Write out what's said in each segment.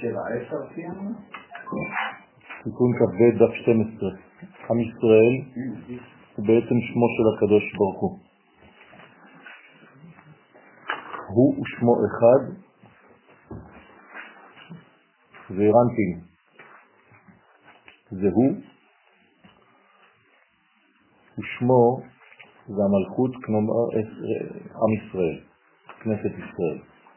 7-10 סיימנו? תיקון כ"ב דף 12. עם ישראל הוא בעצם שמו של הקדוש ברוך הוא. הוא ושמו אחד, ואירנטין זה הוא, ושמו זה המלכות, כלומר עם ישראל, כנסת ישראל.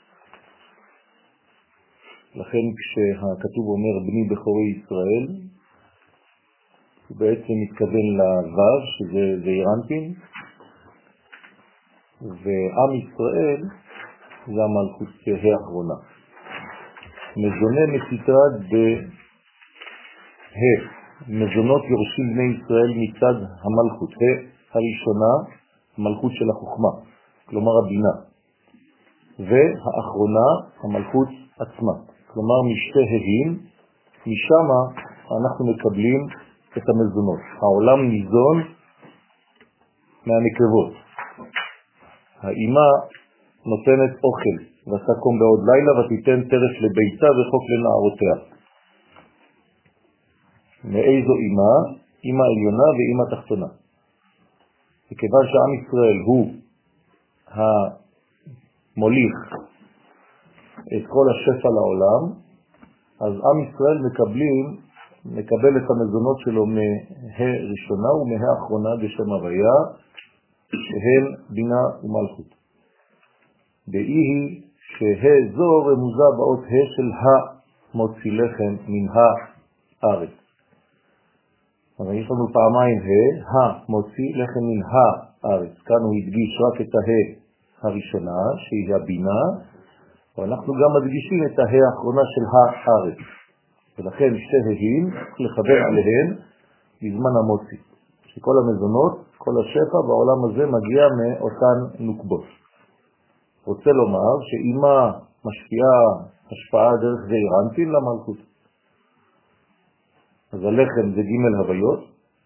לכן כשהכתוב אומר בני בכורי ישראל, הוא בעצם מתכוון לוו, שזה אירנטין, ועם ישראל זה המלכות האחרונה. מזונה מסתרד מזונות יורשים בני ישראל מצד המלכות. הראשונה, המלכות של החוכמה, כלומר הבינה. והאחרונה, המלכות עצמה. כלומר משתי הדים, משם אנחנו מקבלים את המזונות. העולם ניזון מהנקבות. האמא נותנת אוכל, ותקום בעוד לילה ותיתן טרף לביתה וחוק לנערותיה. מאיזו אמא? אמא עליונה ואמא תחתונה. וכיוון שעם ישראל הוא המוליך את כל השפע לעולם, אז עם ישראל מקבל את המזונות שלו מהראשונה ומהאחרונה בשם הוויה, שהן בינה ומלכות. באי שהזו רמוזה באות של המוציא לחם מן הארץ. אבל יש לנו פעמיים המוציא לחם מן הארץ. כאן הוא הדגיש רק את הראשונה, שהיא הבינה, ואנחנו גם מדגישים את האחרונה של הארץ. ולכן שתי הים לחבר עליהן בזמן המוציא. שכל המזונות, כל השפע בעולם הזה מגיע מאותן נוקבות. רוצה לומר שאמא משפיעה השפעה דרך זה אירנטין למלכות. אז הלחם זה ג' הוויות,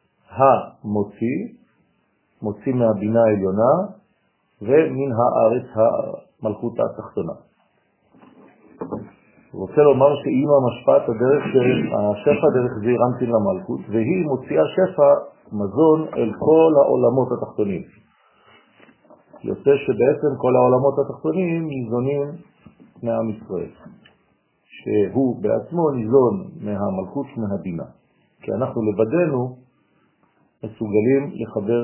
מוציא מהבינה העליונה, ומן הארץ המלכות התחתונה. רוצה לומר שאמא משפעת הדרך של השפע דרך זה אירנטין למלכות, והיא מוציאה שפע מזון אל כל העולמות התחתונים. יוצא שבעצם כל העולמות התחתונים ניזונים מעם ישראל, שהוא בעצמו ניזון מהמלכות מהבינה, כי אנחנו לבדנו מסוגלים לחבר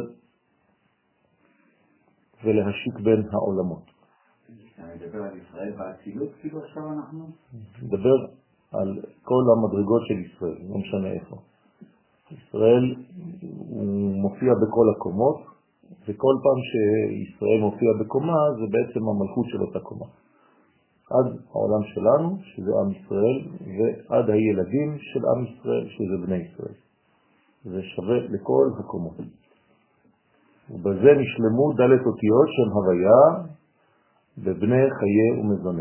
ולהשיק בין העולמות. נדבר על ישראל באצילות, כאילו עכשיו אנחנו? נדבר על כל המדרגות של ישראל, לא משנה איפה. ישראל הוא מופיע בכל הקומות, וכל פעם שישראל מופיע בקומה זה בעצם המלכות של אותה קומה. עד העולם שלנו, שזה עם ישראל, ועד הילדים של עם ישראל, שזה בני ישראל. זה שווה לכל הקומות. ובזה נשלמו דלת אותיות של הוויה בבני חיי ומזונה.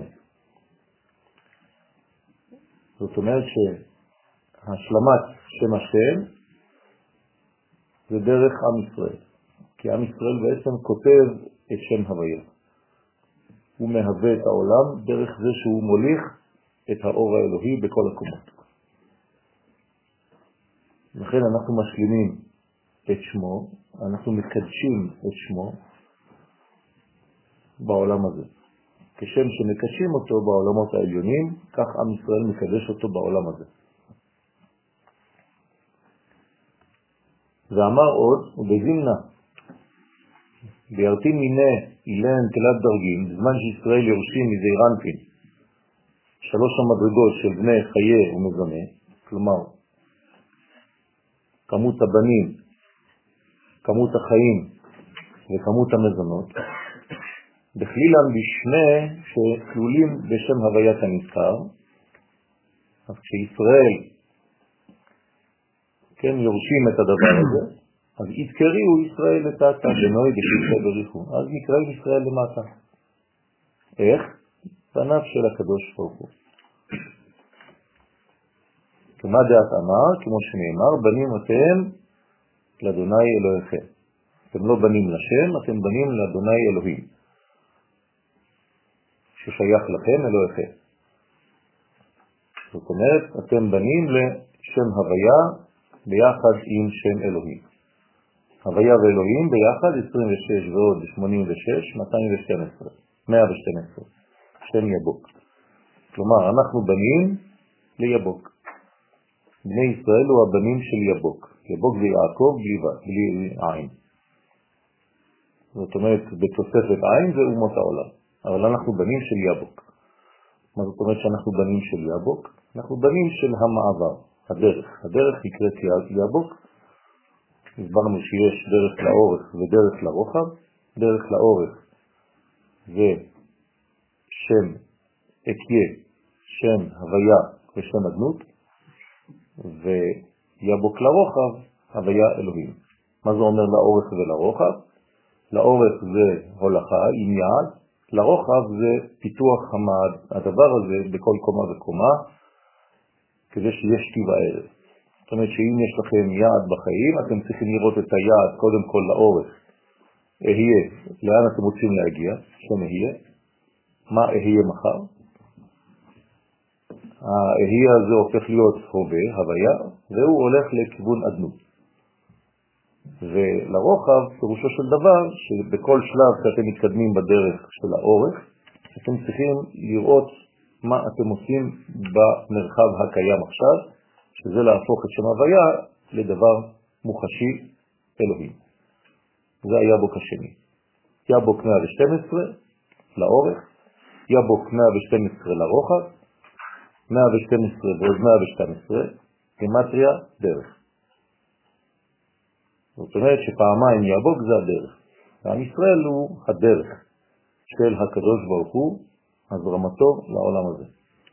זאת אומרת שהשלמת שם השם זה דרך עם ישראל. כי עם ישראל בעצם כותב את שם הוויה. הוא מהווה את העולם דרך זה שהוא מוליך את האור האלוהי בכל הקומות. לכן אנחנו משלימים את שמו, אנחנו מקדשים את שמו בעולם הזה. כשם שמקדשים אותו בעולמות העליונים, כך עם ישראל מקדש אותו בעולם הזה. ואמר עוד, ובזמנה, בירתין מיני אילן תלת דרגים, בזמן שישראל יורשים מזה אירנטין, 3 המדרגות של בני חיי ומזונה, כלומר, כמות הבנים, כמות החיים וכמות המזונות, בכלילן בשני שכלולים בשם הוויית הנזכר. אז כשישראל כן יורשים את הדבר הזה, אז יזכריו ישראל לטאטה בנוי בשלחי בריחו. אז נקראים ישראל למטה. איך? בניו של הקדוש ברוך הוא. כמה דעת אמר, כמו שנאמר, בנים אתם לאדוני אלוהיכם. אתם לא בנים לשם, אתם בנים לאדוני אלוהים, ששייך לכם אלוהיכם. זאת אומרת, אתם בנים לשם הוויה ביחד עם שם אלוהים. הוויה ואלוהים ביחד 26 ועוד 86, 212, 112, שם יבוק. כלומר, אנחנו בנים ליבוק. בני ישראל הוא הבנים של יבוק. יבוק זה יעקב בלי עין. זאת אומרת, בתוספת עין זה אומות העולם. אבל אנחנו בנים של יבוק. מה זאת אומרת שאנחנו בנים של יבוק? אנחנו בנים של המעבר, הדרך. הדרך נקראת יבוק. הסברנו שיש דרך לאורך ודרך לרוחב. דרך לאורך זה שם אקיה, שם הוויה ושם אדנות, ויבוק לרוחב, הוויה אלוהים. מה זה אומר לאורך ולרוחב? לאורך זה הולכה עם יעד, לרוחב זה פיתוח הדבר הזה בכל קומה וקומה, כדי שיש שתי וערב. זאת אומרת שאם יש לכם יעד בחיים, אתם צריכים לראות את היעד קודם כל לאורך. אהיה, לאן אתם רוצים להגיע? שם אהיה. מה אהיה מחר? האהיה הזה הופך להיות הווה, הוויה, והוא הולך לכיוון אדנות. ולרוחב, פירושו של דבר, שבכל שלב שאתם מתקדמים בדרך של האורך, אתם צריכים לראות מה אתם עושים במרחב הקיים עכשיו, שזה להפוך את שם הוויה לדבר מוחשי אלוהים. זה היבוק השני. יבוק 112 לאורך, יבוק 112 לרוחב, 112 ועוד 112, גמטריה דרך. זאת אומרת שפעמיים יבוק זה הדרך. ועם ישראל הוא הדרך של הקדוש ברוך הוא, הזרמתו לעולם הזה.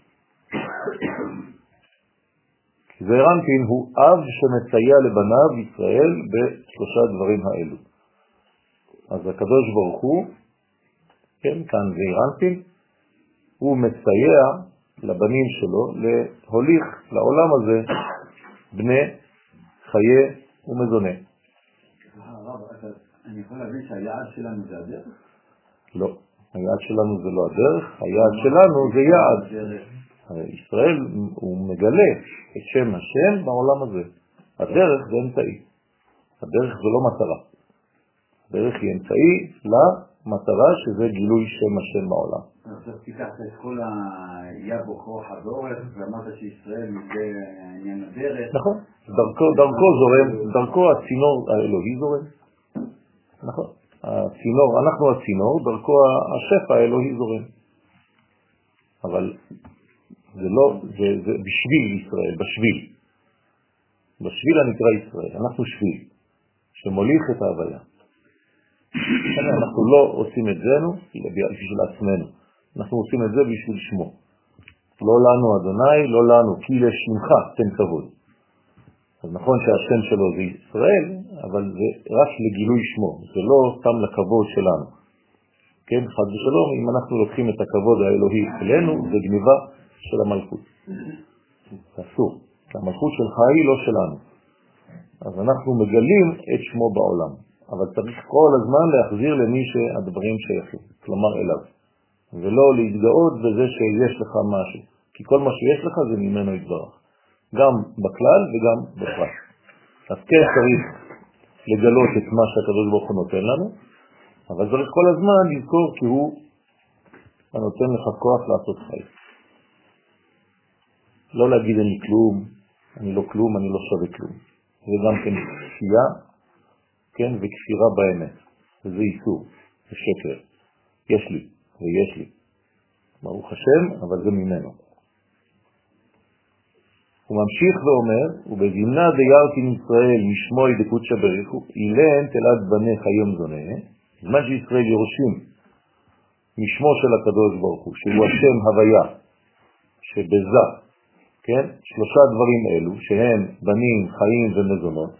זעירנפין הוא אב שמסייע לבניו ישראל בשלושה דברים האלו. אז הקדוש ברוך הוא, כן, כאן זעירנפין, הוא מסייע לבנים שלו להוליך לעולם הזה בני חיי ומזונה. הרב, אני יכול להבין שהיעד שלנו זה הדרך? לא, היעד שלנו זה לא הדרך, היעד שלנו זה יעד. ישראל הוא מגלה את שם השם בעולם הזה. הדרך זה אמצעי. הדרך זה לא מטרה. הדרך היא אמצעי למטרה שזה גילוי שם השם בעולם. עכשיו תיקחת את כל היבוק רוחב ואורך ואמרת שישראל מזה עניין הדרך. נכון. דרכו זורם, דרכו הצינור האלוהי זורם. נכון. הצינור, אנחנו הצינור, דרכו השפע האלוהי זורם. אבל זה לא, זה בשביל ישראל, בשביל. בשביל הנקרא ישראל, אנחנו שביל, שמוליך את ההוויה. אנחנו לא עושים את זה בשביל עצמנו, אנחנו עושים את זה בשביל שמו. לא לנו אדוני, לא לנו, כי לשמך תן כבוד. אז נכון שהשם שלו זה ישראל, אבל זה רק לגילוי שמו, זה לא סתם לכבוד שלנו. כן, חד ושלום, אם אנחנו לוקחים את הכבוד האלוהי אלינו, זה גניבה של המלכות. אסור. המלכות שלך היא לא שלנו. אז אנחנו מגלים את שמו בעולם. אבל צריך כל הזמן להחזיר למי שהדברים שייכים, כלומר אליו. ולא להתגאות בזה שיש לך משהו. כי כל מה שיש לך זה ממנו יתברך. גם בכלל וגם בפרט. אז כן צריך לגלות את מה שהקדוש ברוך הוא נותן לנו, אבל צריך כל הזמן לזכור כי הוא הנותן לך כוח לעשות חיים. לא להגיד אני כלום, אני לא כלום, אני לא שווה כלום. זה גם כן כפייה, כן, וכפירה באמת. וזה איסור, זה שקר. יש לי, ויש לי. ברוך השם, אבל זה ממנו. הוא ממשיך ואומר, ובזמנה דיירתי מישראל משמוי דקודשא בריחו, אילן תלת בני חיום זונה, זמן שישראל יורשים משמו של הקדוש ברוך הוא, שהוא השם הוויה, שבזה, כן, שלושה דברים אלו, שהם בנים, חיים ומזונות.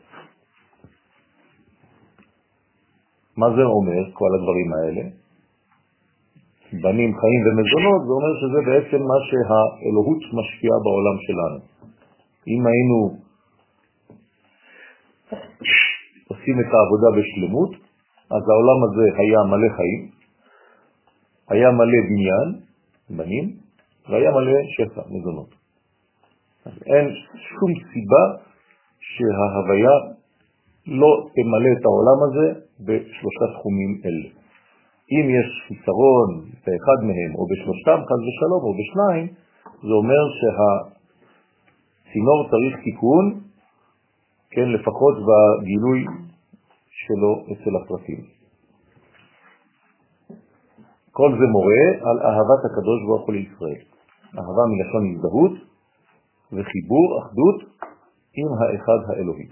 מה זה אומר, כל הדברים האלה? בנים, חיים ומזונות, זה אומר שזה בעצם מה שהאלוהות משפיעה בעולם שלנו. אם היינו עושים את העבודה בשלמות, אז העולם הזה היה מלא חיים, היה מלא בניין, בנים, והיה מלא שפע, מזונות. אז אין שום סיבה שההוויה לא תמלא את העולם הזה בשלושה תחומים אלה. אם יש חיסרון באחד מהם או בשלושתם חס ושלום או בשניים, זה אומר שהצינור צריך תיקון, כן, לפחות בגילוי שלו אצל הפרטים. כל זה מורה על אהבת הקדוש ברוך הוא לישראל. אהבה מלשון הזדהות וחיבור, אחדות עם האחד האלוהי.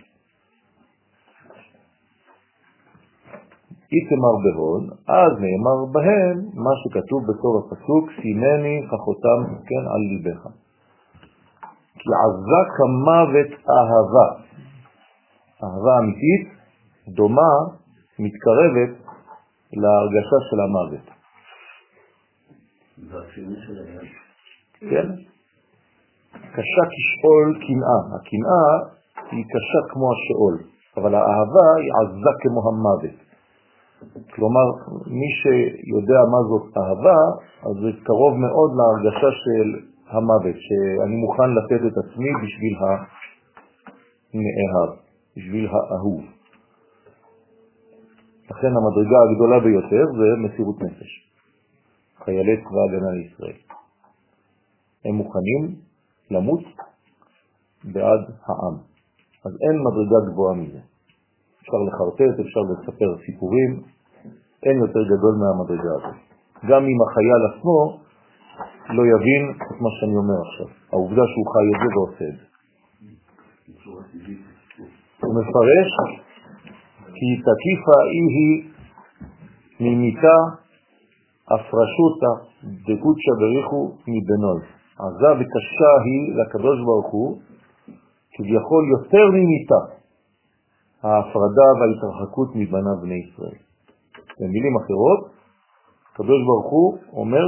איתמר בהון, אז נאמר בהם מה שכתוב בסוף הפסוק, שימני חכותם כן על ליבך. כי עזה כמוות אהבה. אהבה אמיתית דומה, מתקרבת להרגשה של המוות. זה הציון של היד. כן? קשה כשאול קנאה. הקנאה היא קשה כמו השאול, אבל האהבה היא עזה כמו המוות. כלומר, מי שיודע מה זאת אהבה, אז זה קרוב מאוד להרגשה של המוות, שאני מוכן לתת את עצמי בשביל הנאהב, בשביל האהוב. לכן המדרגה הגדולה ביותר זה מסירות נפש. חיילי צבא הגנה לישראל. הם מוכנים למות בעד העם. אז אין מדרגה גבוהה מזה. אפשר לחרטט, אפשר לספר סיפורים, אין יותר גדול מהמדרגה הזאת. גם אם החייל עצמו לא יבין את מה שאני אומר עכשיו. העובדה שהוא חי את זה ועושה את זה. הוא מפרש כי תקיפה היא ממיתה הפרשותה דקודשה בריחו מבנוי. עזה וקשה היא לקדוש ברוך הוא כביכול יותר ממיתה ההפרדה וההתרחקות מבניו בני ישראל. במילים אחרות, הקדוש ברוך הוא אומר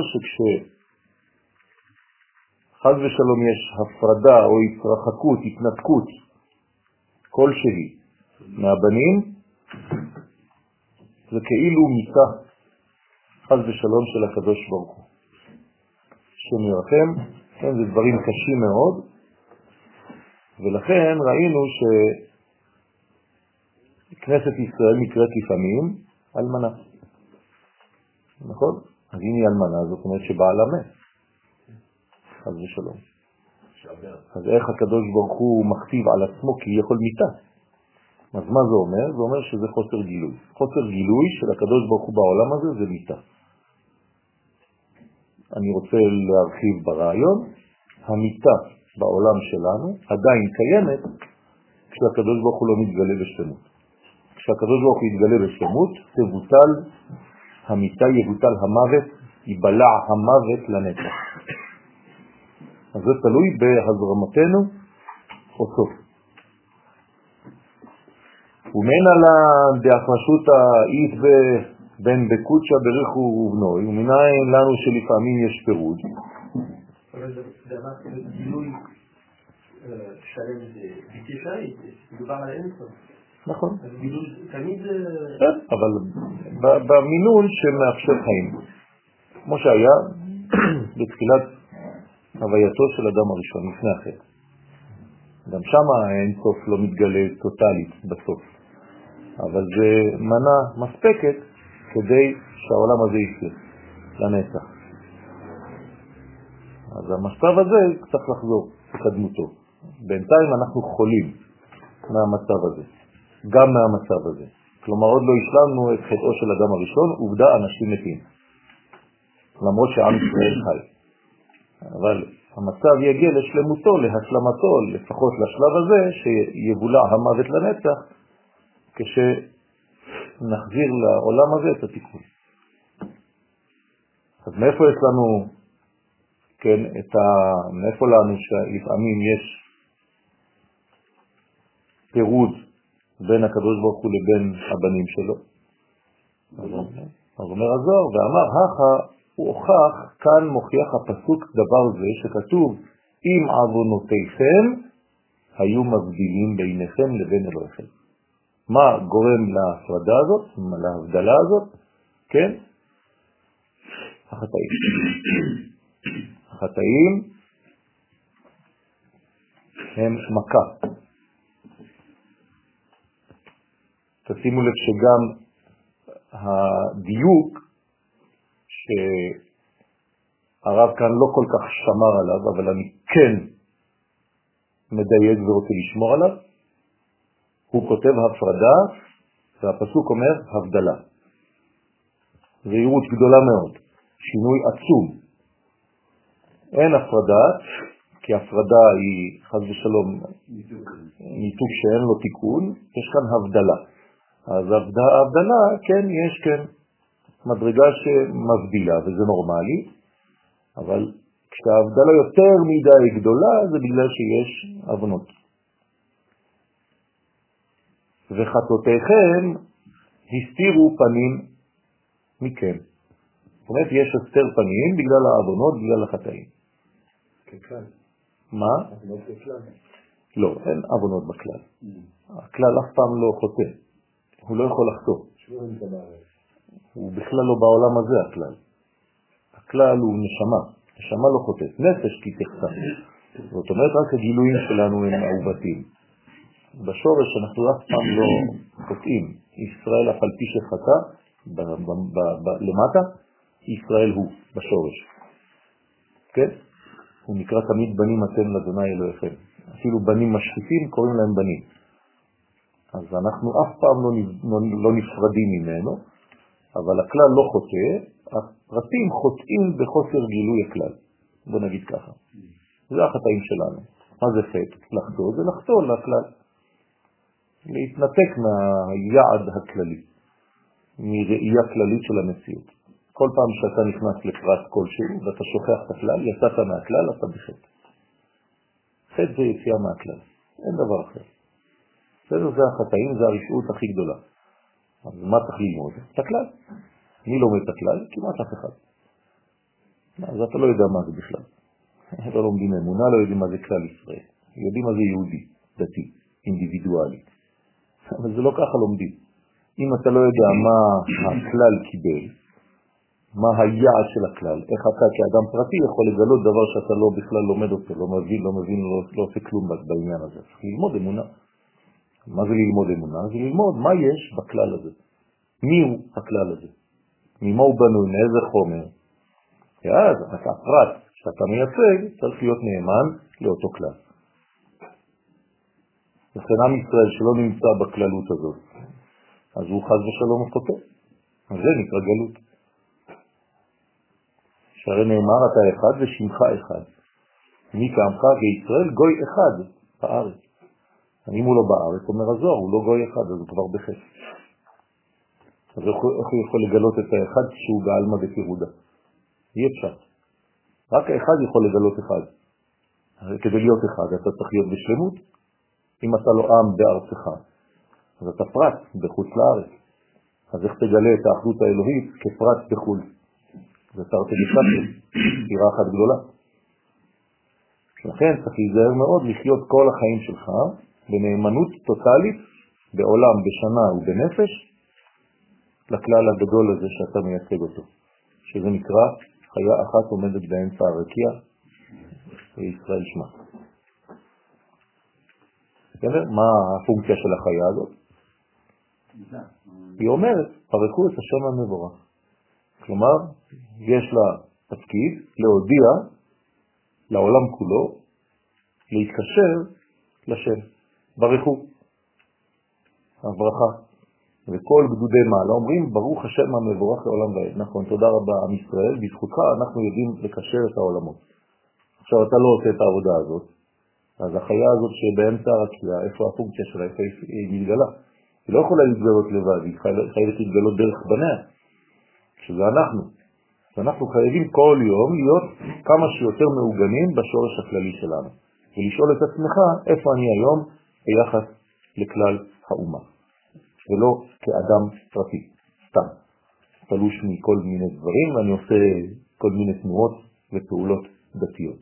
שכשחז ושלום יש הפרדה או התרחקות, התנתקות כלשהי מהבנים, זה כאילו מיתה חז ושלום של הקדוש ברוך הוא. שמרחם, כן, זה דברים קשים מאוד, ולכן ראינו שכנסת ישראל נקראת לפעמים אלמנה. נכון? אז אם היא אלמנה, זאת אומרת שבעלה מת. חז ושלום. אז איך הקדוש ברוך הוא מכתיב על עצמו כי יכול מיתה? אז מה זה אומר? זה אומר שזה חוסר גילוי. חוסר גילוי של הקדוש ברוך הוא בעולם הזה זה מיתה. אני רוצה להרחיב ברעיון, המיתה בעולם שלנו עדיין קיימת כשהקדוש ברוך הוא לא מתגלה בשלמות. כשהקדוש ברוך הוא יתגלה בשלמות, תבוטל המיתה, יבוטל המוות, ייבלע המוות לנצח. אז זה תלוי בהזרמתנו או סוף. ומן על דאפרשות האית בין בקודשה בריחו ובנוי, ומנין לנו שלפעמים יש פירוד. אבל זה אמר גילוי שלם זה בלתי אפשרי, מדובר על אינסוף. נכון. גילוי תמיד זה... אבל במינון שמאפשר חיים. כמו שהיה בתחילת הווייתו של אדם הראשון, לפני החטא. גם שם האינסוף לא מתגלה טוטלית בסוף. אבל זה מנה מספקת כדי שהעולם הזה יחיה לנצח. אז המצב הזה צריך לחזור לקדמותו. בינתיים אנחנו חולים מהמצב הזה, גם מהמצב הזה. כלומר עוד לא השלמנו את חטאו של אדם הראשון, עובדה אנשים מתים. למרות שעם ישראל חי. אבל המצב יגיע לשלמותו, להשלמתו, לפחות לשלב הזה, שיבולע המוות לנצח, כשנחזיר לעולם הזה את התיקון. אז מאיפה יש לנו, כן, מאיפה לנו שלפעמים יש פירוד בין הקדוש ברוך הוא לבין הבנים שלו? אז אומר הזוהר, ואמר, הוא הוכח, כאן מוכיח הפסוק דבר זה שכתוב, אם עוונותיכם היו מבדילים ביניכם לבין אלוהיכם. מה גורם להפרדה הזאת, להבדלה הזאת? כן? החטאים. החטאים הם מכה. תשימו לב שגם הדיוק שהרב כאן לא כל כך שמר עליו, אבל אני כן מדייק ורוצה לשמור עליו, הוא כותב הפרדה, והפסוק אומר הבדלה. זהירות גדולה מאוד, שינוי עצום. אין הפרדה, כי הפרדה היא חס ושלום ניתוק שאין לו תיקון, יש כאן הבדלה. אז ההבדלה, כן, יש כן מדרגה שמבדילה, וזה נורמלי, אבל כשההבדלה יותר מדי גדולה, זה בגלל שיש אבנות. וחטאותיכם הסתירו פנים מכם. זאת אומרת, יש הסתר פנים בגלל האבנות, בגלל החטאים. ככלל. מה? אבנות ככלל. לא, אין אבנות בכלל. הכלל אף פעם לא חוטא. הוא לא יכול לחטוא. הוא בכלל לא בעולם הזה הכלל. הכלל הוא נשמה. נשמה לא חוטאת. נפש כי תחטא. זאת אומרת, רק הגילויים שלנו הם מעובתים. בשורש אנחנו אף פעם לא חוטאים. ישראל אף על פי שחטא, למטה, ישראל הוא בשורש. כן? הוא נקרא תמיד בנים אתם לאדוני אלוהיכם. אפילו בנים משחיתים קוראים להם בנים. אז אנחנו אף פעם לא נפרדים ממנו, אבל הכלל לא חוטא, הפרטים חוטאים בחוסר גילוי הכלל. בוא נגיד ככה. זה החטאים שלנו. מה זה חטא? לחטוא זה לחטוא לכלל. להתנתק מהיעד הכללי, מראייה כללית של המציאות. כל פעם שאתה נכנס לפרט כלשהו ואתה שוכח את הכלל, יצאת מהכלל, אתה בחטא. חטא זה יציאה מהכלל, אין דבר אחר. זה החטאים, זה הרשעות הכי גדולה. אז מה צריך ללמוד? את הכלל. מי לומד את הכלל? כמעט אף אחד. אז אתה לא יודע מה זה בכלל. לא לומדים אמונה, לא יודעים מה זה כלל ישראל. יודעים מה זה יהודי, דתי, אינדיבידואלי. אבל זה לא ככה לומדים. אם אתה לא יודע מה הכלל קיבל, מה היעד של הכלל, איך אתה כאדם פרטי יכול לגלות דבר שאתה לא בכלל לומד אותו, לא מבין, לא עושה כלום בעניין הזה. צריך ללמוד אמונה. מה זה ללמוד אמונה? זה ללמוד מה יש בכלל הזה. מי הוא הכלל הזה? ממה הוא בנוי, מאיזה חומר? ואז הפרט שאתה מייצג צריך להיות נאמן לאותו כלל. לכן עם ישראל שלא נמצא בכללות הזאת, אז הוא חז ושלום חוטא. אז זה נקרא גלות. שהרי נאמר אתה אחד ושמך אחד. מי כעמך בישראל גוי אחד בארץ. אם הוא לא בארץ, אומר הזוהר, הוא לא גוי אחד, אז הוא כבר בחטא. אז איך הוא יכול לגלות את האחד שהוא בעלמא דפירודה? אי אפשר. רק האחד יכול לגלות אחד. כדי להיות אחד, אתה צריך להיות בשלמות. אם אתה לא עם בארצך, אז אתה פרט בחוץ לארץ. אז איך תגלה את האחדות האלוהית כפרט בחוץ? זה תרתי דסתרי, סתירה אחת גדולה. לכן צריך להיזהר מאוד לחיות כל החיים שלך בנאמנות טוטלית, בעולם, בשנה ובנפש, לכלל הגדול הזה שאתה מייצג אותו, שזה נקרא חיה אחת עומדת באמצע הרקיע, וישראל שמה. מה הפונקציה של החיה הזאת? היא אומרת, פרקו את השם המבורך. כלומר, יש לה תפקיד להודיע לעולם כולו, להתקשר לשם. ברכו, הברכה. וכל גדודי מעלה אומרים, ברוך השם המבורך לעולם ועד. נכון, תודה רבה עם ישראל, בזכותך אנחנו יודעים לקשר את העולמות. עכשיו אתה לא עושה את העבודה הזאת, אז החיה הזאת שבאמצע הרקיע, איפה הפונקציה שלה, איפה היא מתגלה? היא לא יכולה להתגלות לבד, היא חייבת להתגלות דרך בניה, שזה אנחנו. ואנחנו חייבים כל יום להיות כמה שיותר מעוגנים בשורש הכללי שלנו, ולשאול את עצמך איפה אני היום ביחס לכלל האומה, ולא כאדם פרטי, סתם, תלוש מכל מיני דברים, ואני עושה כל מיני תנועות ופעולות דתיות.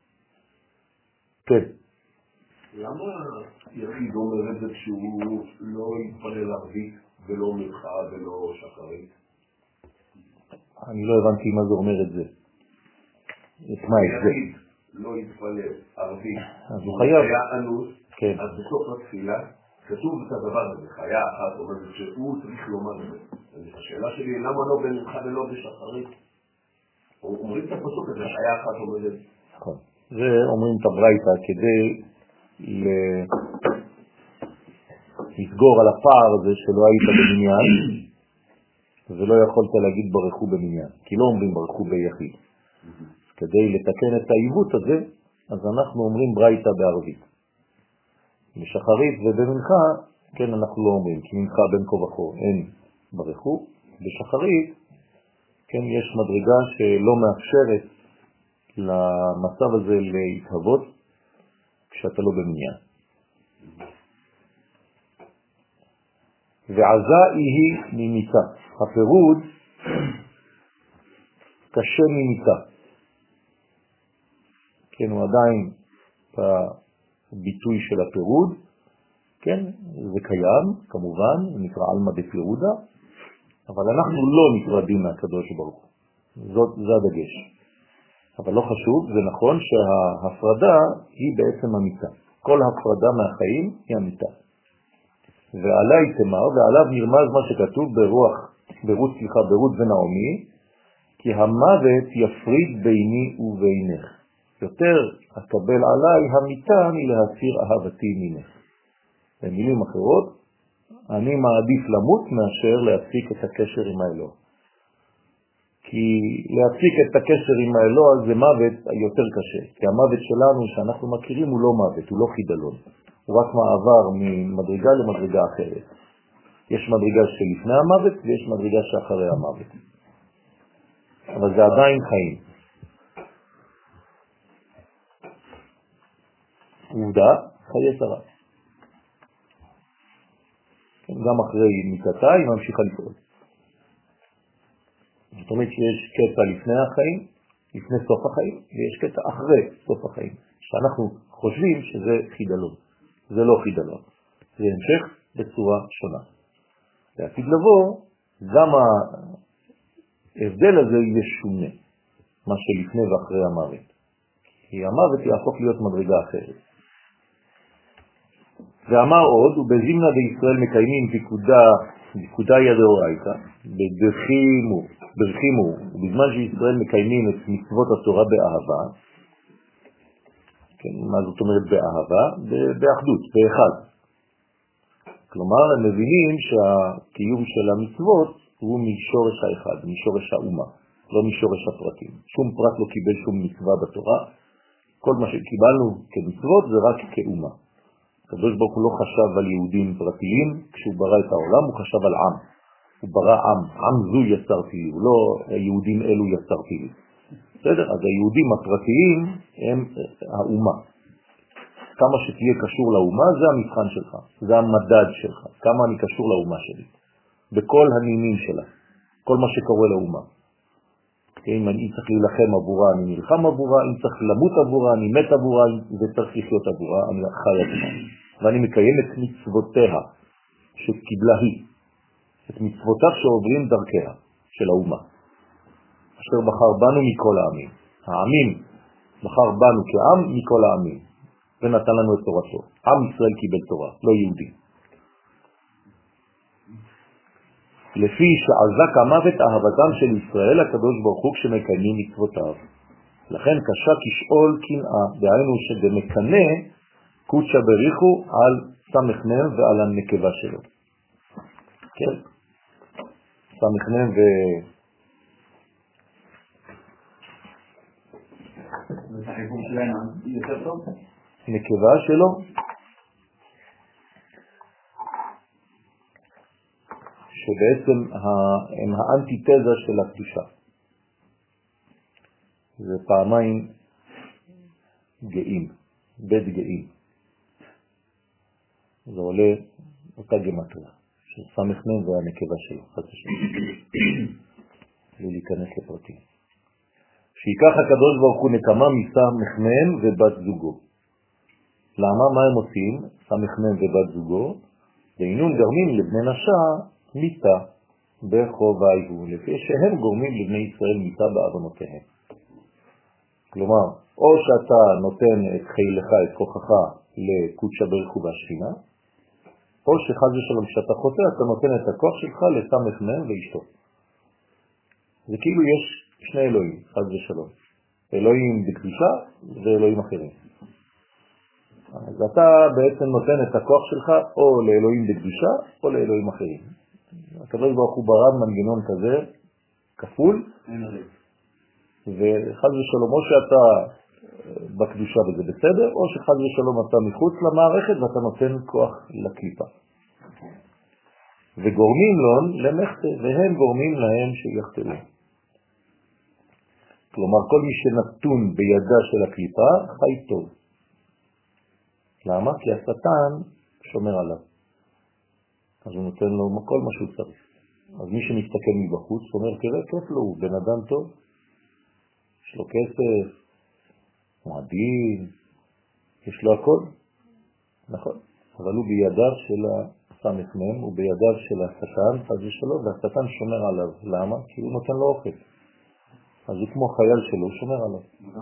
כן. למה יחיד אומר את זה כשהוא לא יתפלל ערבית ולא מלכה ולא שחרית? אני לא הבנתי מה זה אומר את זה. את מה את זה? לא יתפלל ערבית, אז הוא חייב. היה אנוס, כן. אז בסוף התפילה כתוב את הדבר הזה, חיה אחת, אומרת שהוא צריך לומר את זה. השאלה שלי, למה לא במנחה ולא בשחרית? אומרים את הפסוק הזה, חיה אחת אומרת. נכון. זה אומרים את הברייתא כדי לסגור על הפער הזה שלא היית במניין, ולא יכולת להגיד ברכו במניין, כי לא אומרים ברכו ביחיד. כדי לתקן את העיוות הזה, אז אנחנו אומרים ברייתא בערבית. בשחרית ובמנחה, כן, אנחנו לא אומרים, כי מנחה בין כה וכה אין ברכו. בשחרית, כן, יש מדרגה שלא מאפשרת למצב הזה להתהוות כשאתה לא במניין. ועזה היא ממיתה. הפירוד קשה ממיתה. כן, הוא עדיין בביטוי של הפירוד, כן, זה קיים, כמובן, זה נקרא אלמא דפירודה, אבל אנחנו לא נפרדים מהקדוש ברוך הוא. זה הדגש. אבל לא חשוב, זה נכון שההפרדה היא בעצם המיתה. כל הפרדה מהחיים היא המיתה. ועלי תמר, ועליו נרמז מה שכתוב ברות ונעמי, כי המוות יפריד ביני ובינך. יותר אקבל עליי המיתה מלהסיר אהבתי ממך. במילים אחרות, אני מעדיף למות מאשר להפסיק את הקשר עם האלוה. כי להפסיק את הקשר עם האלוה זה מוות יותר קשה. כי המוות שלנו שאנחנו מכירים הוא לא מוות, הוא לא חידלון. הוא רק מעבר ממדרגה למדרגה אחרת. יש מדרגה שלפני המוות ויש מדרגה שאחרי המוות. אבל זה עדיין חיים. עובדה, חיי שרה. גם אחרי מיתתה היא ממשיכה לפעול. זאת אומרת שיש קטע לפני החיים, לפני סוף החיים, ויש קטע אחרי סוף החיים, שאנחנו חושבים שזה חידלון. זה לא חידלון. זה המשך בצורה שונה. לעתיד לבוא, גם ההבדל הזה יהיה שונה, מה שלפני ואחרי המוות. כי המוות יהפוך להיות מדרגה אחרת. ואמר עוד, ובזימנה בישראל מקיימים פיקודה ידאורייתא, ברחימו, ובזמן שישראל מקיימים את מצוות התורה באהבה, כן, מה זאת אומרת באהבה? באחדות, באחד. כלומר, הם מבינים שהקיום של המצוות הוא משורש האחד, משורש האומה, לא משורש הפרטים. שום פרט לא קיבל שום מצווה בתורה, כל מה שקיבלנו כמצוות זה רק כאומה. הקדוש ברוך הוא לא חשב על יהודים פרטיים, כשהוא ברא את העולם הוא חשב על עם. הוא ברא עם זו יצרתי לי, הוא לא יהודים אלו יצרתי לי. בסדר? אז היהודים הפרטיים הם האומה. כמה שתהיה קשור לאומה זה המבחן שלך, זה המדד שלך, כמה אני קשור לאומה שלי. בכל הנימים שלה, כל מה שקורה לאומה. אם אני צריך להילחם עבורה, אני נלחם עבורה, אם צריך למות עבורה, אני מת עבורה, וצריך לחיות עבורה, אני חי עבורה. ואני מקיים את מצוותיה שקיבלה היא, את מצוותיו שעוברים דרכיה של האומה, אשר בחר בנו מכל העמים. העמים בחר בנו כעם מכל העמים, ונתן לנו את תורתו. עם ישראל קיבל תורה, לא יהודי. לפי שעזק המוות אהבתם של ישראל הקדוש ברוך הוא כשמקיימים מצוותיו. לכן קשה כשאול קנאה, דהיינו שבמקנה קודשא בריחו על סמכנם ועל הנקבה שלו. כן? סמכנם החיבור שלהם יותר טוב? נקבה שלו. שבעצם הם האנטיתזה של הקדושה. זה פעמיים גאים, בית גאים. זה עולה אותה גמטריה, של סמכנם והנקבה שלו, חס ושלום. בלי להיכנס לפרטים. שיקח הקדוש ברוך הוא נקמה מסמכנם ובת זוגו. למה? מה הם עושים? סמכנם ובת זוגו, ואינון גרמים לבני נשה מיתה בחובייהו, לפי שהם גורמים לבני ישראל מיתה בעוונותיהם. כלומר, או שאתה נותן את חילך, את כוחך לקודשה בריך הוא והשכינה, או שחד ושלום שאתה חוטא, אתה נותן את הכוח שלך לסמך מהם ואשתו. זה כאילו יש שני אלוהים, חד ושלום. אלוהים בקדושה ואלוהים אחרים. אז אתה בעצם נותן את הכוח שלך או לאלוהים בקדושה או לאלוהים אחרים. הקדוש ברוך הוא ברא מנגנון כזה, כפול, וחד ושלום, או שאתה בקדושה וזה בסדר, או שחד ושלום אתה מחוץ למערכת ואתה נותן כוח לקליפה. וגורמים להם למחתה, והם גורמים להם שיחתרו. כלומר, כל מי שנתון בידה של הקליפה, חי טוב. למה? כי השטן שומר עליו. אז הוא נותן לו כל מה שהוא צריך. אז מי שמסתכל מבחוץ, אומר, תראה, כיף לו, הוא בן אדם טוב. יש לו כסף, מועדים, יש לו הכל. נכון. אבל הוא בידיו של הסמ"ם, הוא בידיו של השטן, אז יש לו, והשטן שומר עליו. למה? כי הוא נותן לו אוכל. אז הוא כמו חייל שלו, הוא שומר עליו.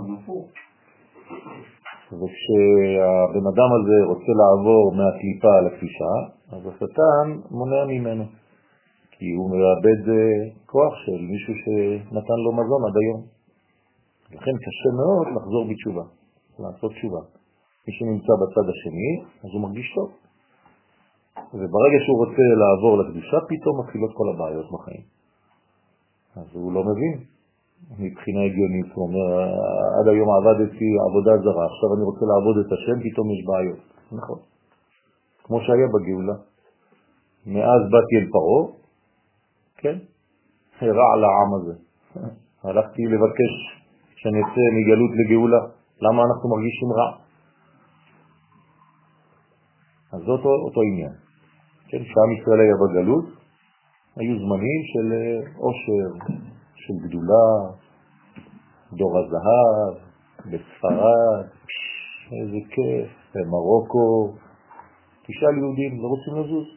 וכשהבן אדם הזה רוצה לעבור מהקליפה לקפישה, אז השטן מונע ממנו. כי הוא מאבד כוח של מישהו שנתן לו מזון עד היום. לכן קשה מאוד לחזור בתשובה, לעשות תשובה. מי שנמצא בצד השני, אז הוא מרגיש טוב. וברגע שהוא רוצה לעבור לקדושה, פתאום מתחילות כל הבעיות בחיים. אז הוא לא מבין. מבחינה הגיונית, הוא אומר, עד היום עבדתי עבודה זרה, עכשיו אני רוצה לעבוד את השם, פתאום יש בעיות. נכון. כמו שהיה בגאולה. מאז באתי אל פרעה, כן? הרע על העם הזה. הלכתי לבקש שנצא מגלות לגאולה. למה אנחנו מרגישים רע? אז זאת אותו עניין. כן, כשעם ישראל היה בגלות, היו זמנים של עושר, של גדולה, דור הזהב, בספרד, איזה כיף, במרוקו. תשאל יהודים, לא רוצים לזוז?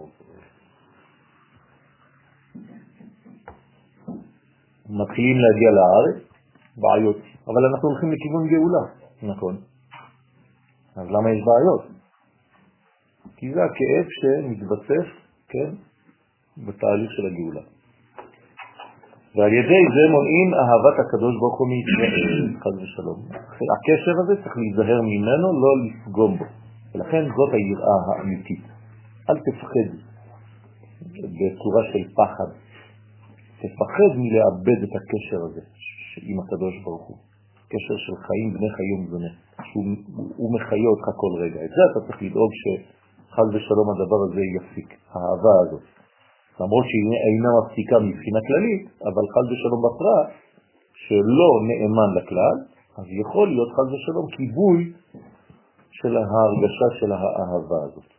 מתחילים להגיע לארץ, בעיות, אבל אנחנו הולכים לכיוון גאולה, נכון. אז למה יש בעיות? כי זה הכאב שמתבסס, כן, בתהליך של הגאולה. ועל ידי זה מונעים אהבת הקדוש ברוך הוא מישראל, חד ושלום. הקשר הזה צריך להיזהר ממנו, לא לפגום בו. ולכן זאת היראה האמיתית. אל תפחד בצורה של פחד. תפחד מלאבד את הקשר הזה עם הקדוש ברוך הוא. קשר של חיים בני חיום זונה. שהוא מחיה אותך כל רגע. את זה אתה צריך לדאוג שחד ושלום הדבר הזה יפסיק. האהבה הזאת. למרות שהיא אינה מפסיקה מבחינה כללית, אבל חד ושלום בפרט, שלא נאמן לכלל, אז יכול להיות חד ושלום כיבוי של ההרגשה של האהבה הזאת.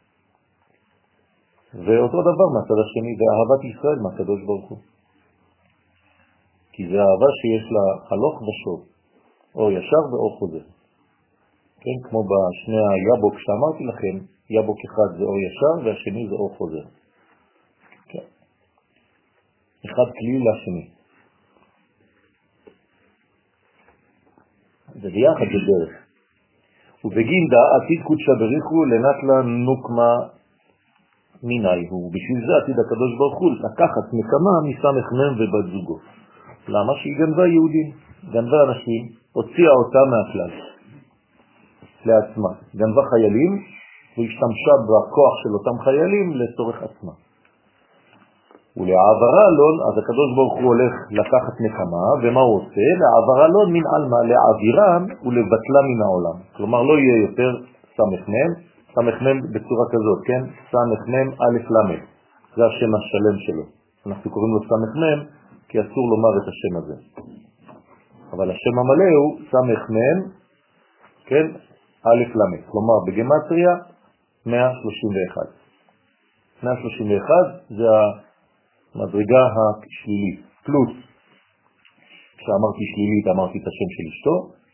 ואותו דבר מהצד השני, זה אהבת ישראל מהקדוש ברוך הוא. כי זה אהבה שיש לה הלוך ושוב, או ישר ואו חוזר. כן, כמו בשני היבוק שאמרתי לכם, יבוק אחד זה או ישר והשני זה או חוזר. אחד כלי לשני. זה ביחד בדרך. ובגינדה עתיד קודשה בריחו לנטלה נוקמה מיני הוא. בשביל זה עתיד הקדוש ברוך הוא לקחת נקמה מסמך מם ובת זוגו. למה? שהיא גנבה יהודים, גנבה אנשים, הוציאה אותם מהכלל לעצמה. גנבה חיילים והשתמשה בכוח של אותם חיילים לצורך עצמה. ולעברה לון, אז הקדוש ברוך הוא הולך לקחת נקמה, ומה הוא עושה? לעברה לון מן אלמה, לעבירם ולבטלה מן העולם. כלומר לא יהיה יותר סמ"ם, סמ"ם בצורה כזאת, כן? סמ"ם א' למד, זה השם השלם שלו. אנחנו קוראים לו סמ"ם, כי אסור לומר את השם הזה. אבל השם המלא הוא סמ"ם, כן? א' למד, כלומר בגמטריה 131. 131 זה המדרגה השלילית, פלוס, כשאמרתי שלילית אמרתי את השם של אשתו,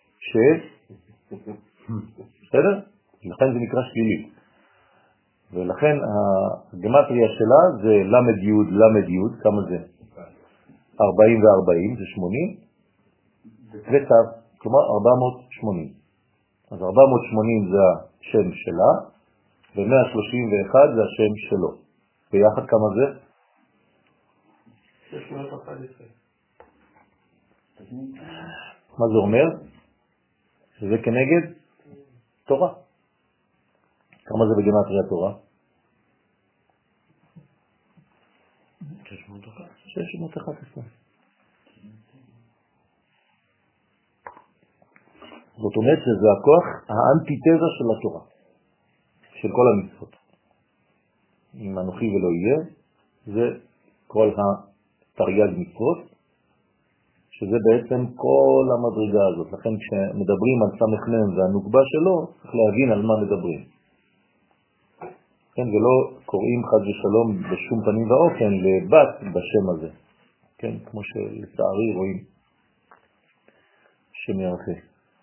בסדר? לכן זה נקרא שלילית. ולכן הגמטריה שלה זה למד יוד, למד יוד, כמה זה? 40 ו-40 זה 80, ותו, כלומר 480. אז 480 זה השם שלה, ו-131 זה השם שלו. ביחד כמה זה? 611. מה זה אומר? שזה כנגד תורה. כמה זה בגימטריה תורה? 611. זאת אומרת שזה הכוח האנטיתזה של התורה, של כל המצוות. אם אנוכי ולא יהיה, זה כל התרי"ג מצוות, שזה בעצם כל המדרגה הזאת. לכן כשמדברים על סמ"ם והנוגבה שלו, צריך להבין על מה מדברים. כן, ולא קוראים חד ושלום בשום פנים ואופן לבת בשם הזה. כן, כמו שלצערי רואים שם ירחי.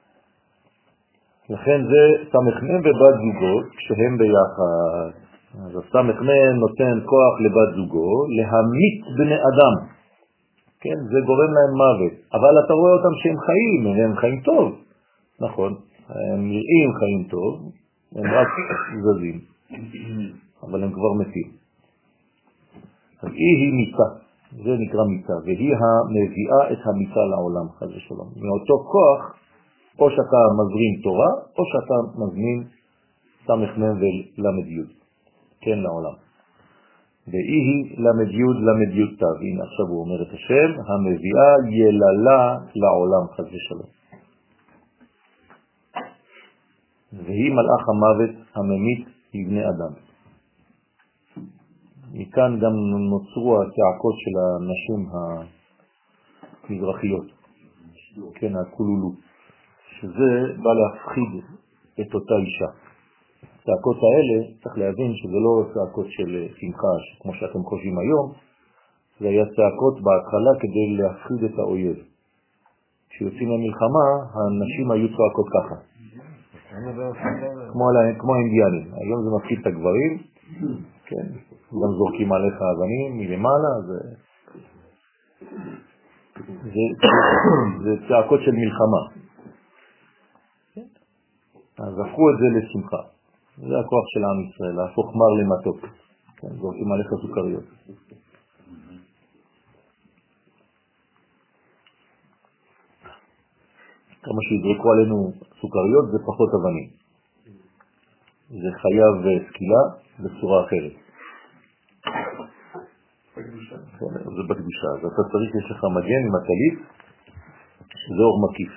לכן זה סמ"ם ובת זוגו כשהם ביחד. אז הסמ"ם נותן כוח לבת זוגו להמית בני אדם. כן, זה גורם להם מוות. אבל אתה רואה אותם שהם חיים, הם חיים טוב. נכון, הם נראים חיים טוב, הם רק זזים. אבל הם כבר מתים. אז היא מיתה, זה נקרא מיתה, והיא המביאה את המיתה לעולם, חס ושלום. מאותו כוח, או שאתה מזרים תורה, או שאתה מזמין סמ"ם ולמ"י, כן, לעולם. והיא למ"י תו, הנה עכשיו הוא אומר את השם, המביאה יללה לעולם, חס ושלום. והיא מלאך המוות הממית לבני אדם. מכאן גם נוצרו הצעקות של הנשים המזרחיות, כן, הכולולו, שזה בא להפחיד את אותה אישה. הצעקות האלה, צריך להבין שזה לא צעקות של שמחה, כמו שאתם חושבים היום, זה היה צעקות בהתחלה כדי להפחיד את האויב. כשיוצאים למלחמה, הנשים היו צעקות ככה. כמו האינדיאנים. היום זה מפחיד את הגברים, כן, גם זורקים עליך אבנים מלמעלה, זה צעקות של מלחמה. אז הפכו את זה לשמחה. זה הכוח של עם ישראל, להפוך מר למתוק. כן, זורקים עליך סוכריות. כמה שיזרקו עלינו סוכריות זה פחות אבנים. זה חייב סקילה בצורה אחרת. זה בקדושה. אז אתה צריך, יש לך מגן עם הטלית, זה אור מקיף.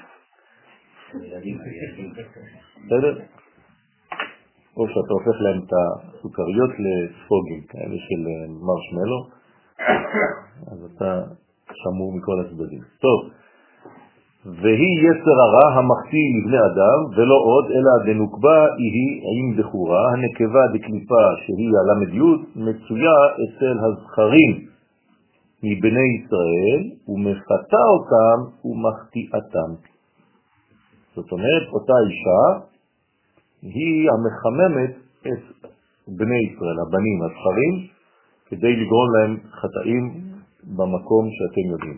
בסדר? או שאתה הופך להם את הסוכריות לספוגים, כאלה של מרשמלו, אז אתה שמור מכל הצדדים. טוב. והיא יצר הרע המחטיא לבני אדם, ולא עוד, אלא דנוקבה היא עם בחורה, הנקבה דקליפה שהיא הל"י, מצויה אצל הזכרים מבני ישראל, ומפתה אותם ומחטיאתם. זאת אומרת, אותה אישה היא המחממת את בני ישראל, הבנים, הזכרים, כדי לגרום להם חטאים במקום שאתם יודעים.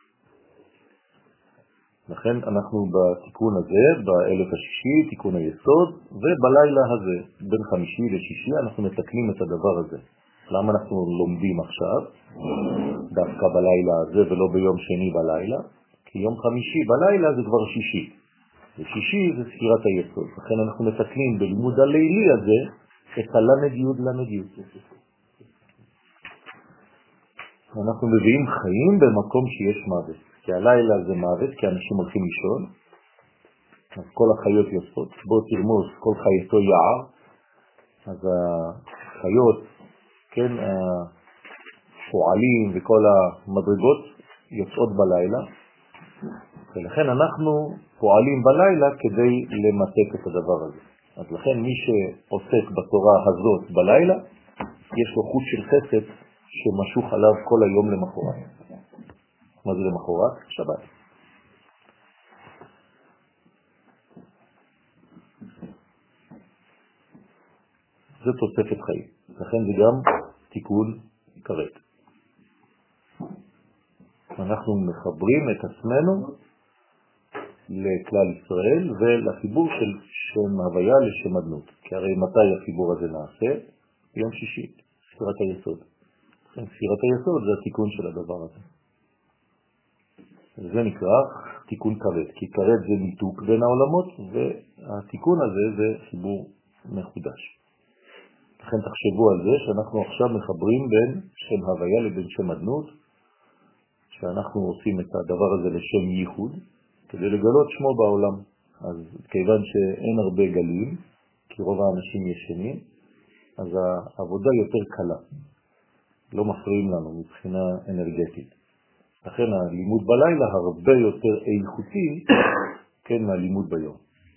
לכן אנחנו בתיקון הזה, באלף השישי, תיקון היסוד, ובלילה הזה, בין חמישי לשישי, אנחנו מתקנים את הדבר הזה. למה אנחנו לומדים עכשיו, דווקא בלילה הזה ולא ביום שני בלילה? כי יום חמישי בלילה זה כבר שישי. ושישי זה ספירת היסוד. לכן אנחנו מתקנים בלימוד הלילי הזה את הל"י. אנחנו מביאים חיים במקום שיש מוות. כי הלילה זה מוות, כי אנשים הולכים לישון, אז כל החיות יוצאות, בוא תרמוס, כל חייתו יער, אז החיות, כן, הפועלים וכל המדרגות יוצאות בלילה, ולכן אנחנו פועלים בלילה כדי למתק את הדבר הזה. אז לכן מי שעוסק בתורה הזאת בלילה, יש לו חוט של חסד שמשוך עליו כל היום למחרת. מה זה למחרת? שבת. זה תוספת חיים. לכן זה גם תיקון כרת. אנחנו מחברים את עצמנו לכלל ישראל ולחיבור של שם הוויה לשם אדנות. כי הרי מתי החיבור הזה נעשה? ביום שישי, ספירת היסוד. ספירת היסוד זה התיקון של הדבר הזה. זה נקרא תיקון כרת, כי כרת זה ניתוק בין העולמות, והתיקון הזה זה חיבור מחודש. לכן תחשבו על זה שאנחנו עכשיו מחברים בין שם הוויה לבין שם אדנות, שאנחנו עושים את הדבר הזה לשם ייחוד, כדי לגלות שמו בעולם. אז כיוון שאין הרבה גלים, כי רוב האנשים ישנים, אז העבודה יותר קלה. לא מפריעים לנו מבחינה אנרגטית. לכן הלימוד בלילה הרבה יותר איכותי, כן, מהלימוד ביום.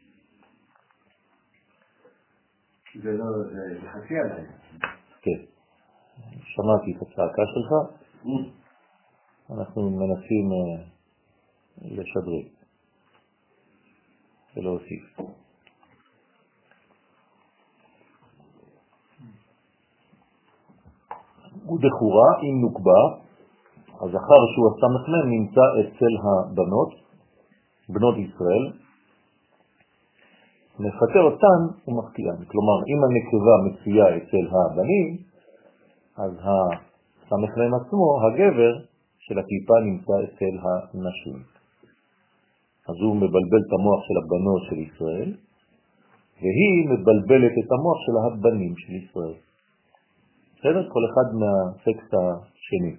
זה לא, זה חצי עליי. כן. שמעתי את הצעקה שלך. אנחנו מנסים לשדרג ולהוסיף. ודחורה עם נוקבה, הזכר שהוא הסמ"ם נמצא אצל הבנות, בנות ישראל, מפטר אותן ומחטיאן. כלומר, אם הנקבה מצויה אצל הבנים, אז הסמ"ם עצמו, הגבר של הקליפה, נמצא אצל הנשים. אז הוא מבלבל את המוח של הבנות של ישראל, והיא מבלבלת את המוח של הבנים של ישראל. בסדר? כל אחד מהטקסט השני.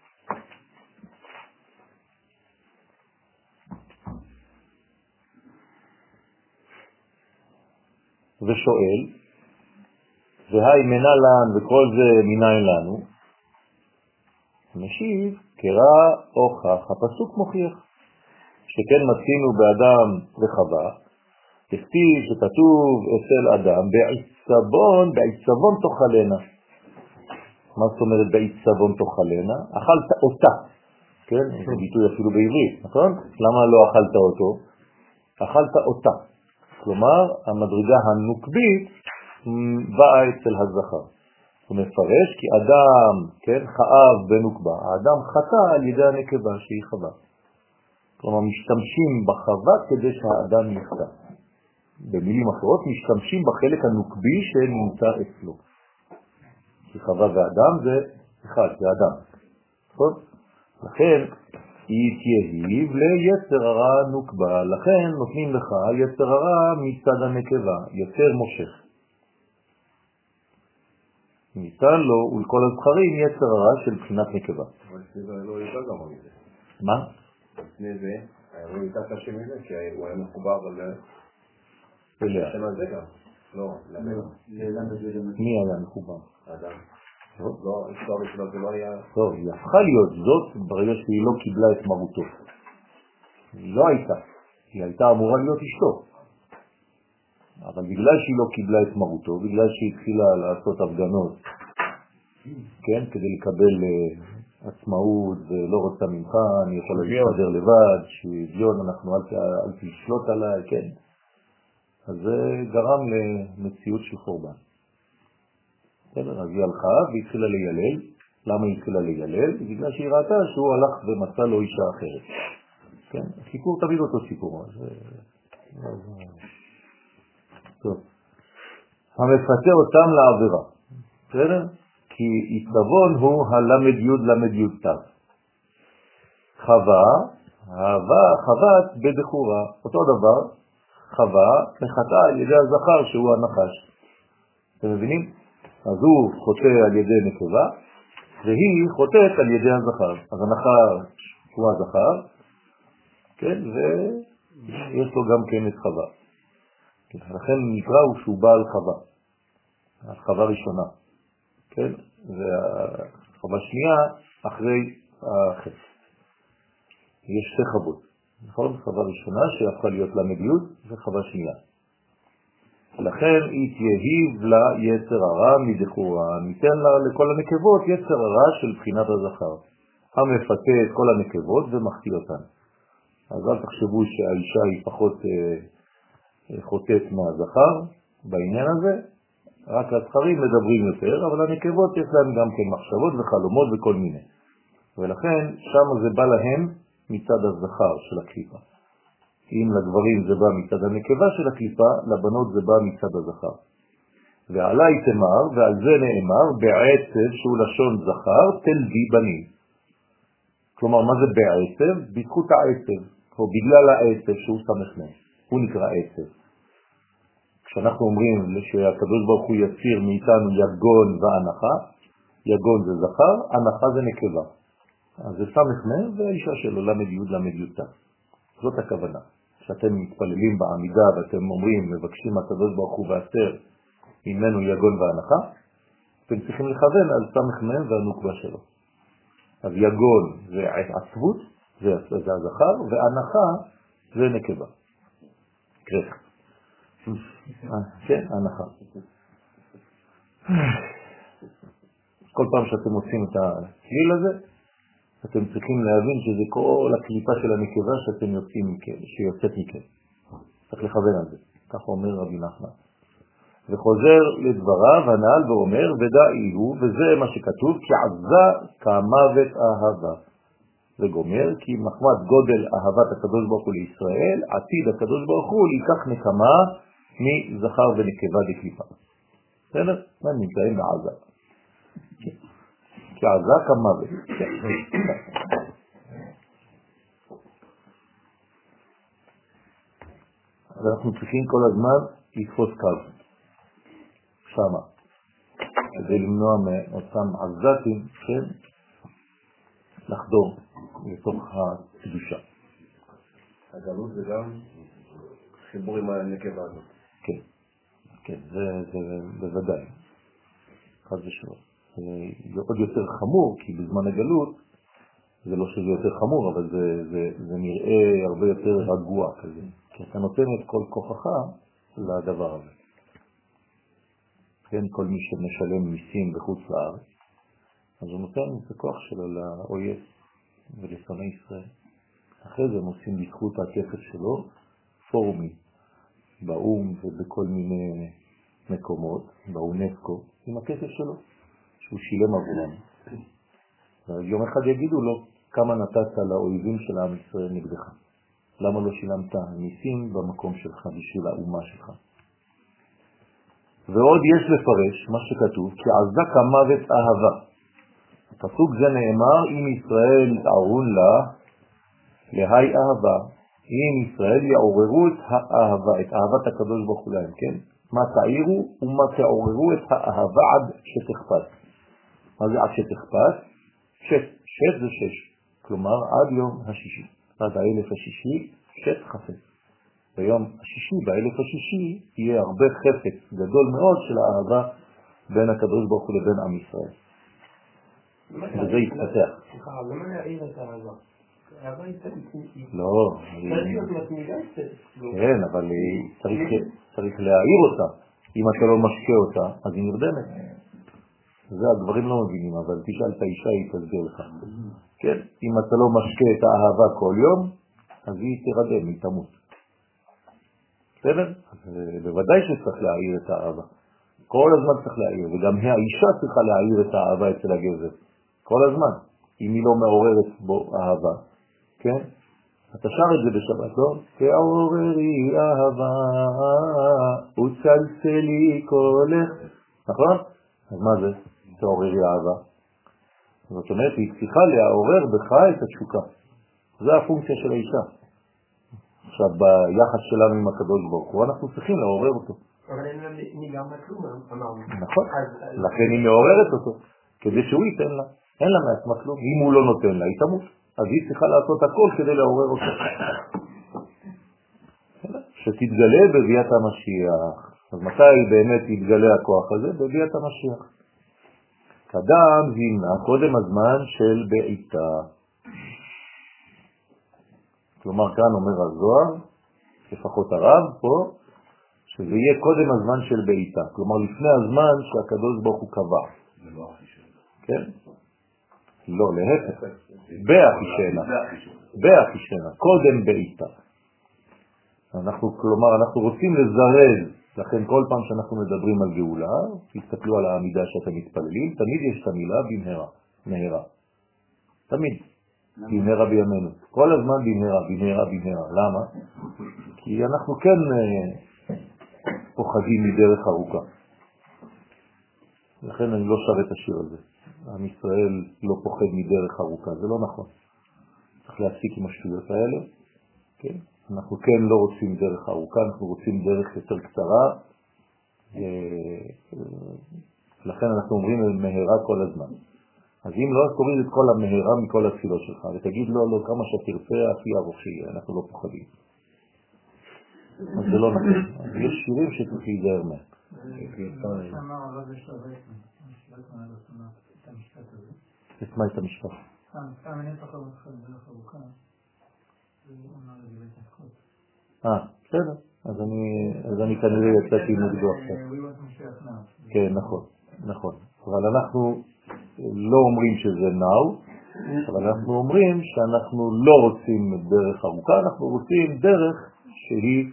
ושואל, והי מנה לן וכל זה מניין לנו, משיב, קרא הוכח, הפסוק מוכיח, שכן מצינו באדם וחווה, תכתיב שכתוב אצל אדם, בעיצבון תאכלנה. מה זאת אומרת בעיצבון תאכלנה? אכלת אותה, כן? זה ביטוי אפילו בעברית, נכון? למה לא אכלת אותו? אכלת אותה. כלומר, המדרגה הנוקבית באה אצל הזכר. הוא מפרש כי אדם, כן, חאב בנוקבה, האדם חטא על ידי הנקבה שהיא חווה. כלומר, משתמשים בחווה כדי שהאדם יחטא. במילים אחרות, משתמשים בחלק הנוקבי שנמצא אצלו. כי חווה ואדם זה אחד, זה אדם. נכון? לכן, היא תייהיב ליצר הרע נוקבה, לכן נותנים לך יצר הרע מצד הנקבה, יותר מושך. ניתן לו ולכל הזכרים יצר הרע של בחינת נקבה. אבל סביבה לא ידע גם על זה. מה? לפני זה, לא ידע קשה מזה, כי הוא היה מחובר אליה. שם על זה גם. לא, מי היה מחובר? האדם. לא, היסטוריה שלו זה לא היה... טוב, היא הפכה להיות זאת ברגע שהיא לא קיבלה את מרותו. היא לא הייתה. היא הייתה אמורה להיות אשתו. אבל בגלל שהיא לא קיבלה את מרותו, בגלל שהיא התחילה לעשות הפגנות, כן, כדי לקבל עצמאות ולא רוצה ממך, אני יכול להסתדר לבד, שוויון, אנחנו אל תשלוט עליי, כן. אז זה גרם למציאות של חורבן. אז היא הלכה והתחילה להילל. למה היא התחילה להילל? בגלל שהיא ראתה שהוא הלך ומצא לו אישה אחרת. כן? הסיפור תמיד אותו סיפור. טוב. המפטר אותם לעבירה. בסדר? כי עיצבון הוא הלמד יוד למד יוד תו. חוות בדחורה. אותו דבר, חווה מחטא על ידי הזכר שהוא הנחש. אתם מבינים? אז הוא חוטא על ידי נקבה, והיא חוטאת על ידי הזכר. אז הנחש הוא הזכר, כן, ויש לו גם כן את חווה. לכן נקרא הוא שהוא בעל חווה. החווה ראשונה, כן, והחווה שנייה אחרי החטא. יש שתי חוות, נכון? חווה ראשונה שהפכה להיות למדיות, וחווה שנייה. לכן היא תייהיב לה יצר הרע מדחורה, ניתן לה לכל הנקבות יצר הרע של בחינת הזכר, המפתה את כל הנקבות ומחטיא אותן. אז אל תחשבו שהאישה היא פחות חוטאת מהזכר בעניין הזה, רק הזכרים מדברים יותר, אבל הנקבות יש להם גם כן מחשבות וחלומות וכל מיני. ולכן שם זה בא להם מצד הזכר של הקליפה. אם לגברים זה בא מצד הנקבה של הקליפה, לבנות זה בא מצד הזכר. ועלי תמר, ועל זה נאמר, בעצב שהוא לשון זכר, תלדי בנים. כלומר, מה זה בעצב? בזכות העצב, או בגלל העצב שהוא סמכנה. הוא נקרא עצב. כשאנחנו אומרים שהקדוש ברוך הוא יציר מאיתנו יגון והנחה, יגון זה זכר, הנחה זה נקבה. אז זה סמכנה והאישה שלו למד י' למד י'. זאת הכוונה. כשאתם מתפללים בעמידה ואתם אומרים, מבקשים הקדוש ברוך הוא ועשר ממנו יגון והנחה, אתם צריכים לכוון על סמכנה והנוקבה שלו. אז יגון זה עצבות, זה הזכר, והנחה זה נקבה. כרך. כן, הנחה. כל פעם שאתם עושים את הצליל הזה, אתם צריכים להבין שזה כל הקליפה של הנקבה שאתם יוצאים מכם, שיוצאת מכם. צריך לכוון על זה. כך אומר רבי נחמן. וחוזר לדבריו הנעל ואומר, ודאי הוא, וזה מה שכתוב, כי עזה כמוות אהבה. וגומר, כי מחמת גודל אהבת הקדוש ברוך הוא לישראל, עתיד הקדוש ברוך הוא ייקח נקמה מזכר ונקבה דקליפה. בסדר? מה נמצאים בעזה? כי עזה כמוות. אז אנחנו צריכים כל הזמן לתפוס קו. שמה. כדי למנוע מאותם עזתים, כן? לחדור לתוך הקדושה. הגלות זה גם חיבור עם הנקבה הזאת. כן, כן, זה בוודאי. חד ושלום. זה עוד יותר חמור, כי בזמן הגלות, זה לא שזה יותר חמור, אבל זה נראה הרבה יותר רגוע כזה. כי אתה נותן את כל כוחך לדבר הזה. כן, כל מי שמשלם מיסים בחוץ לארץ, אז הוא נותן את הכוח שלו לאויב ולשונאי ישראל. אחרי זה הם עושים בזכות הכסף שלו פורומים באום ובכל מיני מקומות, באונסקו, עם הכסף שלו, שהוא שילם עבורם. יום אחד יגידו לו, כמה נתת לאויבים של העם ישראל נגדך? למה לא שילמת מיסים במקום שלך בשביל האומה שלך? ועוד יש לפרש מה שכתוב, כי עזה כמוות אהבה. הפסוק זה נאמר, אם ישראל יעורון לה, להי אהבה, אם ישראל יעוררו את האהבה, את אהבת הקדוש ברוך הוא להם, כן? מה תעירו ומה תעוררו את האהבה עד שתכפת. מה זה עד שתכפת? שת זה שש, כלומר עד יום השישי, עד האלף השישי, שת חפץ. ביום השישי, באלף השישי, יהיה הרבה חפץ גדול מאוד של האהבה בין הקדוש ברוך הוא לבין עם ישראל. וזה יתפתח. סליחה, למה להעיר את האהבה? האהבה היא לא. צריך להיות מתמידה קצת. כן, אבל צריך להעיר אותה. אם אתה לא משקה אותה, אז היא נרדמת. זה הגברים לא מבינים, אבל תשאל את האישה, היא תסביר לך. כן, אם אתה לא משקה את האהבה כל יום, אז היא תרדם, היא תמות. בסדר? בוודאי שצריך להעיר את האהבה. כל הזמן צריך להעיר, וגם האישה צריכה להעיר את האהבה אצל הגבר. כל הזמן. אם היא לא מעוררת בו אהבה. כן? אתה שר את זה בשבת, לא? תעוררי אהבה, וצלצלי קולך. נכון? אז מה זה? תעוררי אהבה. זאת אומרת, היא צריכה לעורר בך את התשוקה. זה הפונקציה של האישה. עכשיו, ביחס שלנו עם הקדוש ברוך הוא, אנחנו צריכים לעורר אותו. אבל אין לה ניגר מכלום, אמרנו. נכון. לכן היא מעוררת אותו, כדי שהוא ייתן לה. אין לה מעצמה כלום. אם הוא לא נותן לה, היא תמות. אז היא צריכה לעשות הכל כדי לעורר אותו. שתתגלה בביאת המשיח. אז מתי באמת יתגלה הכוח הזה? בביאת המשיח. קדם זימנה, קודם הזמן של בעיתה. כלומר, כאן אומר הזוהר, לפחות הרב פה, שזה יהיה קודם הזמן של בעיתה. כלומר, לפני הזמן שהקדוש ברוך הוא קבע. זה לא הכי שלה. כן? לא, להפך. באחישנה. באחישנה. קודם בעיתה. כלומר, אנחנו רוצים לזרז. לכן כל פעם שאנחנו מדברים על גאולה, תסתכלו על העמידה שאתם מתפללים, תמיד יש את המילה במהרה. מהרה. תמיד. במהרה בימינו. כל הזמן במהרה. למה? כי אנחנו כן פוחדים מדרך ארוכה. לכן אני לא שר את השיר הזה. עם ישראל לא פוחד מדרך ארוכה, זה לא נכון. צריך להפסיק עם השטויות האלה. כן? אנחנו כן לא רוצים דרך ארוכה, אנחנו רוצים דרך יותר קצרה. לכן אנחנו אומרים מהרה כל הזמן. אז אם לא, אז תוריד את כל המהרה מכל התפילות שלך, ותגיד לו, לא, כמה שתרצה, הכי ארוך שיהיה, אנחנו לא פוחדים. אז זה לא נכון. אז יש שירים שצריך להיזהר מהם. שאמר הרב יש לו רייטמן על את המשפט הזה. את מה את המשפט? סתם אני פחות אותך בדרך ארוכה, הוא אמר את זה בהתעסקות. בסדר. אז אני כנראה יצאתי נגדו עכשיו. כן, נכון. אבל אנחנו לא אומרים שזה נאו, אבל אנחנו אומרים שאנחנו לא רוצים דרך ארוכה, אנחנו רוצים דרך שהיא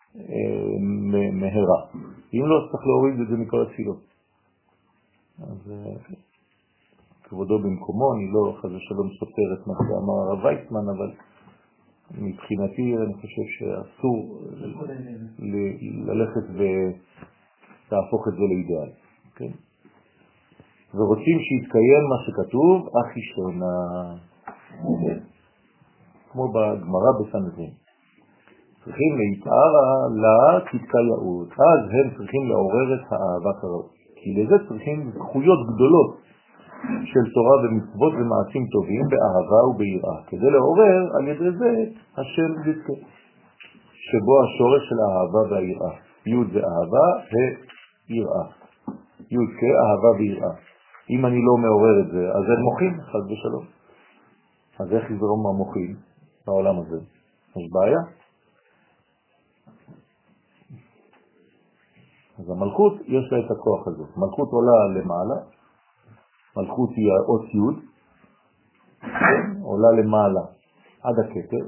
מהרה. אם לא, צריך להוריד את זה מכל התפילות. אז כבודו במקומו, אני לא חזה שלום סופר את מה שאמר הרב ויצמן, אבל מבחינתי אני חושב שאסור ללכת ולהפוך את זה לאידאל. כן? ורוצים שיתקיים מה שכתוב, אחי שונה. כמו בגמרא בסנהדרין. צריכים להתארה לה תתקייעות. אז הם צריכים לעורר את האהבה כראוי. כי לזה צריכים זכויות גדולות של תורה ומצוות ומעשים טובים באהבה וביראה. כדי לעורר על ידי זה השם יזכה. שבו השורש של האהבה והיראה. י' זה אהבה ויראה. י' אהבה ויראה. אם אני לא מעורר את זה, אז הם מוחים, חד ושלום. אז איך יזרום המוחים בעולם הזה? יש בעיה. אז המלכות יש לה את הכוח הזה. מלכות עולה למעלה, מלכות היא האות י', עולה למעלה עד הכתר,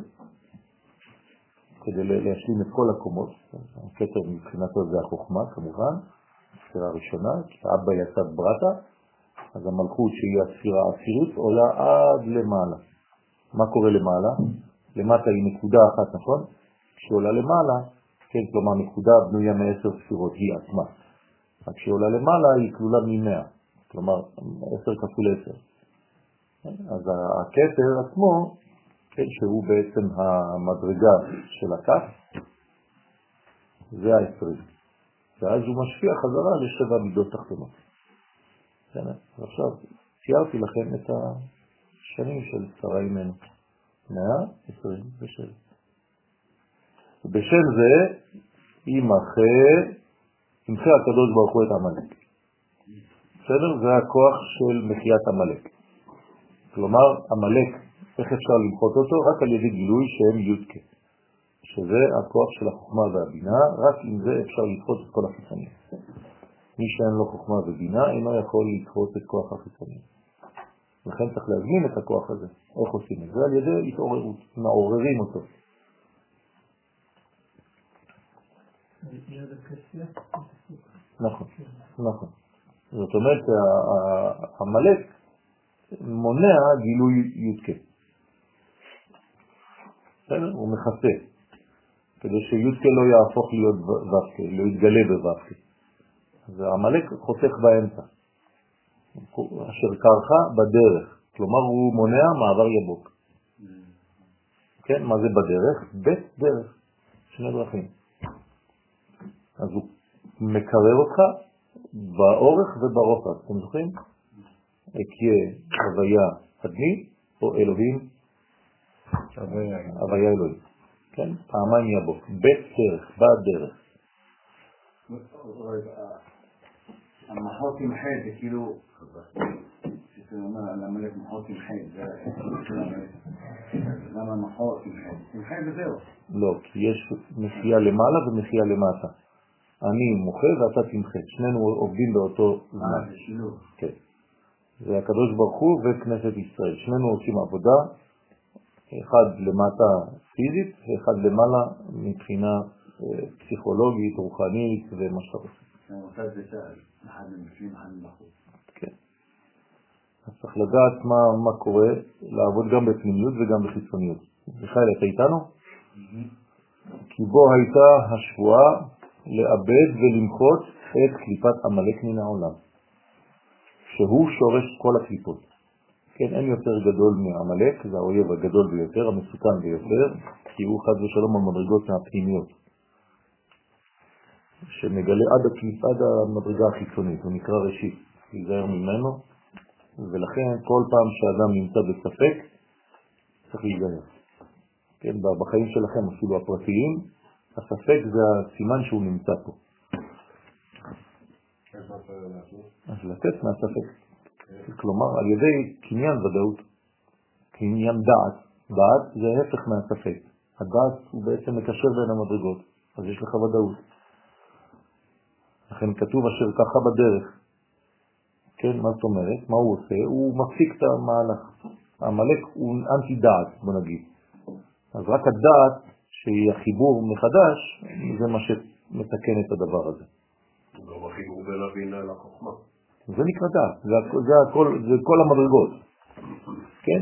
כדי להשלים את כל הקומות. הכתר מבחינתו זה החוכמה כמובן, הספירה הראשונה, כי אבא יצא ברטה, אז המלכות שהיא הספירה העשירית עולה עד למעלה. מה קורה למעלה? למטה היא נקודה אחת, נכון? כשעולה למעלה, כן, כלומר נקודה בנויה מ10 ספירות, היא עצמה. רק כשעולה למעלה היא כלולה מ100, כלומר 10 כפול 10. אז הכתר עצמו, כן, שהוא בעצם המדרגה של הכף, זה ה-20. ואז הוא משפיע חזרה לשבע מידות תחתונות. עכשיו, ציירתי לכם את השנים של שרה אימנו. 127. בשם זה ימחה הקדוש ברוך הוא את עמלק. בסדר? זה הכוח של מחיית עמלק. כלומר, עמלק, איך אפשר למחות אותו? רק על ידי גילוי שהם יודקה. שזה הכוח של החוכמה והבינה, רק עם זה אפשר לדחות את כל החיצונים. מי שאין לו חוכמה ובינה אינו יכול לדחות את כוח החיצונים. לכן צריך להזמין את הכוח הזה. איך עושים את זה? על ידי התעוררות, מעוררים אותו. נכון. זאת אומרת, המלאק מונע גילוי יודקה. הוא מכסה, כדי שיודקה לא יהפוך להיות ו"ק, לא יתגלה בו"ק. אז המלאק חוסך באמצע, אשר קרחה בדרך, כלומר הוא מונע מעבר יבוק. כן, מה זה בדרך? בית דרך, שני דרכים. אז הוא מקרר אותך באורך וברוחב, אתם זוכרים? אקיה הוויה אדמי או אלוהים הוויה אלוהים. כן, פעמיים יבוק, בית דרך, בדרך. המחות עם חד זה כאילו, שאתה אומר על המלך מחות עם חד, למה מחות עם חד? עם חד וזהו. לא, כי יש מחייה למעלה ומחייה למטה. אני מוחה ואתה תמחה, שנינו עובדים באותו זמן. זה שילוב. כן. זה הקדוש ברוך הוא וכנסת ישראל. שנינו עושים עבודה, אחד למטה פיזית ואחד למעלה מבחינה פסיכולוגית, רוחנית ומה שאתה רוצה. מוסד בצה"ל, אחד מבפנים, אחד מבחוץ. כן. אז צריך לדעת מה קורה, לעבוד גם בפנימיות וגם בחיצוניות. מיכאל, אתה איתנו? כי בו הייתה השבועה לאבד ולמחות את קליפת עמלק מן העולם, שהוא שורש כל הקליפות. כן, אין יותר גדול מעמלק, זה האויב הגדול ביותר, המסוכן ביותר, כי הוא חד ושלום המדרגות מהפנימיות, שמגלה עד המדרגה החיצונית, הוא נקרא ראשית, להיזהר ממנו, ולכן כל פעם שאדם נמצא בספק, צריך להיזהר. כן, בחיים שלכם, אפילו הפרטיים, הספק זה הסימן שהוא נמצא פה. אז לתת מהספק. כלומר, על ידי קניין ודאות, קניין דעת. דעת זה ההפך מהספק. הדעת הוא בעצם מקשר בין המדרגות, אז יש לך ודאות. לכן כתוב אשר ככה בדרך. כן, מה זאת אומרת? מה הוא עושה? הוא מפסיק את המהלך. המלאק הוא אנטי דעת, בוא נגיד. אז רק הדעת שהיא החיבור מחדש, זה מה שמתקן את הדבר הזה. גם החיבור בין הבינה לחוכמה. זה נקרא דעת, זה כל המדרגות. כן?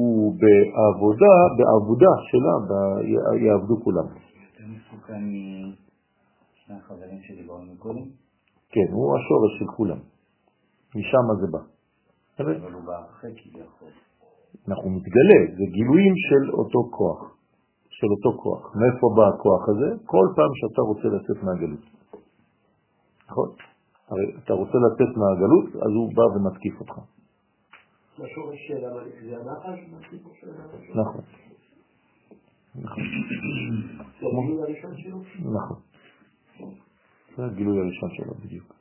בעבודה שלה, יעבדו כולם. יותר מסוכן משני החברים שדיברנו קודם? כן, הוא השורש של כולם. משם זה בא. אבל הוא בא אחרי כביכול. אנחנו מתגלה, זה גילויים של אותו כוח. של אותו כוח. מאיפה בא הכוח הזה? כל פעם שאתה רוצה לצאת מהגלות. נכון? הרי אתה רוצה לצאת מהגלות, אז הוא בא ומתקיף אותך. השורש של המלאק זה הנחש? נכון. זה הגילוי הראשון שלו? נכון. זה הגילוי הראשון שלו בדיוק.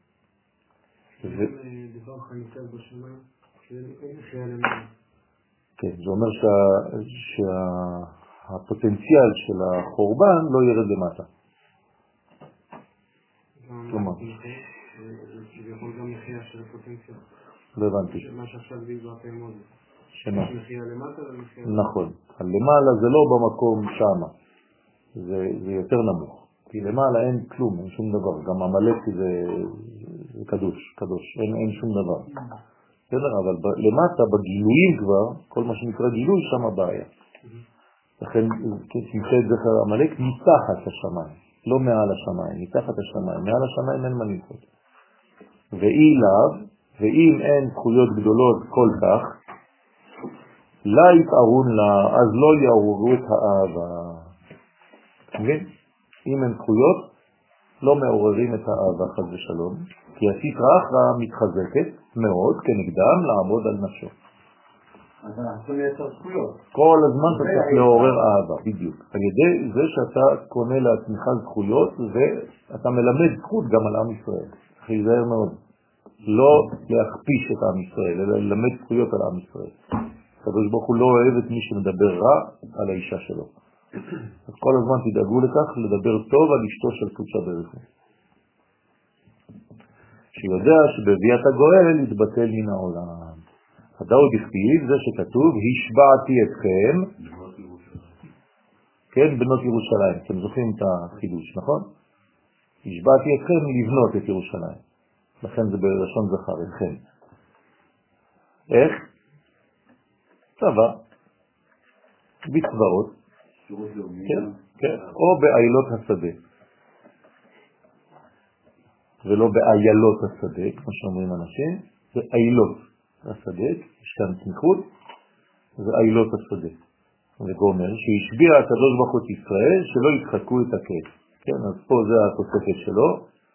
דבר חניכת בשמיים, שאין מחייה למעלה. כן, זה אומר שהפוטנציאל של החורבן לא ירד למטה. כלומר. כביכול גם מחייה של הפוטנציאל. לא הבנתי. מה שעכשיו בעזרת האמון. שמה? מחייה למטה ומחייה... נכון. למעלה זה לא במקום שמה. זה יותר נמוך. כי למעלה אין כלום, אין שום דבר. גם המלאק זה קדוש. אין שום דבר. בסדר, אבל למטה, בגילויים כבר, כל מה שנקרא גילוי, שם הבעיה. לכן, שמחה את זכר המלאק מתחת השמיים, לא מעל השמיים, מתחת השמיים. מעל השמיים אין מה לנחות. ואם אין זכויות גדולות כל כך, לא יתארון לה, אז לא יעוררו את האהבה. מבין? אם אין זכויות, לא מעוררים את האהבה חד ושלום, כי הסטרא אחרא מתחזקת מאוד כנגדם לעמוד על נפשו. אז אנחנו יכולים לייצר זכויות. כל הזמן אתה צריך לעורר אהבה, בדיוק. על ידי זה שאתה קונה לעצמך זכויות, ואתה מלמד זכות גם על עם ישראל. צריך להיזהר מאוד. לא להכפיש את עם ישראל, אלא ללמד זכויות על עם ישראל. הקדוש ברוך הוא לא אוהב את מי שמדבר רע על האישה שלו. אז כל הזמן תדאגו לכך לדבר טוב על אשתו של קודשה ברך הוא. שיודע שבביאת הגואל יתבטל מן העולם. הדאוד הכתיב, זה שכתוב, השבעתי אתכם, כן, בנות ירושלים. אתם זוכרים את החידוש, נכון? השבעתי אתכם לבנות את ירושלים. לכן זה בלשון זכר, אתכם. איך? צבא, בצבאות, כן, או בעילות השדה. ולא בעיילות השדה, כמו שאומרים אנשים, זה עילות השדה, יש כאן תמיכות, זה עילות השדה. וגומר, שהשביע הקדוש ברוך הוא את ישראל, שלא ידחקו את הקץ. כן, אז פה זה התוספת שלו.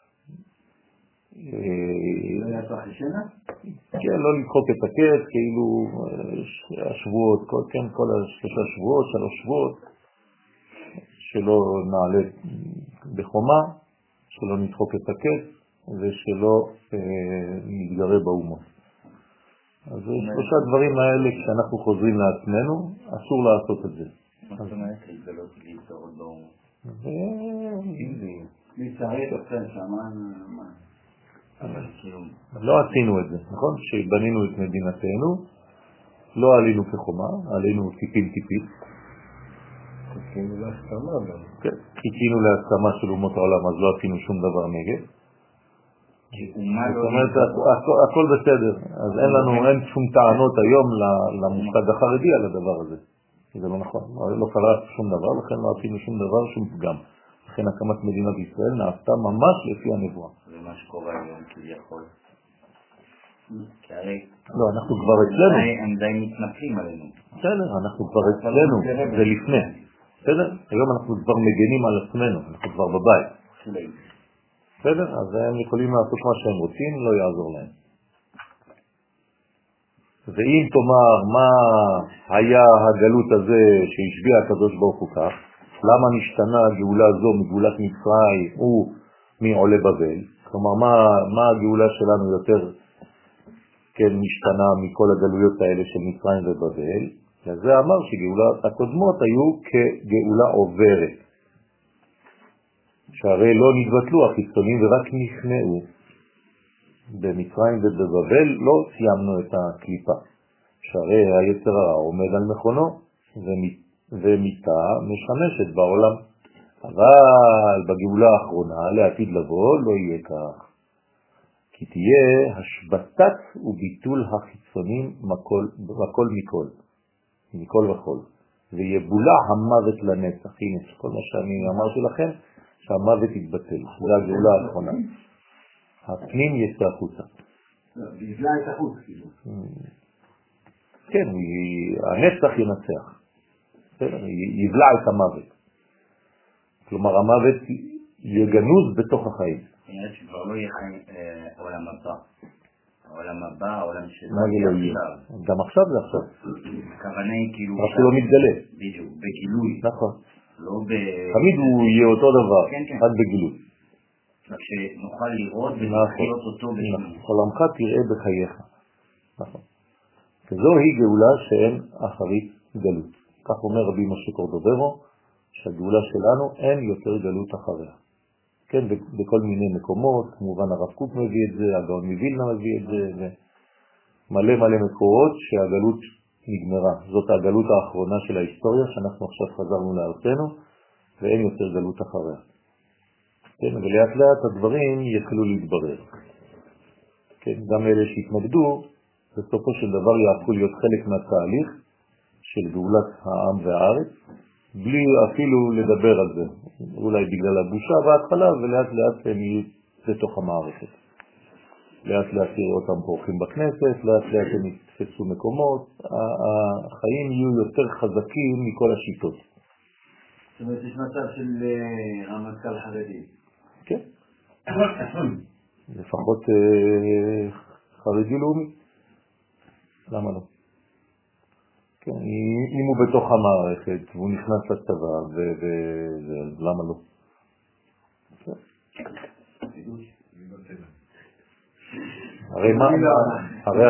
לא יעשו חשנה? כן, לא לדחוק את הקץ, כאילו השבועות, כן, כל השלושה שבועות, 3 שבועות, שלא נעלה בחומה, שלא נדחוק את הקץ, ושלא נתגרה באומות. אז 3 דברים האלה, כשאנחנו חוזרים לעצמנו, אסור לעשות את זה. מה זאת אומרת? זה לא להתגרות באומות. להצטרף אתכם שמה, לא עשינו את זה, נכון? כשבנינו את מדינתנו, לא עלינו כחומה, עלינו טיפין-טיפין. חיכינו להסכמה גם. כן, חיכינו להסכמה של אומות העולם, אז לא עשינו שום דבר נגד. זאת אומרת, הכל בסדר. אז אין שום טענות היום למושג החרדי על הדבר הזה. זה לא נכון. לא קרה שום דבר, לכן לא עשינו שום דבר, שום פגם. לכן הקמת מדינת ישראל נעשתה ממש לפי הנבואה. זה מה שקורה היום כביכול. כי הרי... לא, אנחנו כבר אצלנו. הם די מתנפלים עלינו. בסדר, אנחנו כבר אצלנו, זה לפני. בסדר? היום אנחנו כבר מגנים על עצמנו, אנחנו כבר בבית. בסדר? אז הם יכולים לעשות מה שהם רוצים, לא יעזור להם. ואם תאמר מה היה הגלות הזה שהשביע הקדוש ברוך הוא כך, למה נשתנה הגאולה זו מגאולת מצרים ומעולי בבל? כלומר, מה הגאולה שלנו יותר כן משתנה מכל הגלויות האלה של מצרים ובבל? וזה אמר שגאולות הקודמות היו כגאולה עוברת. שהרי לא נתבטלו החיצונים ורק נכנעו. במצרים ובבבל לא סיימנו את הקליפה. שהרי היצר הרע עומד על מכונו ומיטה משמשת בעולם. אבל בגאולה האחרונה לעתיד לבוא לא יהיה כך. כי תהיה השבטת וביטול החיצונים מכל מכל וכל. ויבולע המוות לנצח. הנה, כל מה שאני אמרתי לכם, שהמוות יתבטל. זה הגאולה האחרונה. הפנים יצא החוצה. יבלע את החוץ, כאילו. כן, הנצח ינצח. יבלע את המוות. כלומר, המוות יגנוז בתוך החיים. כנראה שכבר לא יהיה עולם הבא. העולם הבא, העולם של... מה זה לא יהיה? גם עכשיו זה עכשיו. הכוונה היא כאילו... רק שהוא לא מתגלה. בדיוק, בגילוי. נכון. לא ב... תמיד הוא יהיה אותו דבר, רק בגילוי. רק שנוכל לראות ולחיות אותו בשביל. עולמך תראה בחייך. נכון. וזוהי גאולה שאין אחרית גלות. כך אומר רבי משה קורדוברו, שהגאולה שלנו אין יותר גלות אחריה. כן, בכל מיני מקומות, כמובן הרב קוק מביא את זה, הגאון מווילנה מביא את זה, ומלא מקורות שהגלות נגמרה. זאת הגלות האחרונה של ההיסטוריה, שאנחנו עכשיו חזרנו לארצנו, ואין יותר גלות אחריה. כן, ולאט לאט הדברים יתחילו להתברר. כן, גם אלה שהתנגדו, בסופו של דבר יהפכו להיות חלק מהתהליך של גאולת העם והארץ, בלי אפילו לדבר על זה. אולי בגלל הבושה בהתחלה, ולאט לאט הם יהיו לתוך המערכת. לאט לאט יראו אותם פורחים בכנסת, לאט לאט הם יתפסו מקומות, החיים יהיו יותר חזקים מכל השיטות. זאת אומרת, יש מצב של רמטכ"ל חרדי. כן. לפחות חרדי לאומי. למה לא? כן, אם הוא בתוך המערכת והוא נכנס לצבא, למה לא? הרי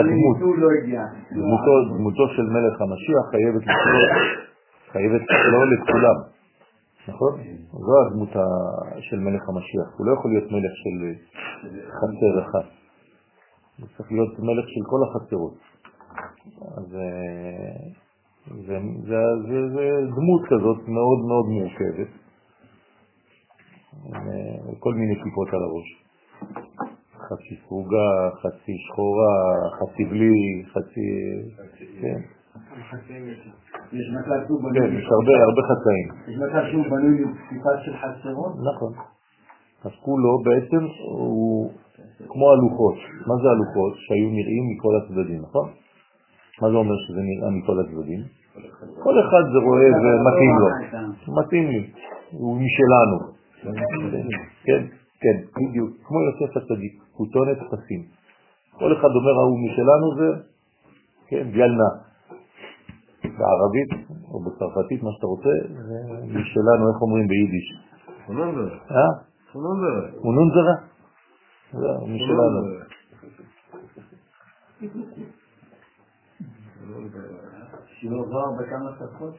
דמותו של מלך המשיח חייבת לכלול לכולם. נכון? זו הדמות של מלך המשיח. הוא לא יכול להיות מלך של חצר אחד. הוא צריך להיות מלך של כל החצרות. אז זה דמות כזאת מאוד מאוד מורכבת. כל מיני כיפות על הראש. חצי סרוגה, חצי שחורה, חצי בלי, חצי... כן. יש מצב שהוא בנוי... כן, יש הרבה חצאים. יש מצב שהוא בנוי לכיפה של חצרות? נכון. אז כולו בעצם הוא כמו הלוחות. מה זה הלוחות? שהיו נראים מכל הצדדים, נכון? מה זה אומר שזה נראה מכל הצדדים? כל אחד זה רואה ומתאים לו. מתאים לי. הוא משלנו. כן, כן, בדיוק. כמו יוסף הצדיק. הוא טוענת פסים. כל אחד אומר, הוא משלנו זה, כן, גלנה. בערבית או בצרפתית, מה שאתה רוצה, זה משלנו, איך אומרים ביידיש? חוננזרה. חוננזרה? זה משלנו. שעובר בכמה שפות,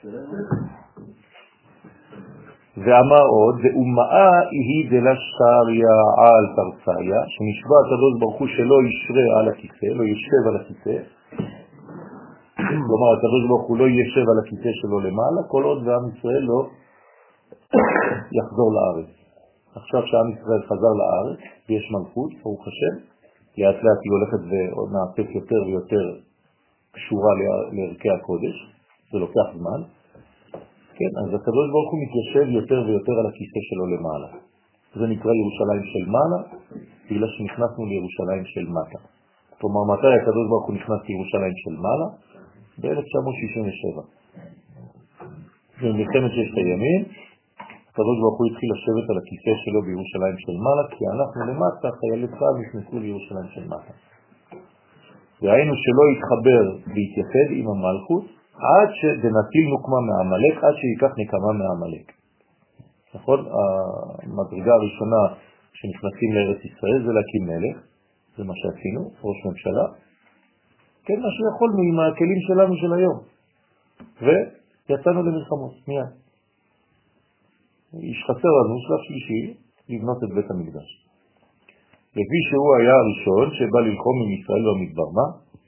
ואמר עוד, ואומאה היא דלשתריה על תרציה, שנשבע הקדוש ברוך הוא שלא ישרה על הכיסא, לא ישב על הכיסא, כלומר הקדוש ברוך הוא לא ישב על הכיסא שלו למעלה, כל עוד ועם ישראל לא יחזור לארץ. עכשיו שעם ישראל חזר לארץ, ויש מלכות, ברוך השם, לאט לאט היא הולכת ונעשית יותר ויותר קשורה לערכי הקודש, זה לוקח זמן. כן, אז הקדוש ברוך הוא מתיישב יותר ויותר על הכיסא שלו למעלה. זה נקרא ירושלים של מעלה, בגלל שנכנסנו לירושלים של מטה. כלומר, מתי הקדוש ברוך הוא נכנס לירושלים של מעלה? ב-1967. במלחמת ששת הימים, הקדוש ברוך הוא התחיל לשבת על הכיסא שלו בירושלים של מעלה, כי אנחנו למטה, חיילי צה"ל נכנסו לירושלים של מטה. והיינו שלא יתחבר והתייחד עם המלכות, עד שדנטיל נוקמה מהעמלק, עד שיקח נקמה מהעמלק. נכון? המדרגה הראשונה שנכנסים לארץ ישראל זה להקים מלך, זה מה שעשינו, ראש ממשלה, כן, מה שיכולנו עם הכלים שלנו של היום. ויצאנו למלחמות, מיד. איש חסר לנו, שלב שלישי, לבנות את בית המקדש. לפי שהוא היה הראשון שבא ללחום עם ישראל במדבר, מה?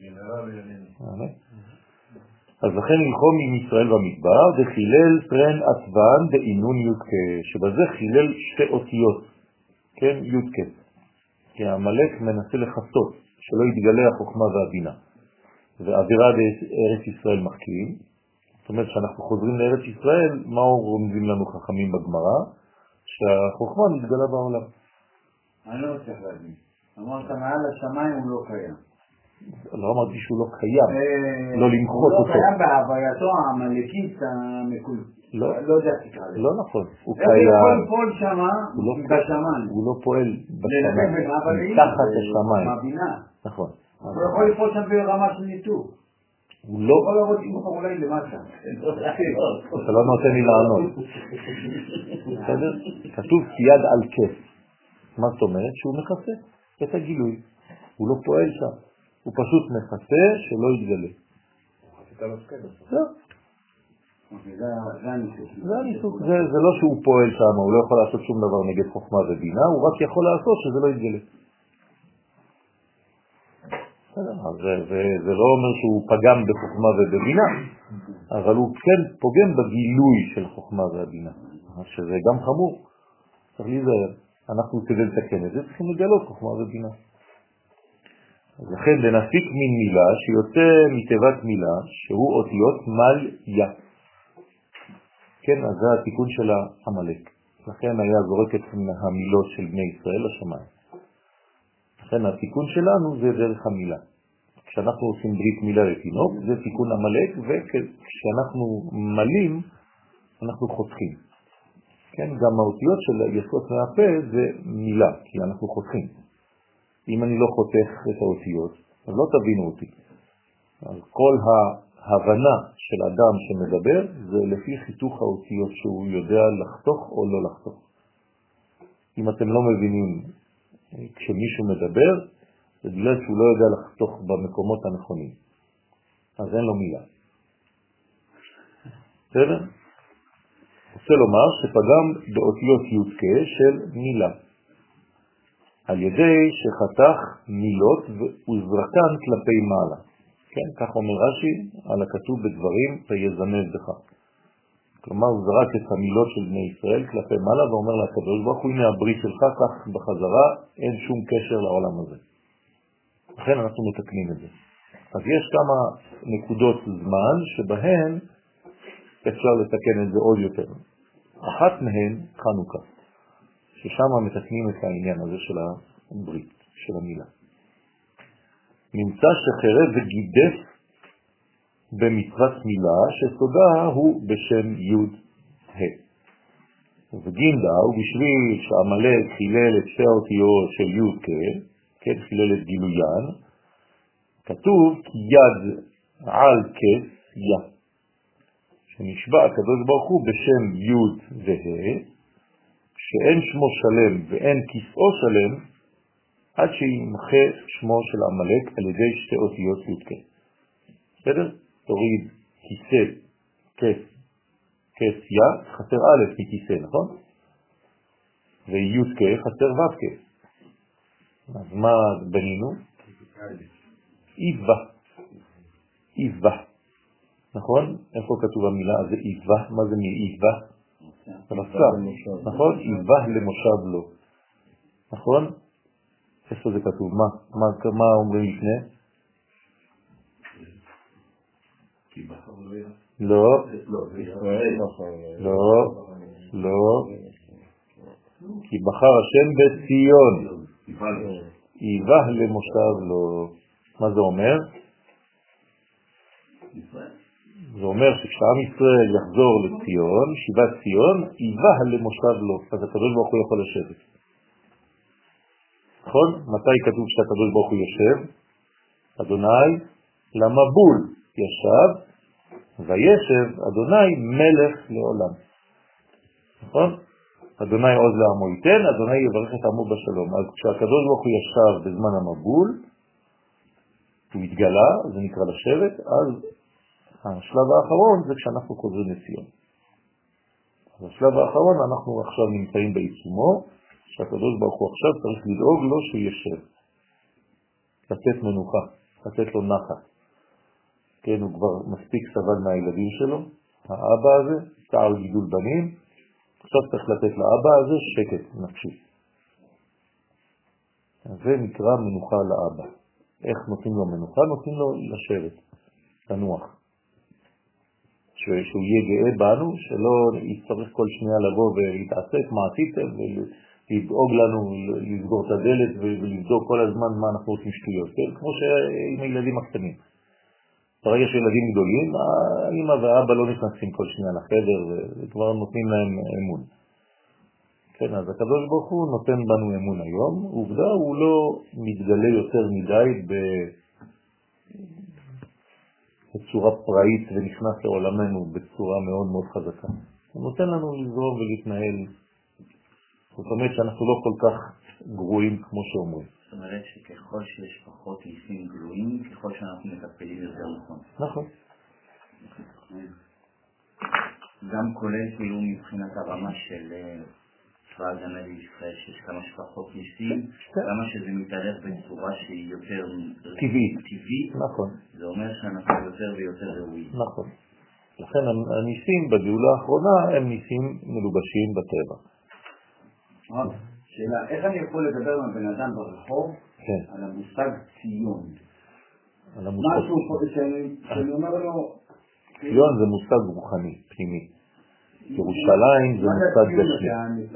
אז לכן ללחום עם ישראל במדבר, זה חילל טרן עטבן דאינון יודקה, שבזה חילל שתי אותיות, כן, יודקה. כי המלך מנסה לחסות, שלא יתגלה החוכמה והבינה. ועבירה בארץ ישראל מחכים, זאת אומרת שאנחנו חוזרים לארץ ישראל, מה רומזים לנו חכמים בגמרא? שהחוכמה מתגלה בעולם. אני לא מצליח להבין. אמרת מעל השמיים הוא לא קיים. לא אמרתי שהוא לא קיים, לא למחות אותו. הוא לא קיים בהווייתו העמלקית המקולת. לא יודע תקרא לזה. לא נכון, הוא קיים. קיים. הוא יכול לפעול שמה בשמיים. הוא לא פועל בשמיים, תחת השמיים. מהבינה. נכון. הוא יכול לפעול שם ברמה של ניתוק. הוא לא... יכול לעבוד עם אותו אולי למטה. אתה לא נותן לי לענות. בסדר? כתוב יד על כס. מה זאת אומרת? שהוא מכסה את הגילוי. הוא לא פועל שם. הוא פשוט מכסה שלא יתגלה. זה הניסוק. זה לא שהוא פועל שם, הוא לא יכול לעשות שום דבר נגד חוכמה ובינה, הוא רק יכול לעשות שזה לא יתגלה. זה לא אומר שהוא פגם בחוכמה ובבינה, אבל הוא כן פוגם בגילוי של חוכמה והבינה, שזה גם חמור. צריך להיזהר. אנחנו כדי לתקן את זה צריכים לגלות חוכמה ובינה. אז לכן לנפיק מין מילה שיוצא מתיבת מילה שהוא אותיות מל יה. כן, אז זה התיקון של העמלק. לכן היה זורק את המילות של בני ישראל לשמיים. לכן התיקון שלנו זה דרך המילה. כשאנחנו עושים ברית מילה לתינוק זה תיקון עמלק, וכשאנחנו מלים אנחנו חותכים. כן, גם האותיות של יסוד מהפה זה מילה, כי אנחנו חותכים. אם אני לא חותך את האותיות, אז לא תבינו אותי. אז כל ההבנה של אדם שמדבר זה לפי חיתוך האותיות שהוא יודע לחתוך או לא לחתוך. אם אתם לא מבינים כשמישהו מדבר, זה בגלל שהוא לא יודע לחתוך במקומות הנכונים. אז אין לו מילה. בסדר? רוצה לומר שפגם באותיות יודקה של מילה. על ידי שחתך מילות וזרקן כלפי מעלה. כן, כך אומר רש"י על הכתוב בדברים ויזנב בך. כלומר, הוא זרק את המילות של בני ישראל כלפי מעלה ואומר לקדוש ברוך הוא, הנה הברית שלך, כך בחזרה, אין שום קשר לעולם הזה. לכן אנחנו מתקנים את זה. אז יש כמה נקודות זמן שבהן אפשר לתקן את זה עוד יותר. אחת מהן חנוכה. ששם מתקנים את העניין הזה של הברית, של המילה. נמצא שחרב וגידף במצוות מילה שסודה הוא בשם י' ה'. וגינדה הוא בשביל שהמלך חילל את שתי האותיות של י' כן, חילל את גילוין, כתוב כי יד על כס יה. שנשבע הקדוש ברוך הוא בשם י' וה' שאין שמו שלם ואין כיסאו שלם עד שימחה שמו של המלך על ידי שתי אותיות י' בסדר? תוריד כיסא, כס יה, חסר א' מכיסא, נכון? וי' חסר ו' אז מה בנינו? איבה. נכון? איפה כתוב המילה? זה איבה. מה זה מאיבה? רצה, נכון? איבה למושב לו. נכון? איפה זה כתוב? מה אומרים לפני? לא, לא, כי בחר השם בציון, איבה למושב לו. מה זה אומר? זה אומר שכשעם ישראל יחזור לציון, שיבת ציון, איבה למושב לו, אז הקדוש ברוך הוא יכול לשבת. נכון? מתי כתוב שהקדוש ברוך הוא יושב? אדוני למבול ישב, וישב אדוני מלך לעולם. נכון? אדוני עוז לעמו ייתן, אדוני יברך את עמו בשלום. אז כשהקדוש ברוך הוא ישב בזמן המבול, הוא התגלה, זה נקרא לשבת, אז השלב האחרון זה כשאנחנו חוזרים לציון. אז השלב האחרון אנחנו עכשיו נמצאים בעיצומו, שהקדוש ברוך הוא עכשיו צריך לדאוג לו שהוא ישב. לתת מנוחה, לתת לו נחת. כן, הוא כבר מספיק סבל מהילדים שלו, האבא הזה, תער גידול בנים, עכשיו צריך לתת לאבא הזה שקט נפשי. זה נקרא מנוחה לאבא. איך נותנים לו מנוחה? נותנים לו לשבת, לנוח. שהוא יהיה גאה בנו, שלא יצטרך כל שנייה לבוא ולהתעסק מה עשיתם ולדאוג לנו, לסגור את הדלת ולבדוק כל הזמן מה אנחנו רוצים שטויות, כן? כמו שעם הילדים הקטנים. ברגע שילדים גדולים, האמא והאבא לא נכנסים כל שנייה לחדר וכבר נותנים להם אמון. כן, אז הקדוש ברוך הוא נותן בנו אמון היום, עובדה הוא לא מתגלה יותר מדי בצורה פראית ונכנס לעולמנו בצורה מאוד מאוד חזקה. הוא נותן לנו לזרום ולהתנהל. זאת אומרת שאנחנו לא כל כך גרועים כמו שאומרים. זאת אומרת שככל שיש פחות ניסים גלויים, ככל שאנחנו מטפלים יותר נכון. נכון. גם כולל כאילו מבחינת הרמה של צבא ההגנה לישראל, שיש כמה שפחות ניסים, כמה שזה מתהלך בצורה שהיא יותר טבעית. נכון. זה אומר שאנחנו יותר ויותר ראויים. נכון. לכן הניסים בגאולה האחרונה הם ניסים מלובשים בטבע. שאלה, איך אני יכול לדבר עם הבן אדם ברחוב על המושג ציון? משהו שאני אומר לו... ציון זה מושג רוחני, פנימי. ירושלים זה מושג גשמי.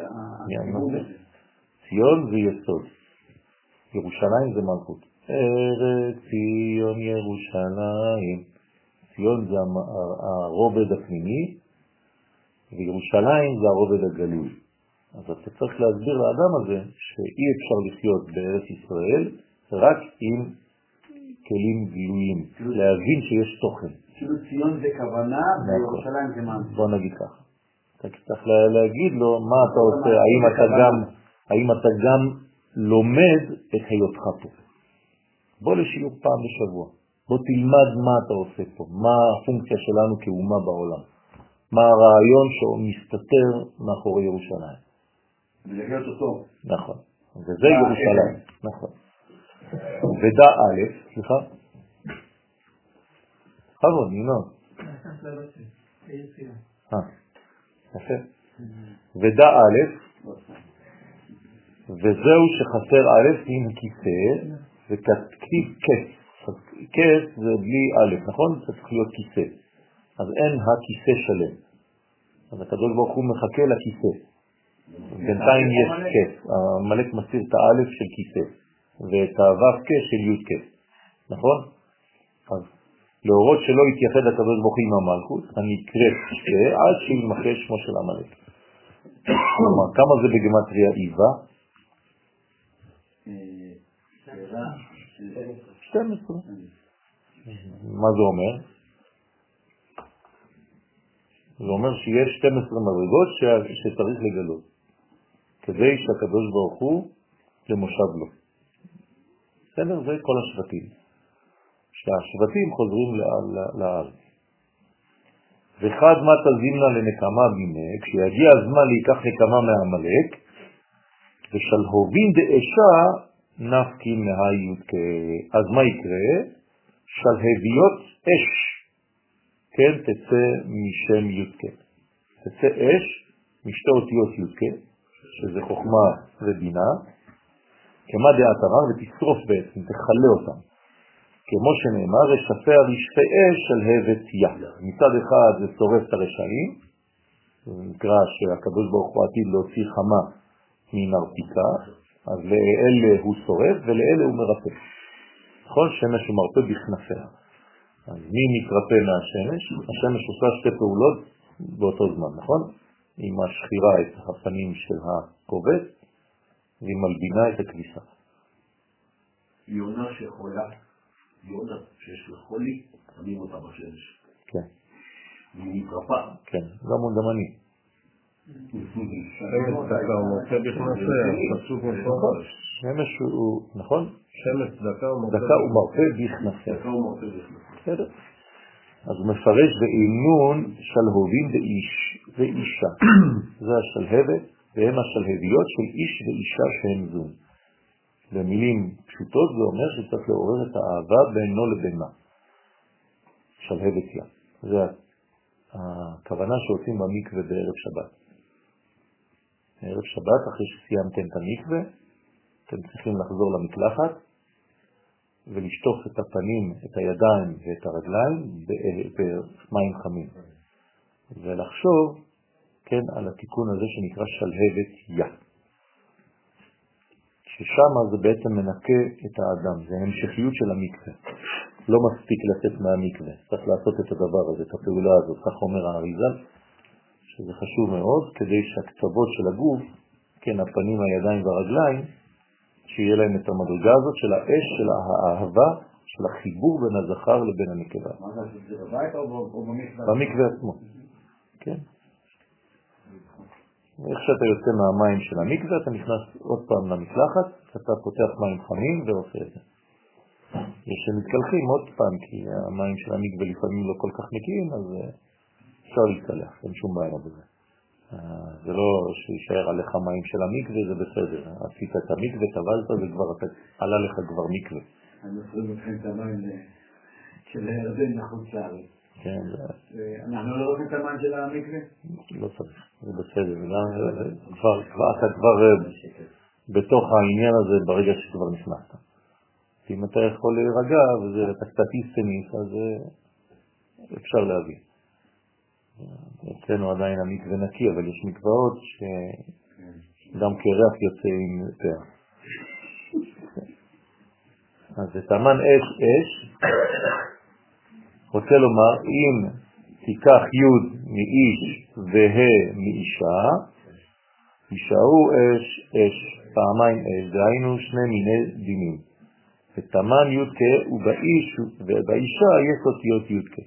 ציון זה יסוד. ירושלים זה מלכות. ארץ ציון ירושלים. ציון זה הרובד הפנימי, וירושלים זה הרובד הגלוי. אז אתה צריך להסביר לאדם הזה שאי אפשר לחיות בארץ ישראל רק עם כלים גלויים, להבין שיש תוכן. כאילו ציון זה כוונה וירושלים זה מעשה. בוא נגיד ככה. אתה צריך להגיד לו מה אתה עושה, האם אתה גם לומד את היותך פה. בוא לשיעור פעם בשבוע. בוא תלמד מה אתה עושה פה, מה הפונקציה שלנו כאומה בעולם. מה הרעיון שמסתתר מאחורי ירושלים. ולהיות אותו. נכון. וזה ירושלים. נכון. ודע א', סליחה? חבון, ינון. יפה. ודע א', וזהו שחסר א' עם כיסא, וכתיב כס. כס זה בלי א', נכון? זה צריך להיות כיסא. אז אין הכיסא שלם. אז הקדוש ברוך הוא מחכה לכיסא. בינתיים יש כס. המלאק מסיר את האלף של כיסא, ואת הו"ב כס של י' כס. נכון? אז להורות שלא יתייחד הקדוש ברוך הוא עם המלכות, אני אקרא כיסא עד שימחה שמו של המלאק. כמה זה בגימטריה איבה? 12. מה זה אומר? זה אומר שיש 12 מדרגות שצריך לגלות, כדי שהקדוש ברוך הוא למושב לו. בסדר? זה כל השבטים. שהשבטים חוזרים לארץ. וחד מה תזימנה לנקמה בימה, כשיגיע הזמן להיקח נקמה מהמלאק, ושלהובין דאשה נפקין מהיוד. אז מה יקרה? שלהביות אש, כן, תצא משם י' כן. תצא אש משתי אותיות יודקה, שזה חוכמה ובינה, כמה דעת הרר, ותשרוף בעצם, תחלה אותם. כמו שנאמר, רשפי הרשפי אש של הבט יה. מצד אחד זה שורף את הרשעים, זה נקרא שהקדוש ברוך הוא עתיד להוציא חמה מנרתיקה, אז לאלה הוא שורף ולאלה הוא מרפא. נכון? שמש הוא מרפא בכנפיה. אז מי מתרפא מהשמש? השמש עושה שתי פעולות באותו זמן, נכון? היא משחירה את הפנים של הכובד, והיא מלבינה את הכביסה. יונה שחולה, יונה שיש לה חולי, שמים אותה בשמש. כן. היא מתרפאה. כן, גם אני. שמש דקה הוא מרפא בכנפיה, חשוב נכון. שמש הוא, נכון? שמש דקה הוא מרפא בכנפיה. דקה הוא מרפא בכנפיה. בסדר. אז הוא מפרש באינון שלהובים באיש ואישה. זה השלהבת, והם השלהביות של איש ואישה שהם זון. במילים פשוטות זה אומר שצריך לעורר את האהבה בינו לבינה. שלהבת יה. זה הכוונה שעושים במקווה בערב שבת. בערב שבת, אחרי שסיימתם את המקווה, אתם צריכים לחזור למקלחת, ולשטוף את הפנים, את הידיים ואת הרגליים במים חמים. ולחשוב, כן, על התיקון הזה שנקרא שלהבת יה. ששם זה בעצם מנקה את האדם, זה המשכיות של המקווה. לא מספיק לצאת מהמקווה, צריך לעשות את הדבר הזה, את הפעולה הזאת, כך אומר האריז"ל, שזה חשוב מאוד, כדי שהקצוות של הגוף, כן, הפנים, הידיים והרגליים, שיהיה להם את המדרגה הזאת של האש, של האהבה, של החיבור בין הזכר לבין הנקבה. מה זה, זה בבית או במקווה? במקווה עצמו, כן. איך שאתה יוצא מהמים של המקווה, אתה נכנס עוד פעם למקלחת, אתה פותח מים חמים ועושה את זה. יש שמתקלחים עוד פעם, כי המים של המקווה לפעמים לא כל כך נקיים, אז אפשר להתקלח, אין שום בעיה בזה. זה לא שישאר עליך מים של המקווה, זה בסדר. עשית את המקווה, טבלת, זה כבר עלה לך כבר מקווה. אני מפריד אתכם את המים של הירדן לחוץ לארץ. כן. אנחנו לא רואים את המים של המקווה? לא צריך, זה בסדר. אתה כבר בתוך העניין הזה ברגע שכבר נכנסת. אם אתה יכול להירגע ואתה קצת איסטניס, אז אפשר להבין. אצלנו עדיין המקווה נקי, אבל יש מקוואות שגם כריח יוצא עם פר. אז את המן אש, רוצה לומר, אם תיקח י' מאיש וה' מאישה, יישארו אש, פעמיים אש, דהיינו שני מיני דינים. ותמן י' ובאיש ובאישה יש אותיות י'.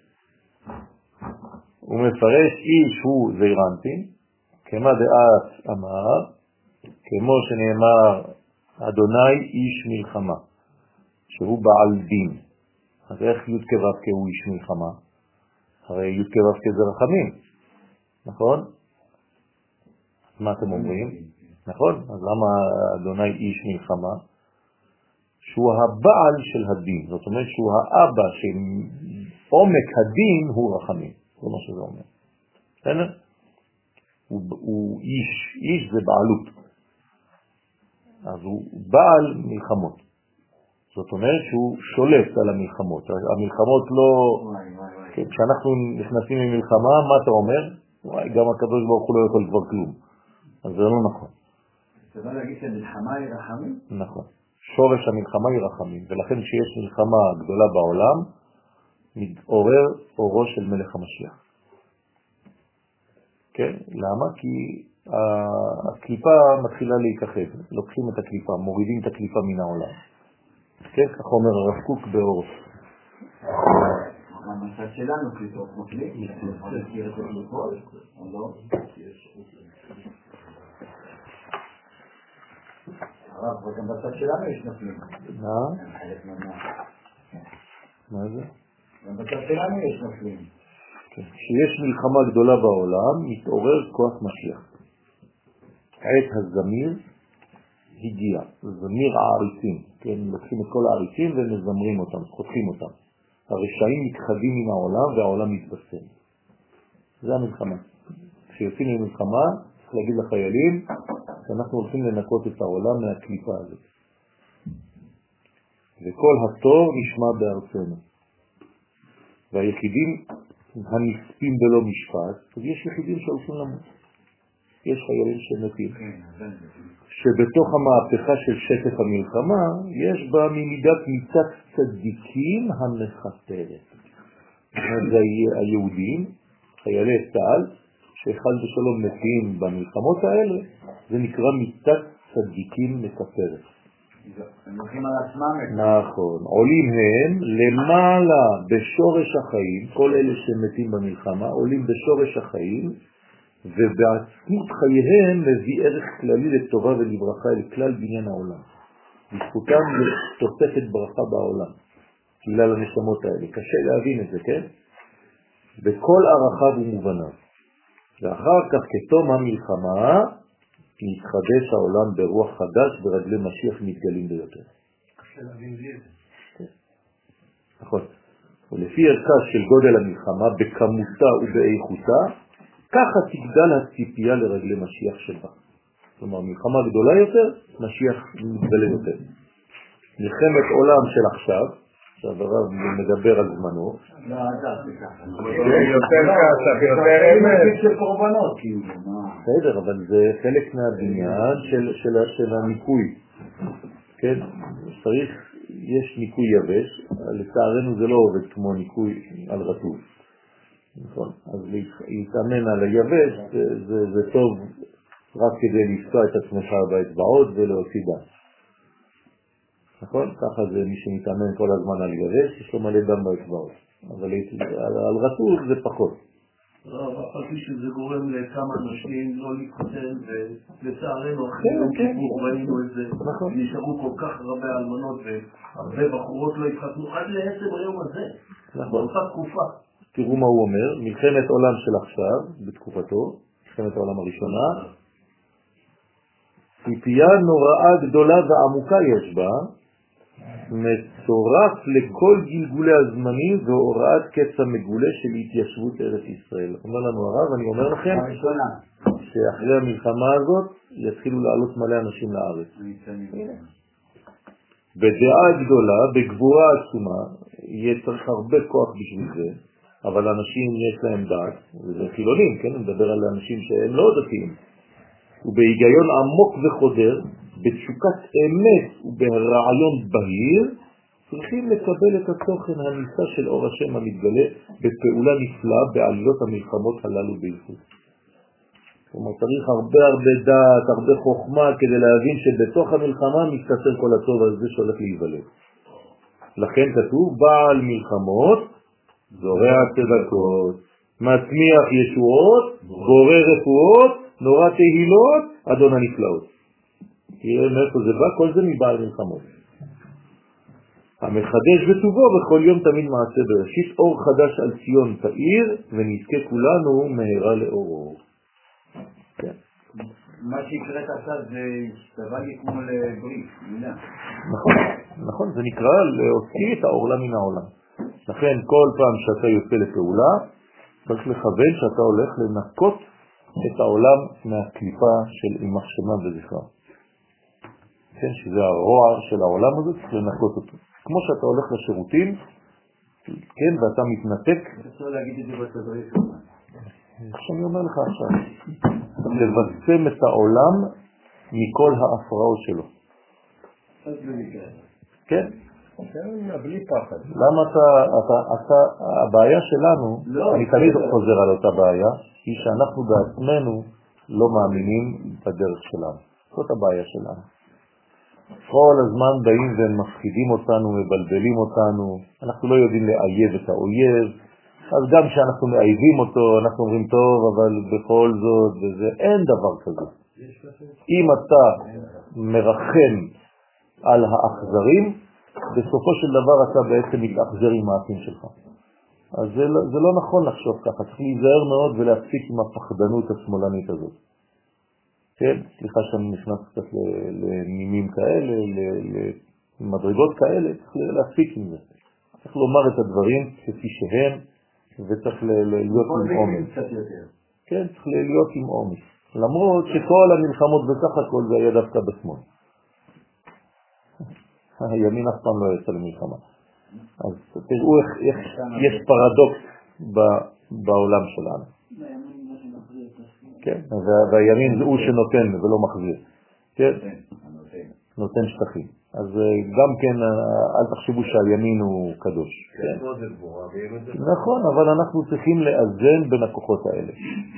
הוא מפרש איש הוא זעירנטין, כמה דעת אמר, כמו שנאמר אדוני איש מלחמה, שהוא בעל דין. אז איך י' כו' הוא איש מלחמה? הרי י' כו' זה רחמים, נכון? מה אתם אומרים? נכון? אז למה אדוני איש מלחמה? שהוא הבעל של הדין, זאת אומרת שהוא האבא של עומק הדין הוא רחמים. זה מה שזה אומר. בסדר? הוא איש זה בעלות. אז הוא בעל מלחמות. זאת אומרת שהוא שולט על המלחמות. המלחמות לא... כשאנחנו נכנסים למלחמה, מה אתה אומר? גם הקדוש ברוך הוא לא יכול כבר כלום. אז זה לא נכון. אתה בא להגיד שמלחמה היא רחמים? נכון. שורש המלחמה היא רחמים. ולכן כשיש מלחמה גדולה בעולם, מתעורר אורו של מלך המשיח. כן? למה? כי הקליפה מתחילה להיכחד. לוקחים את הקליפה, מורידים את הקליפה מן העולם. כן? כך אומר הרב קוק באור. המצד שלנו קליפות מוקלים? אני מכיר את זה קליפות? או לא? הרב, וגם בצד שלנו יש נופלים. מה זה? גם בצד שלנו יש נופלים. כשיש מלחמה גדולה בעולם, מתעורר כוח משיח. עת הזמיר הגיע, זמיר העריצים, כן, לוקחים את כל העריצים ומזמרים אותם, חותכים אותם. הרשעים מתחדים מן העולם והעולם מתבשם. זה המלחמה. כשיוצאים למלחמה, צריך להגיד לחיילים שאנחנו הולכים לנקות את העולם מהקליפה הזאת. וכל התור נשמע בארצנו. והיחידים הנספים בלא משפט, אז יש יחידים שהולכים למות. יש חיילים שמתים. שבתוך המהפכה של שקט המלחמה, יש בה ממידת מיתת צדיקים המחתרת. זה היהודים, חיילי צה"ל, שאחד ושלום מתים במלחמות האלה, זה נקרא מיתת צדיקים מחתרת. הם הולכים על עצמם. נכון. עולים הם למעלה בשורש החיים, כל אלה שמתים במלחמה, עולים בשורש החיים, ובעצמות חייהם מביא ערך כללי לטובה ולברכה לכלל בניין העולם. בזכותם תוספת ברכה בעולם, בגלל הנשמות האלה. קשה להבין את זה, כן? בכל ערכיו ומובניו. ואחר כך כתום המלחמה, מתחדש העולם ברוח חדש ורגלי משיח מתגלים ביותר. קשה להבין לי את זה. נכון. ולפי ערכה של גודל המלחמה, בכמותה ובאיכותה, ככה תגדל הציפייה לרגלי משיח שבה. כלומר, מלחמה גדולה יותר, משיח מתגלה יותר. מלחמת עולם של עכשיו, שהרב מדבר על זמנו. לא, זה ככה. יותר כסף, יותר אמת. של קורבנות, כאילו. בסדר, אבל זה חלק מהבניין של הניקוי. כן? צריך, יש ניקוי יבש, לצערנו זה לא עובד כמו ניקוי על רטוב. נכון. אז להתאמן על היבש זה טוב רק כדי לפצוע את עצמך באצבעות ולהוציא דם. נכון? ככה זה מי שמתאמן כל הזמן על יבש, יש לו מלא דם באצבעות. אבל על רטוב זה פחות. לא, אבל שזה גורם לכמה אנשים לא להתחתן, ולצערנו אחרי יום כיפור ראינו את זה, נשארו כל כך הרבה אלמנות והרבה בחורות לא התחתנו עד לעצם היום הזה, באותה תקופה. תראו מה הוא אומר, מלחמת עולם של עכשיו, בתקופתו, מלחמת העולם הראשונה, ציפייה נוראה גדולה ועמוקה יש בה, מצורף לכל גלגולי הזמנים והוראת קץ המגולה של התיישבות ארץ ישראל. אומר לנו הרב, אני אומר לכם, שאחרי המלחמה הזאת יתחילו לעלות מלא אנשים לארץ. בדעה גדולה, בגבורה עצומה, יהיה צריך הרבה כוח בשביל זה, אבל אנשים יש להם דעת, וזה חילונים, כן? נדבר על אנשים שהם לא דתיים. ובהיגיון עמוק וחודר, בתשוקת אמת וברעיון בהיר, צריכים לקבל את התוכן הניסה של אור השם המתגלה בפעולה נפלאה בעלילות המלחמות הללו בייחוד. כלומר, צריך הרבה דעת, הרבה חוכמה כדי להבין שבתוך המלחמה מסתתר כל הטוב הזה שהולך להיוולד. לכן כתוב, בעל מלחמות, זורע צדקות, מצמיח ישועות, בורא רפואות, נורא תהילות, אדון הנפלאות. תראה מאיפה זה בא, כל זה מבעל מלחמות. המחדש בטובו בכל יום תמיד מעשה בראשית, אור חדש על ציון תאיר, ונזכה כולנו מהרה לאורו. כן. מה שיקראת עכשיו זה השתווה לי כמו לברית, מילה. נכון, זה נקרא להוציא את העורלה מן העולם. לכן כל פעם שאתה יוצא לפעולה, צריך לכוון שאתה הולך לנקות את העולם מהקליפה של אימך שמה וזכרה. כן, שזה הרוע של העולם הזה, צריך לנקות אותו. כמו שאתה הולך לשירותים, כן, ואתה מתנתק. אפשר להגיד את זה בתדריך שלך. שאני אומר לך עכשיו, לבצם את העולם מכל ההפרעות שלו. כן? בלי פחד. למה הבעיה שלנו, אני תמיד חוזר על אותה בעיה, היא שאנחנו בעצמנו לא מאמינים בדרך שלנו. זאת הבעיה שלנו. כל הזמן באים ומפחידים אותנו, מבלבלים אותנו, אנחנו לא יודעים לאייב את האויב, אז גם כשאנחנו מאייבים אותו, אנחנו אומרים טוב, אבל בכל זאת, וזה, אין דבר כזה. אם אתה מרחם על האכזרים, בסופו של דבר אתה בעצם מתאכזר עם האחים שלך. אז זה לא נכון לחשוב ככה, צריך להיזהר מאוד ולהפסיק עם הפחדנות השמאלנית הזאת. כן, סליחה שאני נכנס קצת לנימים כאלה, למדרגות כאלה, צריך להפסיק עם זה. צריך לומר את הדברים כפי שהם, וצריך להיות עם עומד. כן, צריך להיות עם אומץ. למרות שכל המלחמות בסך הכל זה היה דווקא בשמאל. הימין אף פעם לא יצא למלחמה. אז תראו איך יש פרדוקס בעולם שלנו. כן, והימין הוא שנותן ולא מחזיר. כן, נותן שטחים. אז גם כן, אל תחשבו שהימין הוא קדוש. נכון, אבל אנחנו צריכים לאזן בין הכוחות האלה.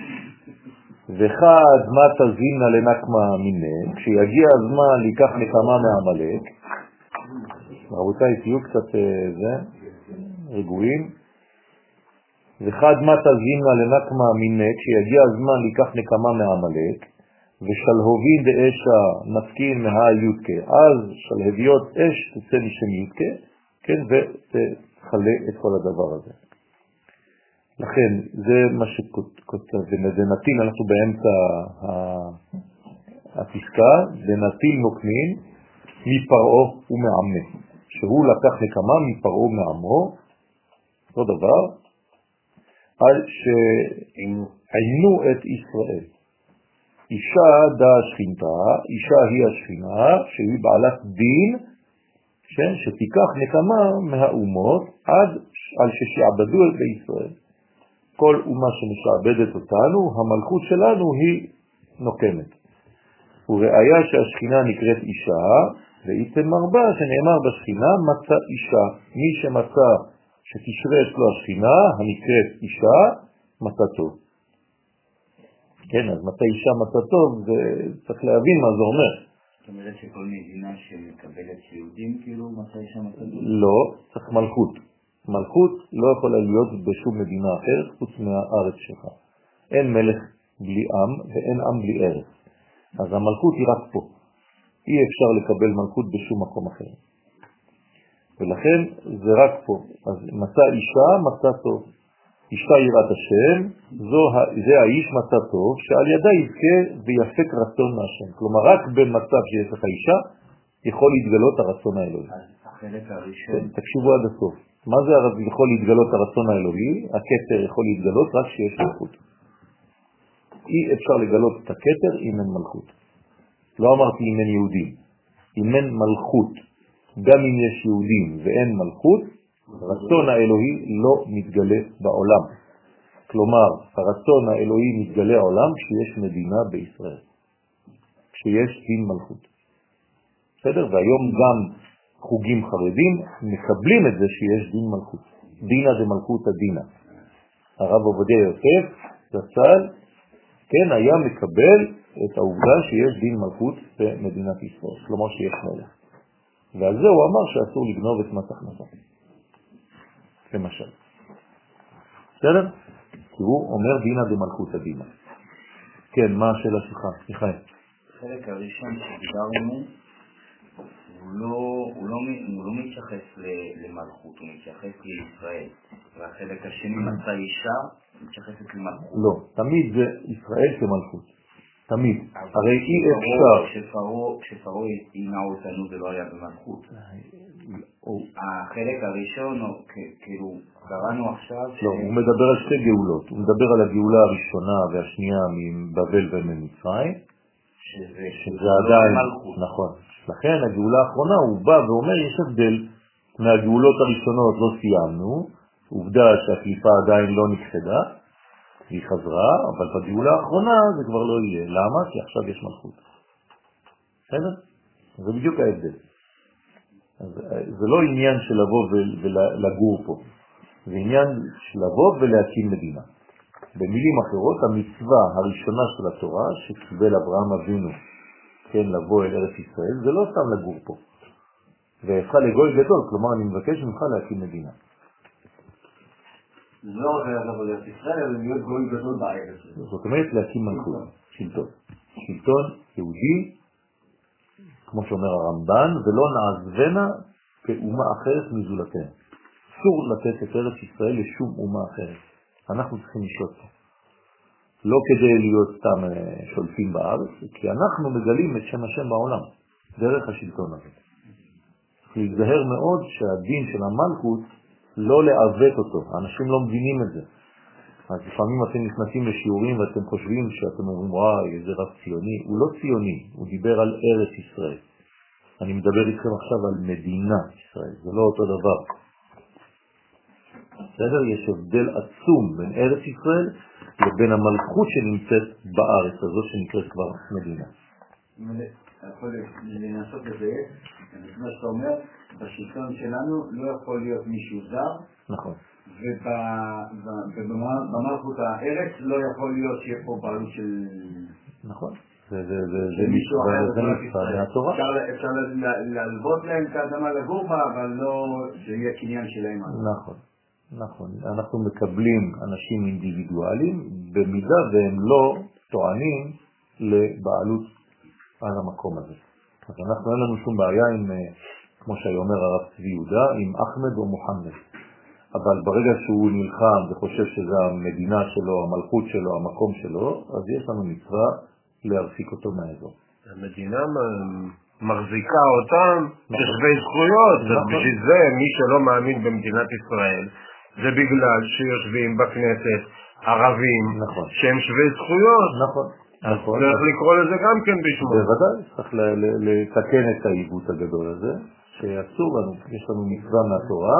וחד מה תזינה לנקמה מיני, כשיגיע הזמן להיקח נקמה מעמלק, רבותיי, תהיו קצת רגועים. וחד מה תזינה לנקמה מיני, כשיגיע הזמן להיקח נקמה מעמלק, ושלהובין באשה נפקין מהיודקה, אז שלהביות אש תצא משם יודקה, כן, ותחלה את כל הדבר הזה. לכן, זה מה שכותב, ונתין, אנחנו באמצע הפסקה, ונתין נוקנין מפרעו ומעמנה, שהוא לקח נקמה מפרעו ומעמו, אותו דבר, על שעינו את ישראל. אישה דה שכינתה, אישה היא השכינה, שהיא בעלת דין, שתיקח נקמה מהאומות עד על ששעבדו את בישראל. כל אומה שמשעבדת אותנו, המלכות שלנו היא נוקמת. וראיה שהשכינה נקראת אישה, ואיתן מרבה שנאמר בשכינה מצא אישה. מי שמצא שתשרה אצלו השכינה, הנקראת אישה, מצא טוב. כן, אז מצא אישה מצא טוב, צריך להבין מה זה אומר. זאת אומרת שכל מדינה שמקבלת יהודים, כאילו מצא אישה מצא טוב? לא, צריך מלכות. מלכות לא יכולה להיות בשום מדינה אחרת חוץ מהארץ שלך. אין מלך בלי עם ואין עם בלי ארץ. אז המלכות היא רק פה. אי אפשר לקבל מלכות בשום מקום אחר. ולכן זה רק פה. אז מצא אישה, מצא טוב. אישה יראת השם, זה האיש מצא טוב, שעל ידה יזכה ויפק רצון מהשם. כלומר, רק במצב שיש לך אישה, יכול להתגלות הרצון האלוהי. החלק הראשון. תקשיבו עד הסוף. מה זה יכול להתגלות הרצון האלוהי? הכתר יכול להתגלות רק שיש מלכות. אי אפשר לגלות את הכתר אם אין מלכות. לא אמרתי אם אין יהודים. אם אין מלכות, גם אם יש יהודים ואין מלכות, הרצון האלוהי לא מתגלה בעולם. כלומר, הרצון האלוהי מתגלה העולם כשיש מדינה בישראל. כשיש דין מלכות. בסדר? והיום גם חוגים חרדים מקבלים את זה שיש דין מלכות. דינה זה מלכות הדינה. הרב עובדיה יוסף, זצ"ל, כן, היה מקבל את העובדה שיש דין מלכות במדינת ישראל. כלומר שיש מלך. ועל זה הוא אמר שאסור לגנוב את מס הכנסה. למשל. בסדר? כי הוא אומר דינה במלכות הדינה. כן, מה השאלה שלך? מיכאל. החלק הראשון שדיברנו, הוא לא מתייחס למלכות, הוא מתייחס לישראל. והחלק השני מצא אישה, מתייחסת למלכות. לא, תמיד זה ישראל כמלכות. תמיד. הרי אי אפשר. כשפרעה עינה אותנו זה לא היה במלכות. החלק הראשון, כאילו, קראנו עכשיו... לא, הוא מדבר על שתי גאולות. הוא מדבר על הגאולה הראשונה והשנייה מבבל וממצרים. שזה עדיין... נכון. לכן הגאולה האחרונה הוא בא ואומר יש הבדל מהגאולות הראשונות לא סיימנו, עובדה שהקליפה עדיין לא נכחדה, היא חזרה, אבל בגאולה האחרונה זה כבר לא יהיה. למה? כי עכשיו יש מלכות. בסדר? זה בדיוק ההבדל. זה לא עניין של לבוא ולגור פה. זה עניין של לבוא ולהקים מדינה. במילים אחרות, המצווה הראשונה של התורה שקיבל אברהם אבינו, כן, לבוא אל ארץ ישראל, זה לא סתם לגור פה. והפכה לגוי גדול, כלומר אני מבקש ממך להקים מדינה. זה לא רק לבוא לארץ ישראל, אלא להיות גוי גדול בארץ. זאת אומרת להקים מלכות, שלטון. שלטון יהודי, כמו שאומר הרמב"ן, ולא נעזבנה כאומה אחרת מזולתנו. אסור לתת את ארץ ישראל לשום אומה אחרת. אנחנו צריכים לשלוט פה. לא כדי להיות סתם שולטים בארץ, כי אנחנו מגלים את שם השם בעולם, דרך השלטון הזה. צריך להיזהר מאוד שהדין של המלכות לא לעוות אותו. האנשים לא מבינים את זה. אז לפעמים אתם נכנסים לשיעורים ואתם חושבים שאתם אומרים, וואי, איזה רב ציוני. הוא לא ציוני, הוא דיבר על ארץ ישראל. אני מדבר איתכם עכשיו על מדינת ישראל, זה לא אותו דבר. בסדר? יש הבדל עצום בין ארץ ישראל לבין המלכות שנמצאת בארץ הזאת שנקראת כבר מדינה. יכול לנסות לזה, כמו שאתה אומר, בשלטון שלנו לא יכול להיות מישהו זר. נכון. ובמלכות הארץ לא יכול להיות שיהיה פה בעלות של... נכון. זה מישהו אחר מהתורה. אפשר להלוות להם את האדמה לגור בה, אבל לא שיהיה קניין שלהם. נכון. נכון. אנחנו מקבלים אנשים אינדיבידואלים במידה והם לא טוענים לבעלות על המקום הזה. אז אנחנו אין לנו שום בעיה עם, כמו שאומר הרב צבי יהודה, עם אחמד או מוחמד. אבל ברגע שהוא נלחם וחושב שזה המדינה שלו, המלכות שלו, המקום שלו, אז יש לנו מצווה להרחיק אותו מהאזור. המדינה מחזיקה אותם כשווי זכויות, בשביל זה מי שלא מאמין במדינת ישראל, זה בגלל שיושבים בכנסת ערבים שהם שווי זכויות. נכון. צריך לקרוא לזה גם כן בשמו. בוודאי, צריך לתקן את העיוות הגדול הזה, שאסור לנו, יש לנו מצווה מהתורה,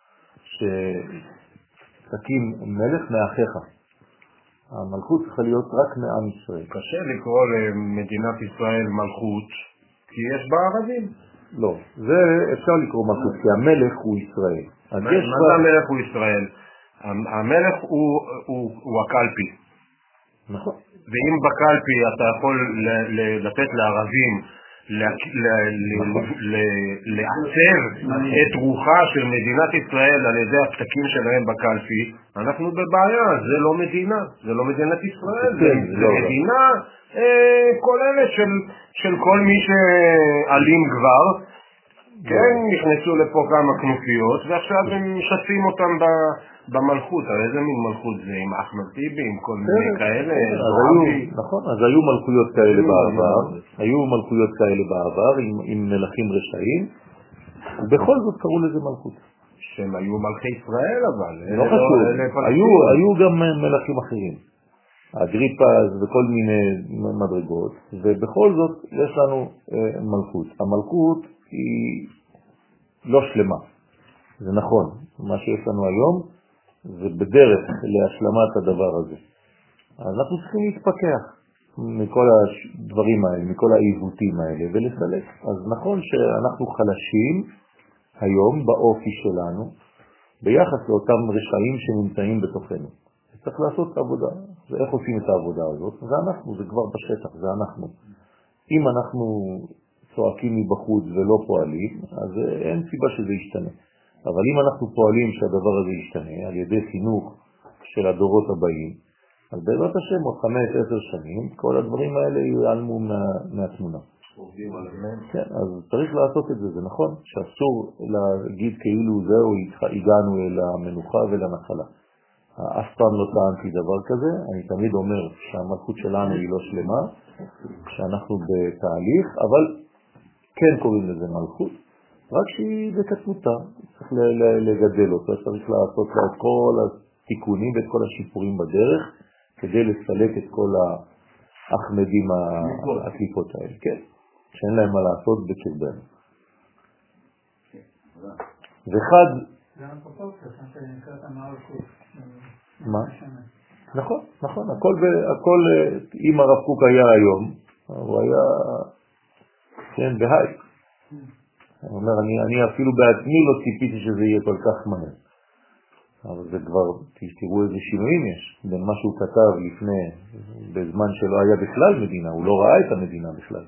שתקים מלך מאחיך. המלכות צריכה להיות רק מעם ישראל. קשה לקרוא למדינת ישראל מלכות, כי יש בה ערבים. לא, זה אפשר לקרוא מלכות, כי המלך הוא ישראל. מה זה המלך הוא ישראל? המלך הוא הקלפי. נכון. ואם בקלפי אתה יכול לתת לערבים לעצב את רוחה של מדינת ישראל על ידי הפתקים שלהם בקלפי, אנחנו בבעיה, זה לא מדינה, זה לא מדינת ישראל, זה מדינה כוללת של כל מי שעלים כבר, כן, נכנסו לפה כמה כנופיות ועכשיו הם משתפים אותם במלכות. איזה מין מלכות זה? עם אחמד טיבי, עם כל מיני כאלה? נכון, אז היו מלכויות כאלה בעבר, היו מלכויות כאלה בעבר עם מלכים רשעים, ובכל זאת קראו לזה מלכות. שהם היו מלכי ישראל אבל. לא חשוב, היו גם מלכים אחרים. אגריפס וכל מיני מדרגות, ובכל זאת יש לנו מלכות. המלכות היא לא שלמה, זה נכון. מה שיש לנו היום זה בדרך להשלמת הדבר הזה. אנחנו צריכים להתפקח מכל הדברים האלה, מכל העיוותים האלה ולסלק. אז נכון שאנחנו חלשים היום באופי שלנו ביחס לאותם רשעים שנמצאים בתוכנו. צריך לעשות את העבודה. ואיך עושים את העבודה הזאת? זה אנחנו, זה כבר בשטח, זה אנחנו. אם אנחנו צועקים מבחוץ ולא פועלים, אז אין סיבה שזה ישתנה. אבל אם אנחנו פועלים שהדבר הזה ישתנה על ידי חינוך של הדורות הבאים, אז בעזרת השם עוד 5-10 שנים, כל הדברים האלה ייעלמו מהתמונה. כן, אז צריך לעשות את זה, זה נכון, שאסור להגיד כאילו זהו, הגענו אל המנוחה ולנחלה. אף פעם לא טענתי דבר כזה, אני תמיד אומר שהמלכות שלנו היא לא שלמה, שאנחנו בתהליך, אבל כן קוראים לזה מלכות, רק שהיא בקטנותה, צריך לגדל אותה, צריך לעשות לה את כל התיקונים ואת כל השיפורים בדרך, כדי לסלק את כל האחמדים הקליפות האלה, כן, שאין להם מה לעשות בקרבנו. וחד... זה הפרופורציה, שנקראת המלכות. מה? נכון, נכון, הכל, אם הרב קוק היה היום, הוא היה, כן, בהייק. הוא אומר, אני אפילו בעצמי לא ציפיתי שזה יהיה כל כך מהר. אבל זה כבר, תראו איזה שינויים יש, בין מה שהוא כתב לפני, בזמן שלא היה בכלל מדינה, הוא לא ראה את המדינה בכלל.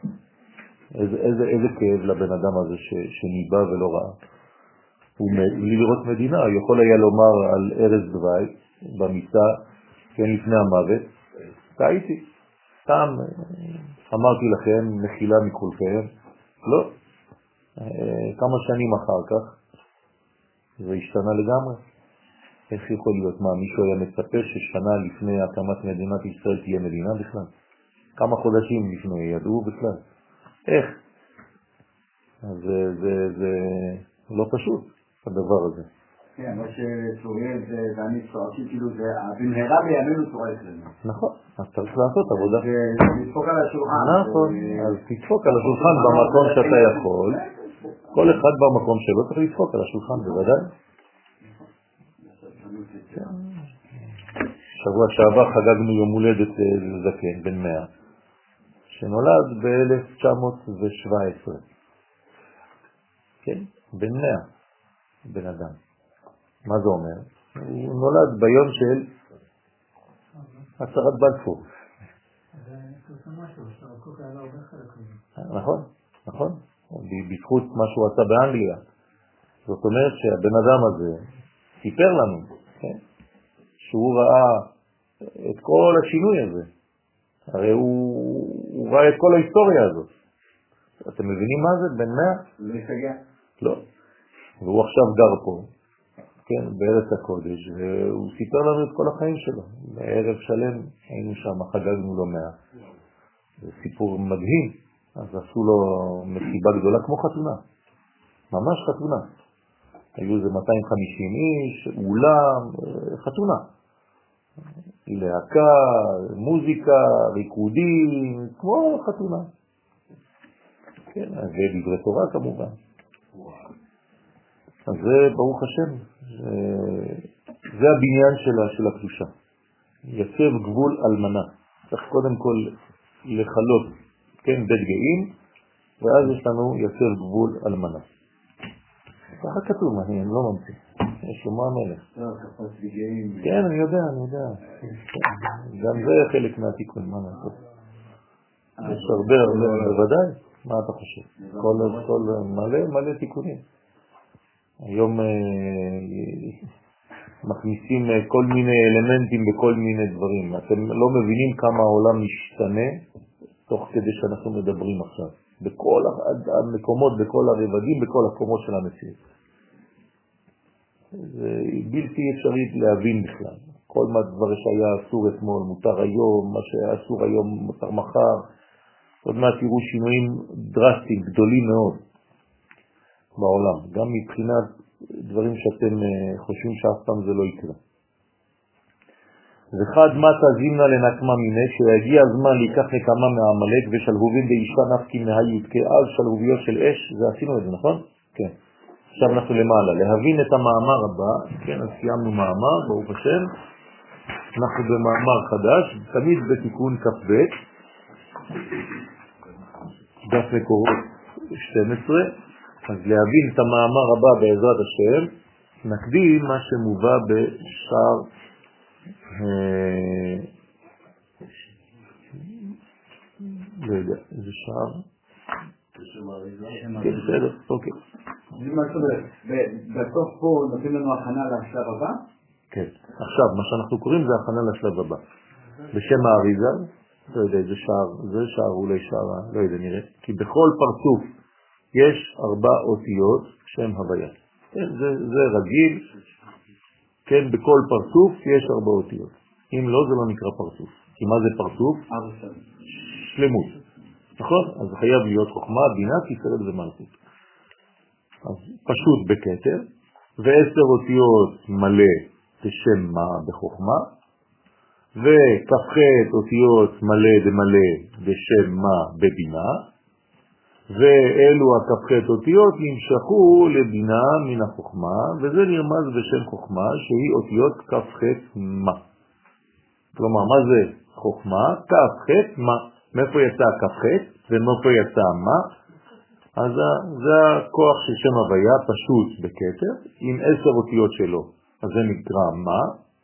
איזה כאב לבן אדם הזה שניבא ולא ראה. בלי לראות מדינה, הוא יכול היה לומר על ארז דווי במיטה, כן, לפני המוות, טעיתי, סתם אמרתי לכם, מחילה מכולכם, לא. כמה שנים אחר כך, זה השתנה לגמרי. איך יכול להיות? מה, מישהו היה מצפה ששנה לפני הקמת מדינת ישראל תהיה מדינה בכלל? כמה חודשים לפני ידעו בכלל? איך? אז זה לא פשוט, הדבר הזה. כן, מה שצוריאל ואני צועקים, כאילו זה, במהרה בימינו צורק לנו. נכון, אז צריך לעשות עבודה. ולדפוק על השולחן. נכון, אז תדפוק על השולחן במקום שאתה יכול. כל אחד במקום שלו צריך לדפוק על השולחן, בוודאי. שבוע שעבר חגגנו יום הולדת זקן, בן 100, שנולד ב-1917. כן, בן 100, בן אדם. מה זה אומר? הוא נולד ביום של הצהרת בלפור. נכון, נכון. בזכות מה שהוא עשה באנגליה. זאת אומרת שהבן אדם הזה סיפר לנו, כן? שהוא ראה את כל השינוי הזה. הרי הוא ראה את כל ההיסטוריה הזאת. אתם מבינים מה זה? בן 100? לא יסגע? לא. והוא עכשיו גר פה, כן, בארץ הקודש, והוא סיפר לנו את כל החיים שלו. בערב שלם היינו שם, חגגנו לו 100. זה סיפור מדהים. אז עשו לו מסיבה גדולה כמו חתונה. ממש חתונה. היו זה 250 איש, אולם, חתונה. להקה, מוזיקה, ריקודים, כמו חתונה. כן, ודברי תורה כמובן. אז זה ברוך השם, זה הבניין של הקדושה. יצב גבול אלמנה. צריך קודם כל לחלות, כן, בית גאים, ואז יש לנו יצב גבול אלמנה. ככה כתוב, אני לא ממציא. יש שלמה המלך. כן, אני יודע. גם זה חלק מהתיקון, מה נעשות? יש הרבה, בוודאי. מה אתה חושב? כל מלא תיקונים. היום מכניסים כל מיני אלמנטים בכל מיני דברים. אתם לא מבינים כמה העולם משתנה תוך כדי שאנחנו מדברים עכשיו. בכל המקומות, בכל הרבדים, בכל הקומות של המציאות. זה בלתי אפשרי להבין בכלל. כל מה דבר שהיה אסור אתמול, מותר היום, מה שהיה אסור היום, מותר מחר. עוד מעט תראו שינויים דרסטיים, גדולים מאוד בעולם. גם מבחינת דברים שאתם חושבים שאף פעם זה לא יקרה. וחד מתה זימנה לנקמה מיני, כשיגיע הזמן להיקח נקמה מהעמלק ושלהובים באישה נפקי מהיוד כעל שלהוביות של אש, זה עשינו את זה, נכון? כן. עכשיו אנחנו למעלה, להבין את המאמר הבא, כן, אז סיימנו מאמר, ברוך השם, אנחנו במאמר חדש, תמיד בתיקון כ"ב, דף מקורות 12, אז להבין את המאמר הבא בעזרת השם, נקדים מה שמובא בשער לא יודע, איזה שער? כן, בסדר, אוקיי. בסוף פה נותנים לנו הכנה לשלב הבא? כן, עכשיו מה שאנחנו קוראים זה הכנה לשלב הבא. בשם האריזל, לא יודע איזה שער, זה שער אולי שער, לא יודע נראה, כי בכל פרצוף יש 4 אותיות שם הוויה. כן, זה רגיל. כן, בכל פרצוף יש 4 אותיות. אם לא, זה לא נקרא פרצוף. כי מה זה פרצוף? שלמות. נכון? אז חייב להיות חוכמה, בינה, תפארת ומלכות. אז פשוט בכתר, ו10 אותיות מלא בשם מה בחוכמה, וכ"ח אותיות מלא דמלא בשם מה בבינה, ואלו הכ"ח אותיות נמשכו לבינה מן החוכמה, וזה נרמז בשם חוכמה שהיא אותיות כ"ח מה. כלומר, מה זה חוכמה? כ"ח מה. מאיפה יצא כ"ח ומאיפה יצא מה? אז זה הכוח של שם הוויה פשוט בכתר, עם 10 אותיות שלו. אז זה נקרא מה.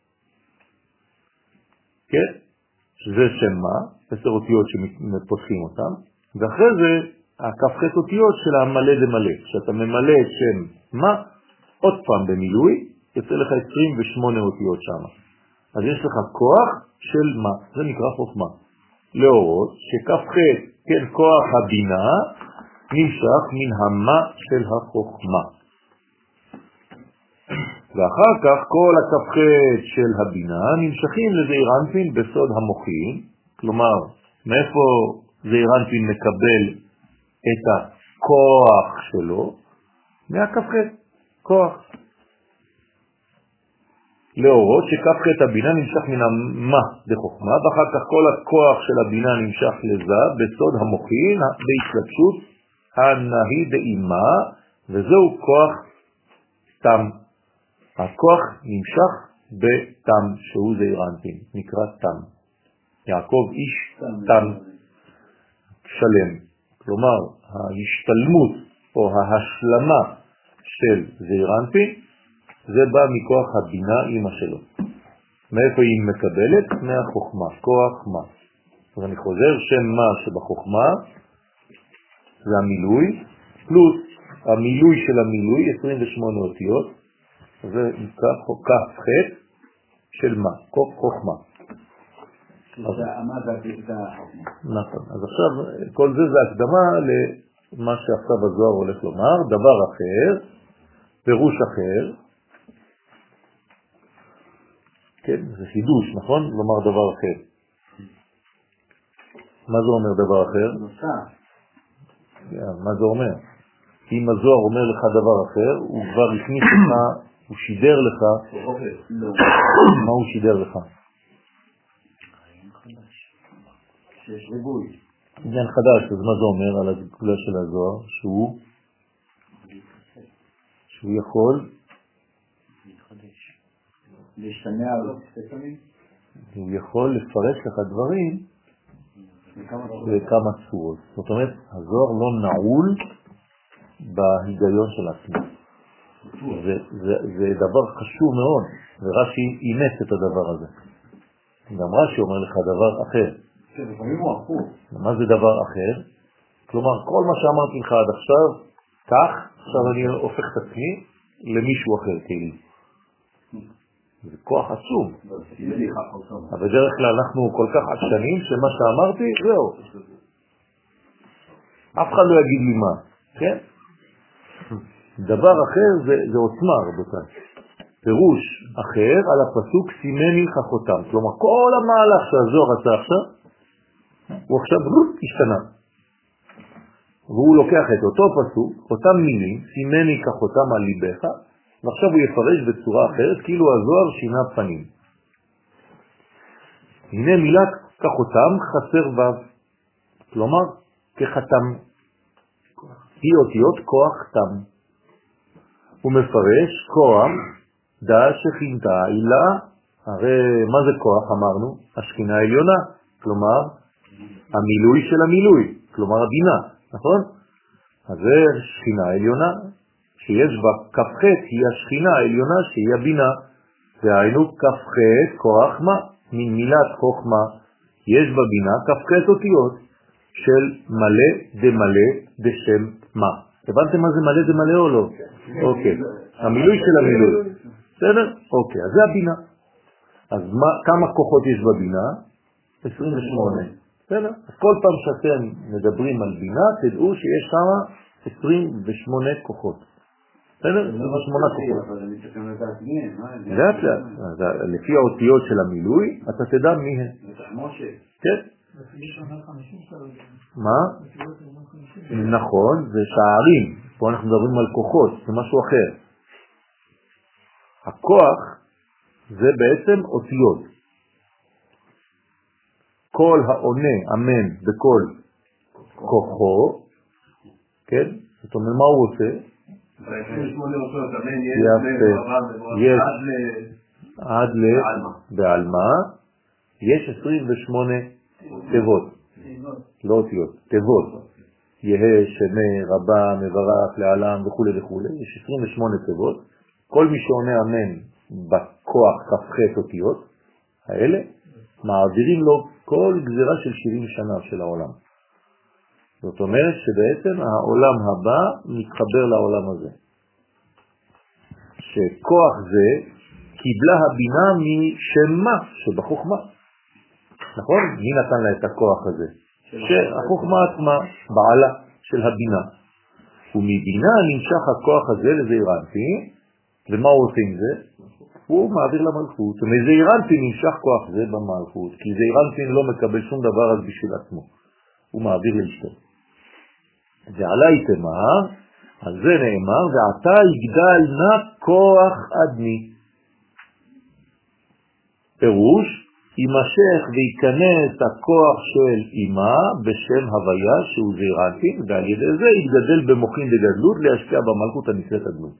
כן? שזה שם מה, 10 אותיות שמפותחים אותם, ואחרי זה הכ"ח אותיות של המלא דמלא. כשאתה ממלא את שם מה, עוד פעם במילוי, יוצא לך 28 אותיות שם. אז יש לך כוח של מה, זה נקרא חוכמה. להורות שכ"ח, כן, כוח הבינה, נמשך מן המה של החוכמה. ואחר כך כל הכ"ח של הבינה נמשכים לזעיר אנפין בסוד המוחין, כלומר, מאיפה זעיר אנפין מקבל את הכוח שלו? מהכ"ח, כוח. להורות שכף חטא הבינה נמשך מן המה בחוכמה, ואחר כך כל הכוח של הבינה נמשך לזה בסוד המוחין בהתלבשות הנהי דאימה, וזהו כוח תם. הכוח נמשך בתם, שהוא זעיר אנפין, נקרא תם. יעקב איש תם שלם. כלומר, ההשתלמות או ההשלמה של זעיר אנפין, זה בא מכוח הבינה אמא שלו. מאיפה היא מקבלת? מהחוכמה, כוח מה. אז אני חוזר, שם מה שבחוכמה זה המילוי, פלוס המילוי של המילוי, 28 אותיות, זה נקרא כף חטא של מה, חוכמה. נכון. אז עכשיו כל זה זה הקדמה למה שעכשיו הזוהר הולך לומר, דבר אחר, פירוש אחר, כן, זה חידוש, נכון? לומר דבר אחר. מה זה אומר דבר אחר? מה זה אומר? אם הזוהר אומר לך דבר אחר, הוא כבר הכניס לך, הוא שידר לך. מה הוא שידר לך? שיש ריבוי. עניין חדש, אז מה זה אומר על הגבולה של הזוהר? שהוא יכול להשתמע על ספקמים? הוא יכול לפרש לך דברים בכמה צורות. זאת אומרת, הזוהר לא נעול בהיגיון של עצמו. זה דבר חשוב מאוד, ורש"י אימץ את הדבר הזה. גם רש"י אומר לך דבר אחר. מה זה דבר אחר? כלומר, כל מה שאמרתי לך עד עכשיו, כך, עכשיו אני הופך את עצמי למישהו אחר, כאילו. זה כוח עצום. אבל בדרך כלל אנחנו כל כך עקשנים שמה שאמרתי, זהו. אף אחד לא יגיד לי מה, כן? דבר אחר זה עוצמה, רבותיי. פירוש אחר על הפסוק סימני חכותם. כלומר, כל המהלך שהזוהר עשה עכשיו, הוא עכשיו השתנה. והוא לוקח את אותו פסוק, אותם מילים, סימני כחותם על ליבך, ועכשיו הוא יפרש בצורה אחרת, כאילו הזוהר שינה פנים. הנה מילת כחותם חסר וו, כלומר כחתם, היא אותיות כוח תם. הוא מפרש כוח דה שכינתה אילה, הרי מה זה כוח אמרנו? השכינה העליונה, כלומר המילוי של המילוי, כלומר הבינה, נכון? אז זה שכינה העליונה, שיש בה כ"ח היא השכינה העליונה שהיא הבינה, והיינו כ"ח כוח מה, מן מילת חוכמה, יש בבינה כ"ח אותיות של מלא דמלא בשם מה. הבנתם מה זה מלא דמלא או לא? אוקיי, המילוי של המילוי, בסדר? אוקיי, אז זה הבינה. אז כמה כוחות יש בבינה? 28. בסדר? אז כל פעם שאתם מדברים על בינה, תדעו שיש שם 28 כוחות. בסדר? 28 כוחות. לאט לאט. לפי האותיות של המילוי, אתה תדע מי הם. כן? מה? נכון, זה שערים. פה אנחנו מדברים על כוחות, זה משהו אחר. הכוח זה בעצם אותיות. כל העונה, אמן, בכל כוחו, כן? זאת אומרת, מה הוא עושה? יש עד בעלמה, יש 28 תיבות, לא אותיות, תיבות. יהא, שמה, רבה, מברך, לעלם וכו' וכו'. יש 28 תיבות. כל מי שעונה אמן בכוח כ"ח אותיות האלה, מעבירים לו כל גזירה של 70 שנה של העולם. זאת אומרת שבעצם העולם הבא מתחבר לעולם הזה. שכוח זה קיבלה הבינה משמה שבחוכמה. נכון? מי נתן לה את הכוח הזה? שהחוכמה עצמה, בעלה של הבינה. ומבינה נמשך הכוח הזה לזעיר אנפין, ומה הוא עושה עם זה? הוא מעביר למלכות. ומזעיר אנפין נמשך כוח זה במלכות, כי זעיר אנפין לא מקבל שום דבר אז בשביל עצמו. הוא מעביר לאשתו. ועלי תאמר, על זה נאמר, ועתה יגדל נא כוח אדמי. פירוש, יימשך וייכנס הכוח של אימה בשם הוויה שהוא זעירנטין, ועל ידי זה יתגדל במוחין דגדלות להשקיע במלכות הנקראת אדנות.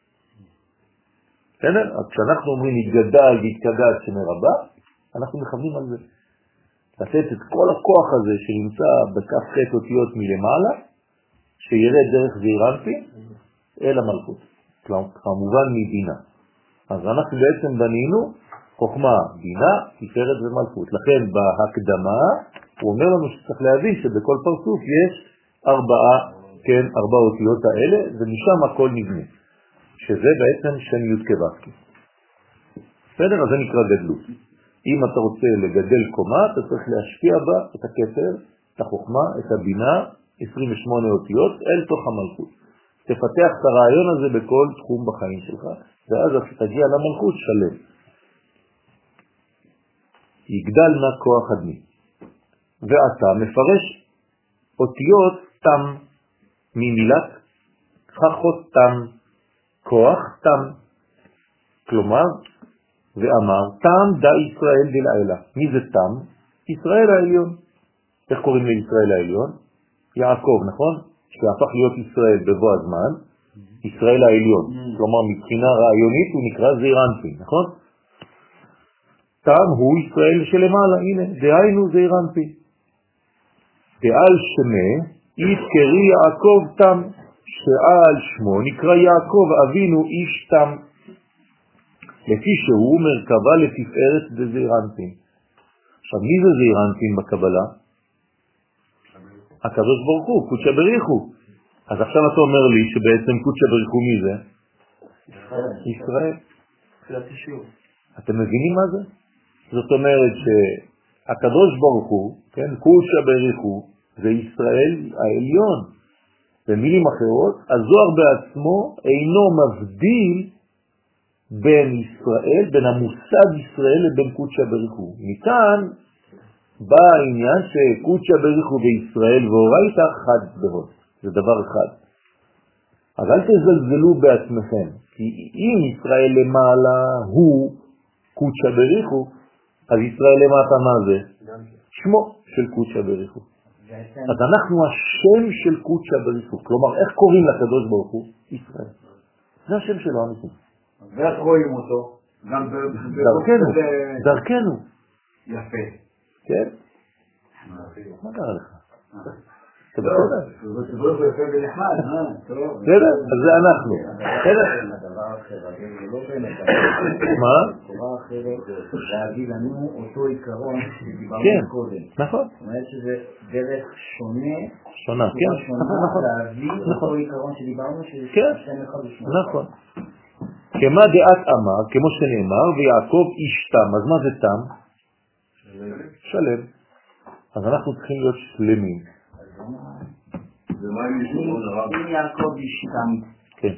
בסדר? אז כשאנחנו אומרים יתגדל ויתקדש שמרבה, אנחנו מכוונים על זה. לתת את כל הכוח הזה שנמצא בכף ח' אותיות מלמעלה, שירד דרך זעירנטין אל המלכות. כמובן מבינה. אז אנחנו בעצם בנינו חוכמה, בינה, תפארת ומלכות. לכן בהקדמה הוא אומר לנו שצריך להבין שבכל פרצוף יש ארבע אותיות האלה, ומשם הכל נבנה. שזה בעצם שם י' כו'. בסדר? אז זה נקרא גדלות. אם אתה רוצה לגדל קומה, אתה צריך להשקיע בה את הכתר, את החוכמה, את הבינה, 28 אותיות, אל תוך המלכות. תפתח את הרעיון הזה בכל תחום בחיים שלך, ואז תגיע למלכות שלם. יגדל נא כוח אדמי. ואתה מפרש אותיות תם ממילת חכות תם, כוח תם. כלומר, ואמר, תם דה ישראל דלעילה. מי זה תם? ישראל העליון. איך קוראים לישראל העליון? יעקב, נכון? שהפך להיות ישראל בבוא הזמן, ישראל העליון. כלומר, מבחינה רעיונית הוא נקרא זעירנטין, נכון? תם הוא ישראל שלמעלה, הנה, דהיינו זעירנטין. דעל שמה, יתקרי יעקב תם, שעל שמו נקרא יעקב אבינו איש תם. לפי שהוא מרכבה לתפארת דזעירנטין. עכשיו, מי זה זעירנטין בקבלה? הקדוש ברוך הוא, קודשא בריחו. אז עכשיו אתה אומר לי שבעצם קודשא בריחו מי זה? ישראל. אתם מבינים מה זה? זאת אומרת שהקדוש ברוך הוא, כן, קודשא בריחו, זה ישראל העליון. במילים אחרות, הזוהר בעצמו אינו מבדיל בין ישראל, בין המושג ישראל לבין קודשא בריחו. מכאן בא העניין שקודשא בריחו בישראל ואורייתא חד בהוד. זה דבר אחד. אז אל תזלזלו בעצמכם, כי אם ישראל למעלה הוא קודשא בריחו, אז ישראל למטה מה זה? שמו של קודשא בריחו. אז אנחנו השם של קודשא בריחו. כלומר, איך קוראים לקדוש ברוך הוא? ישראל. זה השם שלו אמיתי. ואיך רואים אותו? דרכנו. יפה. כן? מה קרה לך? אתה בסדר? זה יפה בנחמד, בסדר? אז זה אנחנו. בסדר? מה? תורה אחרת, להגיד לנו אותו עיקרון שדיברנו קודם. נכון. זאת אומרת שזה דרך שונה, כן? נכון. להביא אותו עיקרון שדיברנו שזה שם אחד ושמונה. נכון. כמה דעת אמר, כמו שנאמר, ויעקב איש תם. אז מה זה תם? שלם. אז אנחנו צריכים להיות שלמים. אם יעקב איש תם, כן.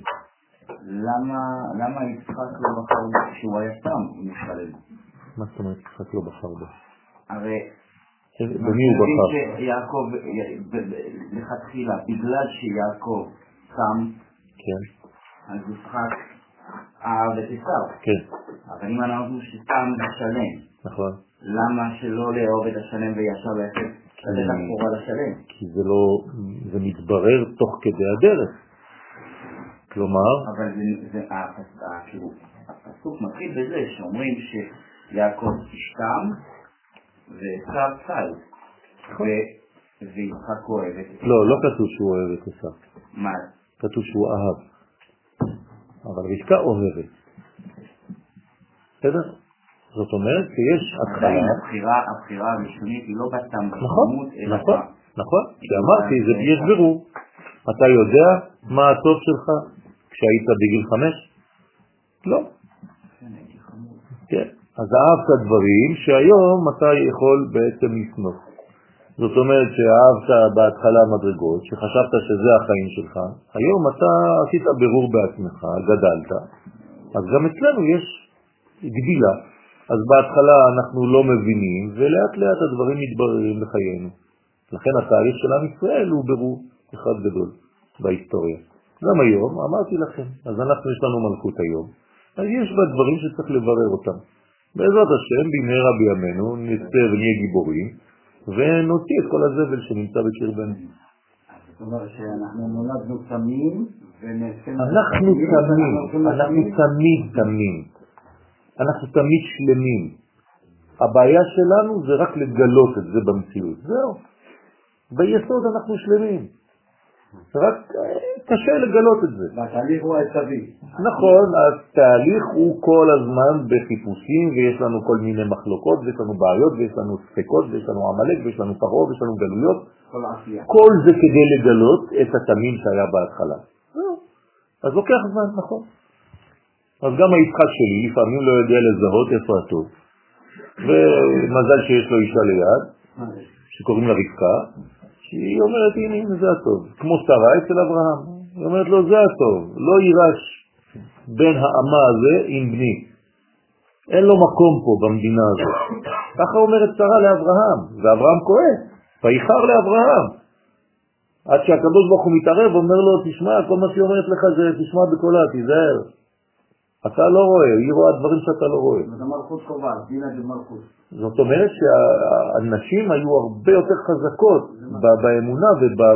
למה יצחק לא בחר שהוא היה תם, הוא שלם? מה זאת אומרת יצחק לא בחר בו? הרי במי הוא בחר? שיעקב, לכתחילה, בגלל שיעקב תם, כן. אז יצחק אהב את עשיו. כן. אבל אם אנחנו שתם זה שלם. נכון. למה שלא לאהוב את השלם וישר לתת לחורה לשלם? כי זה מתברר תוך כדי הדרך. כלומר... אבל הפסוק מתחיל בזה שאומרים שיעקב ישתם ועשיו צל. ויצחק אוהב את עשיו. לא כתוב שהוא אוהב את עשיו. מה? כתוב שהוא אהב. אבל רבקה אוהבת. בסדר? זאת אומרת שיש התחלה... הבחירה הראשונית היא לא בתם בחמות, נכון. שאמרתי, זה יש בירור. אתה יודע מה הטוב שלך כשהיית בגיל 5? לא. כן. אז אהבת דברים שהיום אתה יכול בעצם לסמוך. זאת אומרת שאהבת בהתחלה מדרגות, שחשבת שזה החיים שלך, היום אתה עשית בירור בעצמך, גדלת, אז גם אצלנו יש גדילה. אז בהתחלה אנחנו לא מבינים, ולאט לאט הדברים מתבררים לחיינו. לכן התהליך של עם ישראל הוא בירור אחד גדול בהיסטוריה. גם היום, אמרתי לכם, אז אנחנו יש לנו מלכות היום, אז יש בה דברים שצריך לברר אותם. בעזרת השם, במהרה בימינו, נצא ונהיה גיבורים, ונוציא את כל הזבל שנמצא בקרבנו. זאת אומרת שאנחנו נולדנו תמים, אנחנו תמיד, אנחנו תמיד שלמים. הבעיה שלנו זה רק לגלות את זה במציאות. זהו. ביסוד אנחנו שלמים. רק קשה לגלות את זה. והתהליך הוא העצבי. נכון, התהליך הוא כל הזמן בחיפושים, ויש לנו כל מיני מחלוקות, ויש לנו בעיות, ויש לנו ספקות, ויש לנו עמלק, ויש לנו פרעה, ויש לנו גלויות. כל זה כדי לגלות את התמים שהיה בהתחלה. אז לוקח זמן, נכון. אז גם היצחק שלי לפעמים לא יודע לזהות איפה הטוב. ומזל שיש לו אישה ליד, שקוראים לה רבקה, שהיא אומרת, הנה, זה הטוב. כמו שרה אצל אברהם. היא אומרת לו, זה הטוב. לא יירש בין האמה הזה עם בני. אין לו מקום פה במדינה הזאת. ככה אומרת שרה לאברהם, ואברהם כועס. ויחר לאברהם. עד שהקדוש ברוך הוא מתערב, אומר לו, תשמע, כל מה שהיא אומרת לך זה, תשמע בקולה, תיזהר. אתה לא רואה, היא רואה דברים שאתה לא רואה. זאת מלכות קובעת, דינה זה מלכות. זאת אומרת שהנשים היו הרבה יותר חזקות באמונה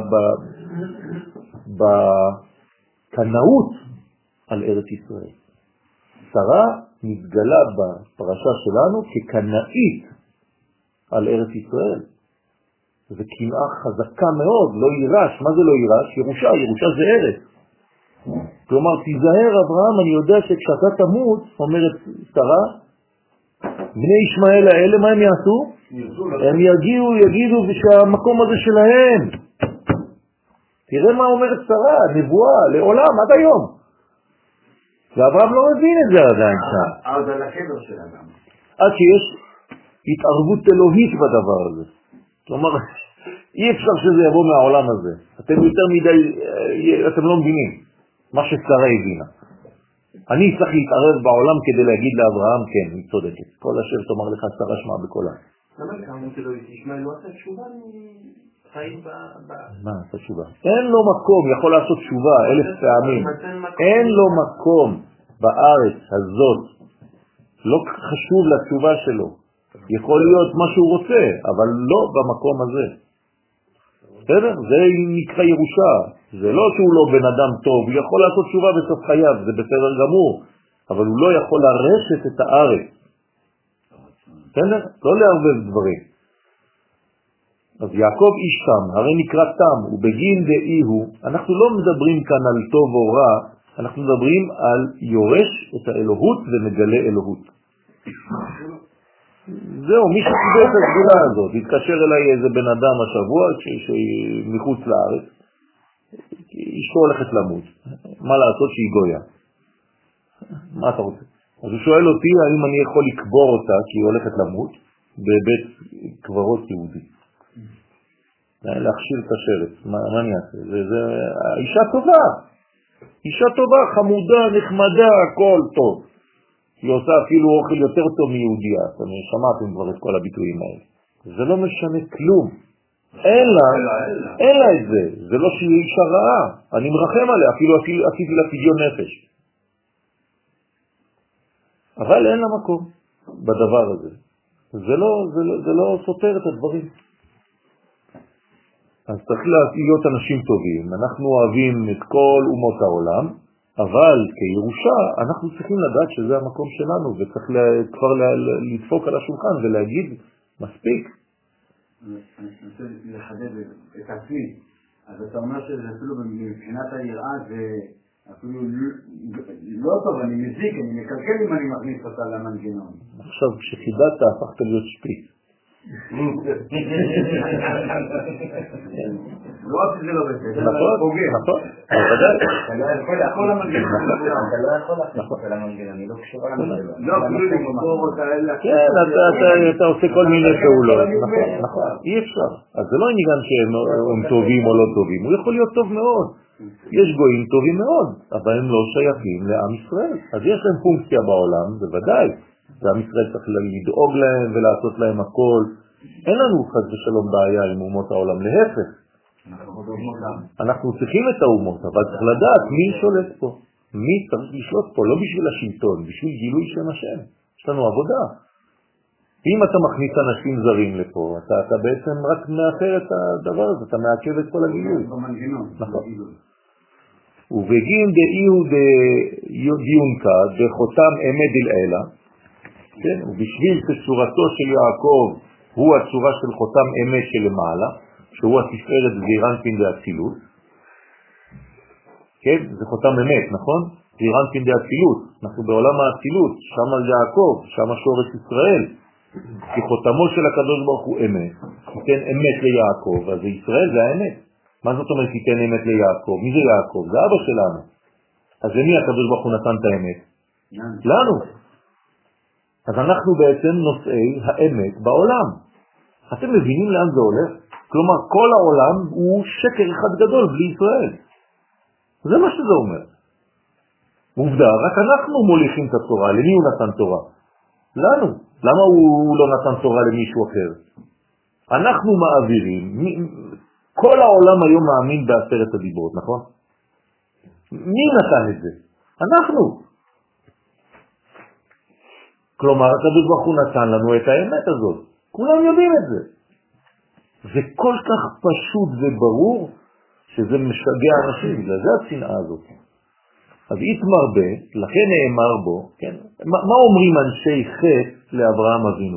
ובקנאות על ארץ ישראל. שרה מתגלה בפרשה שלנו כקנאית על ארץ ישראל. זה קנאה חזקה מאוד, לא יירש. מה זה לא יירש? ירושה, ירושה זה ארץ. כלומר, תיזהר אברהם, אני יודע שכשאתה תמות, אומרת שרה, בני ישמעאל האלה, מה הם יעשו? הם יגידו שהמקום הזה שלהם. תראה מה אומרת שרה, נבואה, לעולם, עד היום. ואברהם לא מבין את זה עדיין שם. עד על הקבר של אדם. עד שיש התערבות אלוהית בדבר הזה. כלומר, אי אפשר שזה יבוא מהעולם הזה. אתם יותר מדי, אתם לא מבינים מה ששרה הבינה. אני צריך להתערב בעולם כדי להגיד לאברהם, כן, היא צודקת. כל אשר תאמר לך שרה שמע בקולה. למה לכמה שלא ישמע, לא עשה תשובה מחיים מה עשה תשובה? אין לו מקום, יכול לעשות תשובה 1000 פעמים. אין לו מקום בארץ הזאת. לא חשוב לתשובה שלו. יכול להיות מה שהוא רוצה, אבל לא במקום הזה. בסדר? זה נקרא ירושה. זה לא שהוא לא בן אדם טוב, הוא יכול לעשות תשובה בסוף חייו, זה בסדר גמור, אבל הוא לא יכול לרשת את הארץ. בסדר? לא לערבב דברים. אז יעקב איש תם, הרי נקרא תם, ובגין דאי הוא, אנחנו לא מדברים כאן על טוב או רע, אנחנו מדברים על יורש את האלוהות ומגלה אלוהות. זהו, מי שקיבל את הסגירה הזאת, התקשר אליי איזה בן אדם השבוע מחוץ לארץ, אשתו הולכת למות, מה לעשות שהיא גויה? מה אתה רוצה? אז הוא שואל אותי האם אני יכול לקבור אותה כי היא הולכת למות בבית קברות יהודי. להכשיר את השרץ, מה אני אעשה? זה אישה טובה, אישה טובה, חמודה, נחמדה, הכל טוב. היא עושה אפילו אוכל יותר טוב מיהודיה, אתם שמעתם כבר את כל הביטויים האלה. זה לא משנה כלום. אין לה את זה. זה לא שהיא אישה רעה. אני מרחם עליה, אפילו עשיתי לה פדיון נפש. אבל אין לה מקום בדבר הזה. זה לא סותר את הדברים. אז צריך להיות אנשים טובים. אנחנו אוהבים את כל אומות העולם, אבל כירושה אנחנו צריכים לדעת שזה המקום שלנו, וצריך כבר לדפוק על השולחן ולהגיד מספיק. אני רוצה לחדד את עצמי. אז אתה אומר שזה אפילו מבחינת היראה זה אפילו לא טוב, אני מזיק, אני מקלקל אם אני מכניס אותה למנגנון. עכשיו כשחידדת הפכת להיות שפיץ. לא רק שזה לא בסדר, נכון, נכון, בוודאי. אתה לא יכול לכל המנגנון, אתה לא יכול להכניס אותה למנגנון, היא לא קשורה למנגנון. לא, כאילו למקור אותה אלה. כן, אתה עושה כל מיני פעולות, נכון, אי אפשר. אז זה לא עניין שהם טובים או לא טובים, הוא יכול להיות טוב מאוד. יש גויים טובים מאוד, אבל הם לא שייכים לעם ישראל. אז יש להם פונקציה בעולם, בוודאי. ועם ישראל צריך לדאוג להם ולעשות להם הכל. אין לנו חס ושלום בעיה עם אומות העולם, להפך. אנחנו צריכים את האומות, אבל צריך לדעת מי שולט פה. מי צריך לשלוט פה, לא בשביל השלטון, בשביל גילוי שם השם. יש לנו עבודה. אם אתה מכניס אנשים זרים לפה, אתה בעצם רק מאחר את הדבר הזה, אתה מעכב את כל הגילוי. נכון. ובגין דאיהו דיונקה דחותם אמת דלעילה, כן? ובשביל שצורתו של יעקב הוא הצורה של חותם אמת שלמעלה, שהוא התפארת זעירנטין דאצילות, כן? זה חותם אמת, נכון? זעירנטין דאצילות, אנחנו בעולם האצילות, שם על יעקב, שם שורש ישראל, כי חותמו של הקדוש ברוך הוא אמת, תיתן אמת ליעקב, אז ישראל זה האמת. מה זאת אומרת תיתן אמת ליעקב? מי זה יעקב? זה אבא שלנו. אז למי הקדוש ברוך הוא נתן את האמת? לנו. אז אנחנו בעצם נושאי האמת בעולם. אתם מבינים לאן זה הולך? כלומר, כל העולם הוא שקר אחד גדול בלי ישראל. זה מה שזה אומר. עובדה, רק אנחנו מוליכים את התורה. למי הוא נתן תורה? לנו. למה הוא לא נתן תורה למישהו אחר? אנחנו מעבירים. כל העולם היום מאמין בעשרת הדיברות, נכון? מי נתן את זה? אנחנו. כלומר, הקדוש ברוך הוא נתן לנו את האמת הזאת. כולם יודעים את זה. זה כל כך פשוט וברור שזה משגע אנשים, זה השנאה הזאת. אז יתמרבה, לכן נאמר בו, כן? מה אומרים אנשי חטא לאברהם אבינו?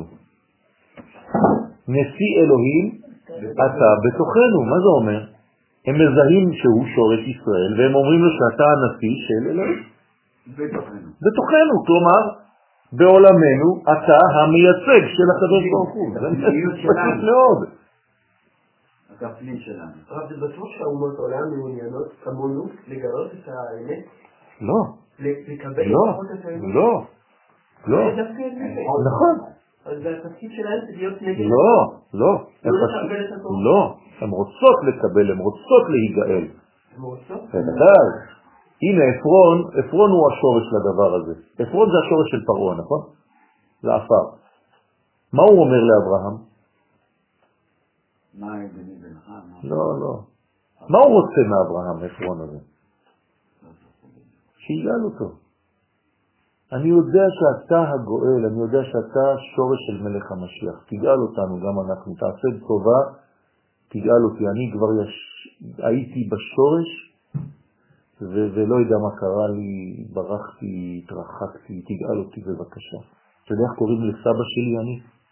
נשיא אלוהים אתה בתוכנו, מה זה אומר? הם מזהים שהוא שורש ישראל, והם אומרים לו שאתה הנשיא של אלוהים. בתוכנו, כלומר, בעולמנו אתה המייצג של הקדוש ברוך הוא. זה פשוט מאוד. הכפלים שלנו. רב, זה בטוח שהאומות העולם מעוניינות כמונו לגלות את האמת? לא. לקבל את האמת? לא. לא. נכון. אז זה התפקיד שלהם להיות נגד? לא. לא. הן רוצות לקבל, הן רוצות להיגאל. הן רוצות? בוודאי. הנה אפרון הוא השורש לדבר הזה. אפרון זה השורש של פרעה, נכון? זה עפר. מה הוא אומר לאברהם? מה בני בנך? לא. מה הוא רוצה מאברהם, אפרון הזה? שיגאל אותו. אני יודע שאתה הגואל, אני יודע שאתה שורש של מלך המשיח. תגאל אותנו, גם אנחנו. תעשה טובה, תגאל אותי. אני כבר הייתי בשורש, ולא יודע מה קרה לי, ברחתי, התרחקתי, תגאל אותי בבקשה. אתה יודע איך קוראים לסבא שלי אני?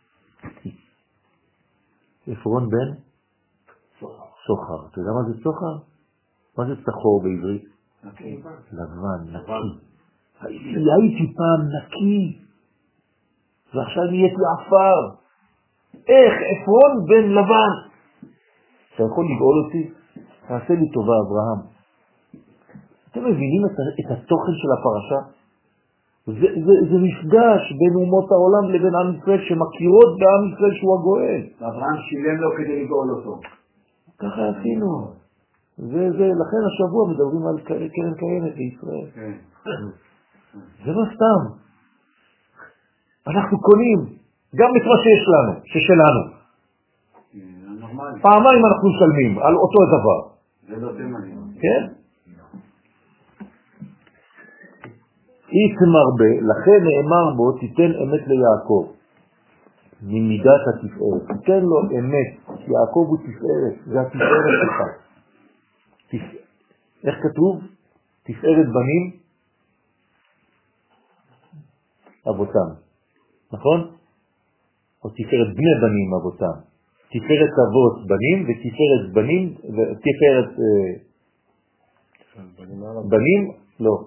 אפרון בן? סוחר. אתה יודע מה זה סוחר? מה זה סחור בעברית? לבן, נקי. הייתי פעם נקי, ועכשיו נהייתי עפר. איך? אפרון בן לבן. אתה יכול לגאול אותי? תעשה לי טובה, אברהם. אתם מבינים את התוכן של הפרשה? זה מפגש בין אומות העולם לבין עם ישראל שמכירות בעם ישראל שהוא הגואל. אברהם שילם לו כדי לגאול אותו. ככה עשינו. לכן השבוע מדברים על קרן קיימת בישראל. זה לא סתם. אנחנו קונים גם את מה שיש לנו, ששלנו. פעמיים אנחנו משלמים על אותו דבר. זה לא תימני. כן? יתמרבה, לכן נאמר בו, תיתן אמת ליעקב, ממידת התפארת. תיתן לו אמת, יעקב הוא תפארת, זה התפארת שלך. איך כתוב? תפארת בנים אבותם, נכון? או תפארת בני בנים אבותם. תפארת אבות בנים ותפארת בנים, תפארת בנים, לא.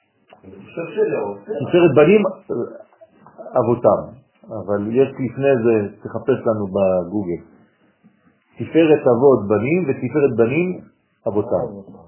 תפארת בנים אבותם, אבל יש לפני זה, תחפש לנו בגוגל. תפארת אבות בנים ותפארת בנים אבותם.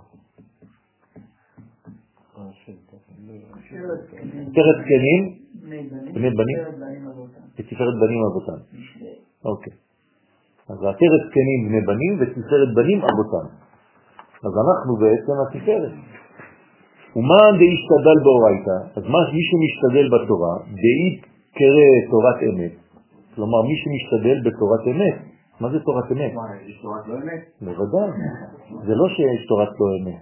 תפארת זקנים בני בנים ותפארת בנים אבותם. אוקיי. אז תפארת זקנים בני בנים ותפארת בנים אבותם. אז אנחנו בעצם התפארת. ומה דהשתדל באורייתא? אז מי שמשתדל בתורה, דהית קרא תורת אמת. כלומר, מי שמשתדל בתורת אמת. מה זה תורת אמת? יש תורת לא אמת? בוודאי. זה לא שיש תורת לא אמת.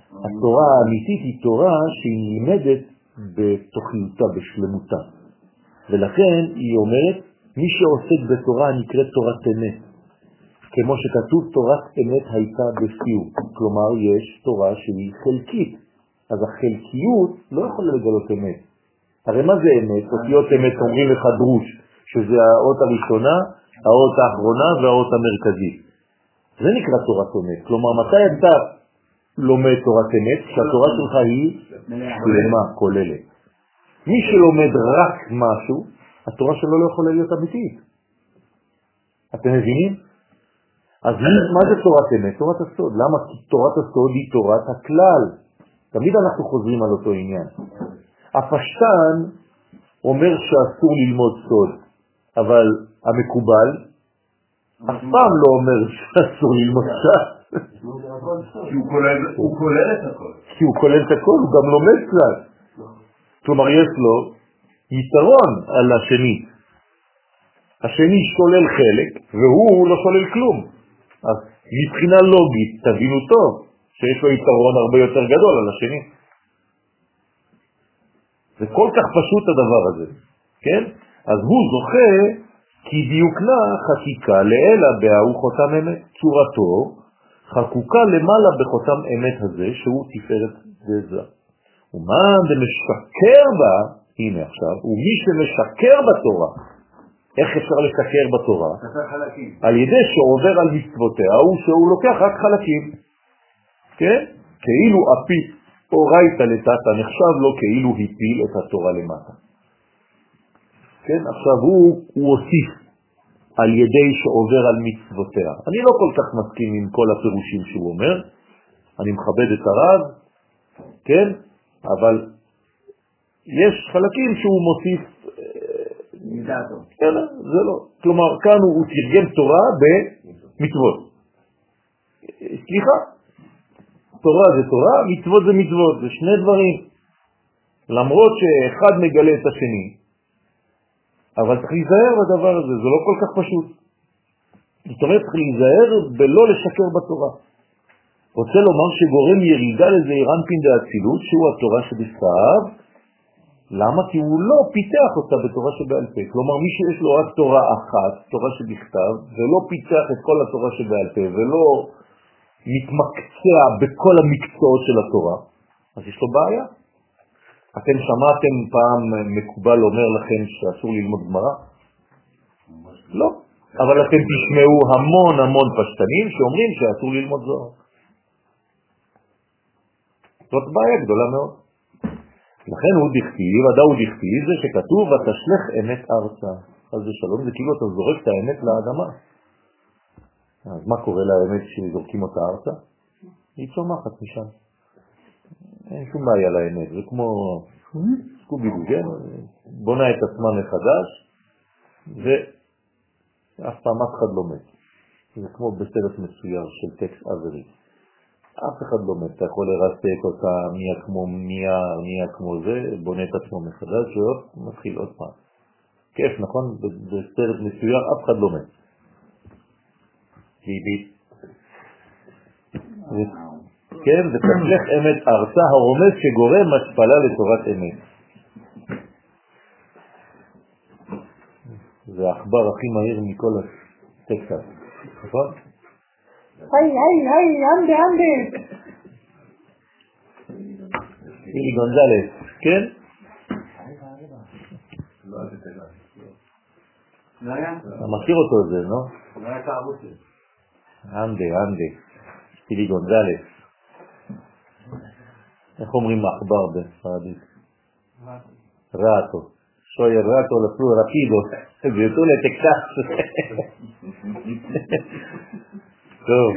התורה האמיתית היא תורה שהיא נלמדת בתוכניותה, בשלמותה. ולכן היא אומרת, מי שעוסק בתורה נקראת תורת אמת. כמו שכתוב, תורת אמת הייתה בפיו. כלומר, יש תורה שהיא חלקית. אז החלקיות לא יכולה לגלות אמת. הרי מה זה אמת? אותיות אמת אומרים לך דרוש, שזה האות הראשונה, האות האחרונה והאות המרכזית. זה נקרא תורת אמת. כלומר, מתי אתה לומד תורת אמת? שהתורה שלך היא שלמה, כוללת. מי שלומד רק משהו, התורה שלו לא יכולה להיות אמיתית. אתם מבינים? אז מה זה תורת אמת? תורת הסוד. למה? כי תורת הסוד היא תורת הכלל. תמיד אנחנו חוזרים על אותו עניין. הפשטן אומר שאסור ללמוד סוד, אבל המקובל אף פעם לא אומר שאסור ללמוד סוד. הוא כולל את הכל. כי הוא כולל את הכל, הוא גם לומד כלל. כלומר, יש לו יתרון על השני. השני שולל חלק, והוא לא שולל כלום. אז מבחינה לוגית, תבינו טוב, שיש לו יתרון הרבה יותר גדול על השני. זה כל כך פשוט הדבר הזה, כן? אז הוא זוכה כי דיוקנה חקיקה לאלה בהוא חותם אמת. צורתו חקוקה למעלה בחותם אמת הזה, שהוא תפארת וזה. ומה משקר בה, הנה עכשיו, ומי שמשקר בתורה, איך אפשר לשקר בתורה? על ידי שעובר על מצוותיה, שהוא לוקח רק חלקים. כן? כאילו אפיס אורייתא לטאטא, נחשב לו כאילו הפיל את התורה למטה. כן? עכשיו הוא הוסיף על ידי שעובר על מצוותיה. אני לא כל כך מסכים עם כל הפירושים שהוא אומר, אני מכבד את הרב, כן? אבל יש חלקים שהוא מוסיף מדעתו. כן, זה לא. כלומר, כאן הוא תרגם תורה במצוות. סליחה, תורה זה תורה, מצוות זה מצוות, זה שני דברים. למרות שאחד מגלה את השני, אבל צריך להיזהר בדבר הזה, זה לא כל כך פשוט. זאת אומרת, צריך להיזהר בלא לשקר בתורה. רוצה לומר שגורם ירידה לזעיר אנפין דאצילות, שהוא התורה שבכתב. למה? כי הוא לא פיתח אותה בתורה שבעל פה. כלומר, מי שיש לו רק תורה אחת, תורה שבכתב, ולא פיתח את כל התורה שבעל פה, ולא מתמקצע בכל המקצועות של התורה, אז יש לו בעיה. אתם שמעתם פעם מקובל אומר לכם שאסור ללמוד גמרא? לא. אבל אתם תשמעו המון פשטנים שאומרים שאסור ללמוד זוהר. זאת בעיה גדולה מאוד. לכן הוא דכתיב, הדאו דכתיב, זה שכתוב ותשלח אמת ארצה. אז זה שלום, זה כאילו אתה זורק את האמת לאדמה. אז מה קורה לאמת שזורקים אותה ארצה? היא צומחת משם. אין שום בעיה לאמת, זה כמו סקובידו, כן? בונה את עצמה מחדש, ואף פעם אף אחד לא מת. זה כמו בסרט מסויר של טקס אברי. אף אחד לא מת, אתה יכול לרסק אותה, נהיה כמו זה, בונה את עצמו מחדש, ומתחיל עוד פעם. כיף, נכון? בסרט מסויר אף אחד לא מת. ביבי. כן, ותשלח אמת ארצה, הרומז שגורם השפלה לתורת אמת. זה האחבר הכי מהיר מכל הטקסט, נכון? היי, אנדה. אילי גונזלס, כן? אתה מכיר אותו זה, לא? לא היה תערוצת. אנדה. אילי גונזלס. איך אומרים האחבר בספרדית? רטו. שויה רטו לפלו רפידו. ויתו לטקסס. טוב.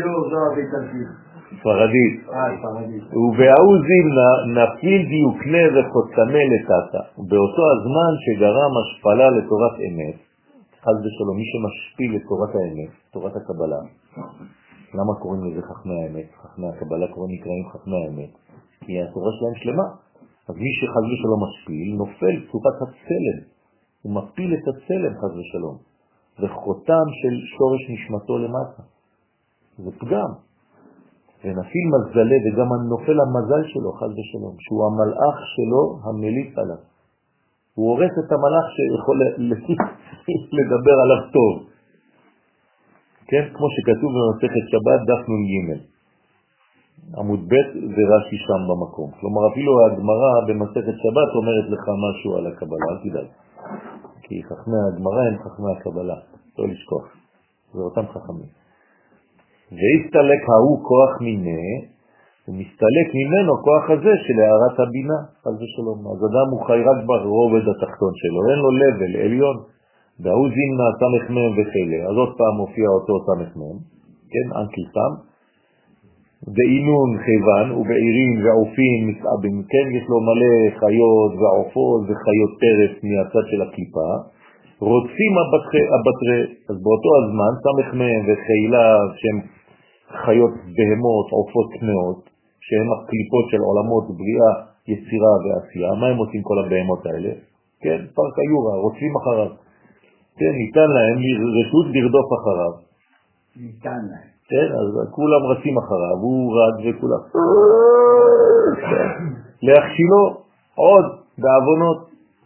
ספרדית. ובאו זימנה נפיל דיוקנה וחוצמה לטאטה. באותו הזמן שגרם השפלה לתורת אמת, חס ושלום, מי שמשפיל לתורת האמת, תורת הקבלה. למה קוראים לזה חכמי האמת? חכמי הקבלה נקראים חכמי האמת, כי התורה שלהם שלמה. אז מי שחס ושלום משפיל, נופל צורת הצלם. הוא מפיל את הצלם חס ושלום. וחותם של שורש נשמתו למטה. זה פגם. ונפיל מזלה וגם נופל המזל שלו חס ושלום, שהוא המלאך שלו המליץ עליו. הוא הורס את המלאך שיכול לדבר עליו טוב. כן, כמו שכתוב במסכת שבת דף נ"ג. עמוד ב' ורש"י שם במקום. כלומר, אפילו הגמרא במסכת שבת אומרת לך משהו על הקבלה, אל תדאג. כי חכמי הגמרא הם חכמי הקבלה, לא לשכוח. זה אותם חכמים. והסתלק ההוא כוח מיני, ומסתלק ממנו כוח הזה של הערת הבינה, חס ושלום. אז אדם הוא חי רק ברובד התחתון שלו, אין לו לבל עליון. והוא זימנה סמך מהם וחילה. אז עוד פעם מופיע אותו סמך מהם, כן, אנקי סם. בעינון חיוון ובעירים ועופים מסעבים, כן, יש לו מלא חיות ועופות וחיות טרף מהצד של הקליפה, רוצים הבטרי, אז באותו הזמן סמך מהם וחילה שהם חיות בהמות, עופות טמאות, שהם הקליפות של עולמות בריאה, יצירה ועשייה. מה הם עושים כל הבהמות האלה? כן, פרק היורה, רוצים אחריו. כן, ניתן להם רשות לרדוף אחריו. ניתן להם. כן, אז כולם רצים אחריו, הוא רד וכולם. להכשילו עוד בעוונות.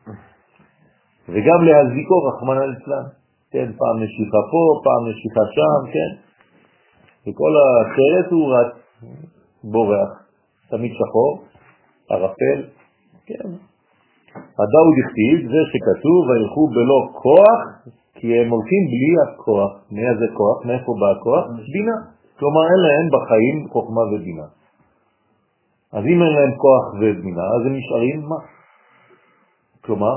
וגם להזיקו רחמנא ליצלן. כן, פעם נשיכה פה, פעם נשיכה שם, כן. וכל הסרט הוא רץ, בורח, תמיד שחור, ערפל, כן. הדאו דכתיב, זה שכתוב, וילכו בלא כוח, כי הם הולכים בלי הכוח. מאיזה כוח? מאיפה בא הכוח? בינה. כלומר, אין להם בחיים חוכמה ובינה. אז אם אין להם כוח ובינה, אז הם נשארים מה? כלומר,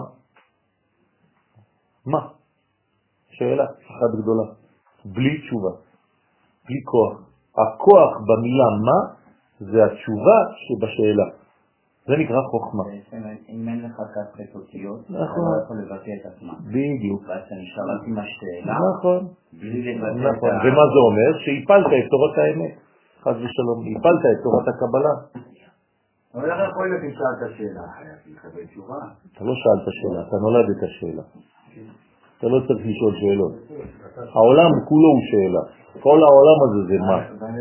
מה? שאלה אחת גדולה. בלי תשובה. בלי כוח. הכוח במילה מה? זה התשובה שבשאלה. זה נקרא חוכמה. אם אין לך כספת אותיות, אתה נכון. לא יכול לבטא את עצמם. בדיוק. ואז אתה נשאר על פי השאלה, נכון. בלי לבטא את נכון. ומה זה אומר? שהפלת את תורת האמת. חס ושלום. הפלת את תורת הקבלה. אבל איך יכול להיות אם שאלת השאלה? חייב לקבל תשובה. אתה לא שאלת שאלה, אתה נולדת השאלה. אתה לא צריך לשאול שאלות. העולם כולו הוא שאלה. כל העולם הזה זה מה?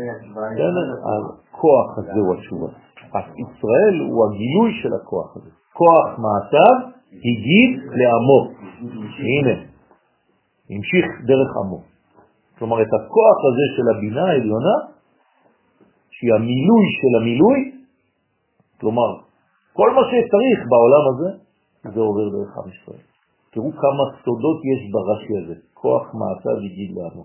הכוח הזה הוא התשובה. אז ישראל הוא הגילוי של הכוח הזה. כוח מעשיו הגיד לעמו. הנה, המשיך דרך עמו. כלומר, את הכוח הזה של הבינה העליונה, שהיא המילוי של המילוי, כלומר, כל מה שצריך בעולם הזה, זה עובר דרך עם ישראל. תראו כמה סודות יש ברש"י הזה. כוח מעשיו הגיד לעמו.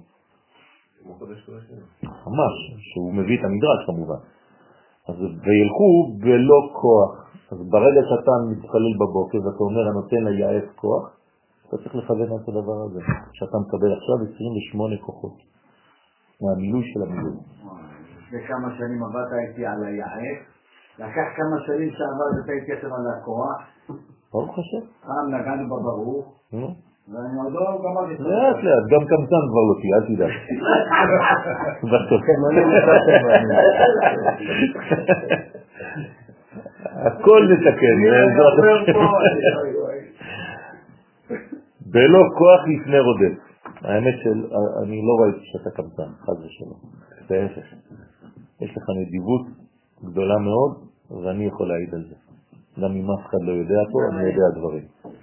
ממש, שהוא מביא את המדרש כמובן. אז וילכו בלא כוח. אז ברגע שאתה מתפלל בבוקר ואתה אומר, אני נותן ליעף כוח, אתה צריך לכוון את הדבר הזה. שאתה מקבל עכשיו 28 כוחות. מהמילוי של המילוי. וכמה שנים עבדת איתי על היעף, לקח כמה שנים שעבדת איתי על הכוח. ברוך השם. פעם נגענו בברוך, ואני עוד לא גמרתי. לאט לאט, גם קמצן כבר לא תהיה, אל תדע. הכל נתקן. בלא כוח לפני רודף. האמת שאני לא ראיתי שאתה קמצן, חד ושלום. בהפך. יש לך נדיבות גדולה מאוד, ואני יכול להעיד על זה. גם אם אף אחד לא יודע פה, אני יודע דברים.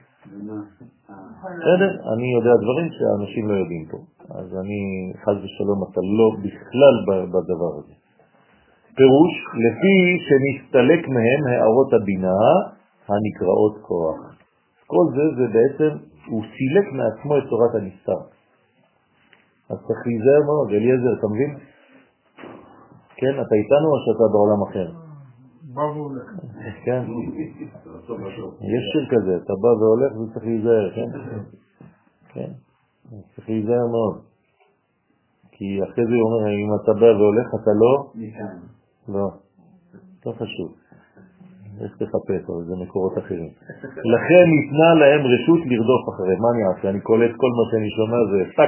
בסדר? אני יודע דברים שהאנשים לא יודעים פה. אז אני, חס ושלום, אתה לא בכלל בדבר הזה. פירוש, לפי שמסתלק מהם הערות הבינה הנקראות כוח. כל זה בעצם, הוא סילק מעצמו את תורת הנסתר. אז צריך להיזהר מאוד, אליעזר, אתה מבין? כן, אתה איתנו או שאתה בעולם אחר? בא והולך. כן. יש שיר כזה, אתה בא והולך וצריך להיזהר, כן? כן. צריך להיזהר מאוד. כי אחרי זה הוא אומר, אם אתה בא והולך, אתה לא? לא. לא חשוב. יש לחפש, אבל זה מקורות אחרים. לכן ניתנה להם רשות לרדוף אחרי. מה אני אעשה? אני קולט כל מה שאני שומע זה פאק.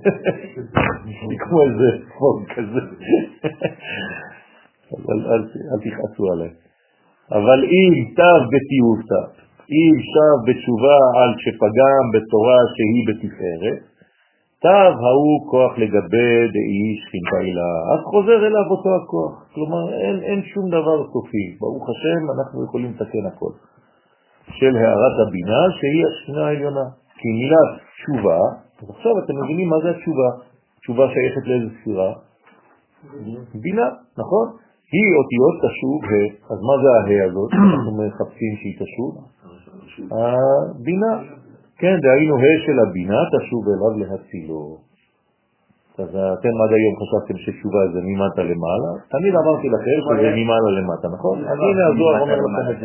כמו איזה פוג כזה. אבל אל תכעסו עליי. אבל אם תב בתיעובתא, אם שב בתשובה על שפגם בתורה שהיא בתפארת, תב ההוא כוח לגבי דאי שכינתה אילה, אז חוזר אליו אותו הכוח. כלומר, אין שום דבר סופי. ברוך השם, אנחנו יכולים לתקן הכל. של הערת הבינה שהיא השכינה העליונה. כי מילת תשובה, אז עכשיו אתם מבינים מה זה התשובה. תשובה שייכת לאיזו ספירה? בינה, נכון? היא אותיות תשוב ה'. אז מה זה הה' הזאת? אנחנו מחפשים שהיא תשוב? הבינה. כן, דהיינו ה' של הבינה תשוב אליו להצילו. אז אתם עד היום חשבתם שתשובה זה ממטה למעלה, תמיד אמרתי לכם שזה ממעלה למטה, נכון? אז הנה הזוהר אומר לכם את זה.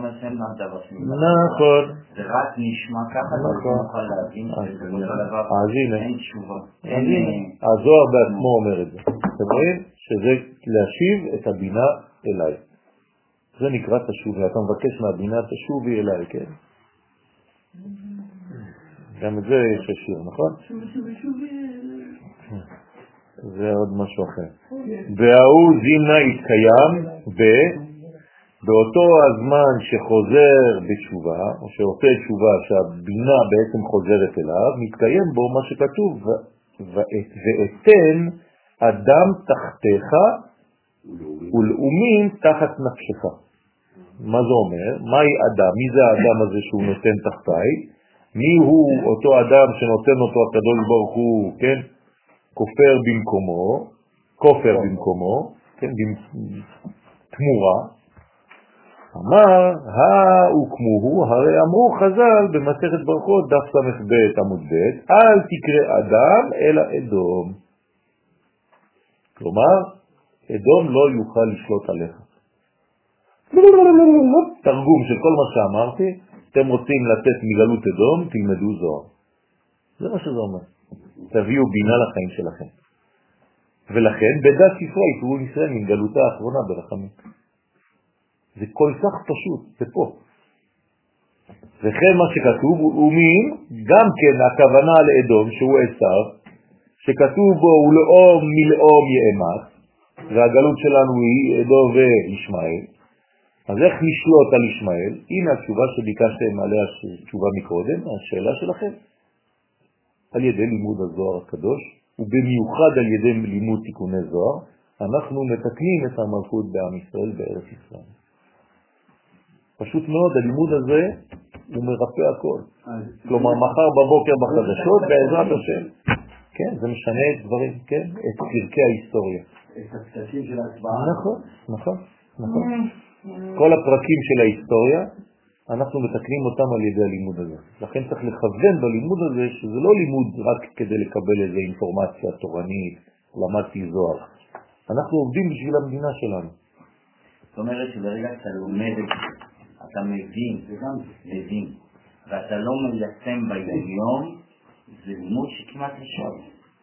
נכון. זה רק נשמע ככה, זה נוכל להבין שזה לא דבר, אין תשובה. אז הנה, הזוהר בעצמו אומר את זה. אתם רואים? שזה להשיב את הבינה אליי. זה נקרא תשובי, אתה מבקש מהבינה תשובי אליי, כן? גם את זה יש השיר, נכון? זה עוד משהו אחר. והוא זימנה התקיים באותו הזמן שחוזר בתשובה, או שעושה תשובה שהבינה בעצם חוזרת אליו, מתקיים בו מה שכתוב, ואתן אדם תחתיך ולאומים תחת נפשך. מה זה אומר? מהי אדם? מי זה האדם הזה שהוא נותן תחתיי? מי הוא אותו אדם שנותן אותו הקדוש ברוך הוא, כן? כופר במקומו, כן, תמורה. אמר, וכמוהו, הרי אמרו חז"ל במסכת ברכות דף ס"ב עמוד ב', אל תקרא אדם אלא אדום. כלומר, אדום לא יוכל לשלוט עליך. תרגום של כל מה שאמרתי, אתם רוצים לתת מגלות אדום, תלמדו זוהר. זה מה שזה אומר. תביאו בינה לחיים שלכם. ולכן בדעת ספרי יקראו ישראל מן גלותה האחרונה ברחמים. זה כל כך פשוט, זה פה. וכן מה שכתוב, ומין, גם כן הכוונה לאדום שהוא עשיו, שכתוב בו ולאום מלאום יאמץ, והגלות שלנו היא אדום וישמעאל. אז איך נשלוט על ישמעאל? הנה התשובה שביקשתם עליה תשובה מקודם, השאלה שלכם. על ידי לימוד הזוהר הקדוש, ובמיוחד על ידי לימוד תיקוני זוהר, אנחנו מתקנים את המלכות בעם ישראל בארץ ישראל. פשוט מאוד, הלימוד הזה הוא מרפא הכל. כלומר, מחר בבוקר בחדשות, בעזרת השם. כן, זה משנה את דברים, כן? את פרקי ההיסטוריה. את הפסקים של ההצבעה. נכון. כל הפרקים של ההיסטוריה, אנחנו מתקנים אותם על ידי הלימוד הזה. לכן צריך לכוון בלימוד הזה שזה לא לימוד רק כדי לקבל איזו אינפורמציה תורנית, למדתי זוהר. אנחנו עובדים בשביל המדינה שלנו. זאת אומרת שברגע שאתה לומד את זה, אתה מבין, ואתה לא מיישם ביום, זה לימוד שכמעט נשאר.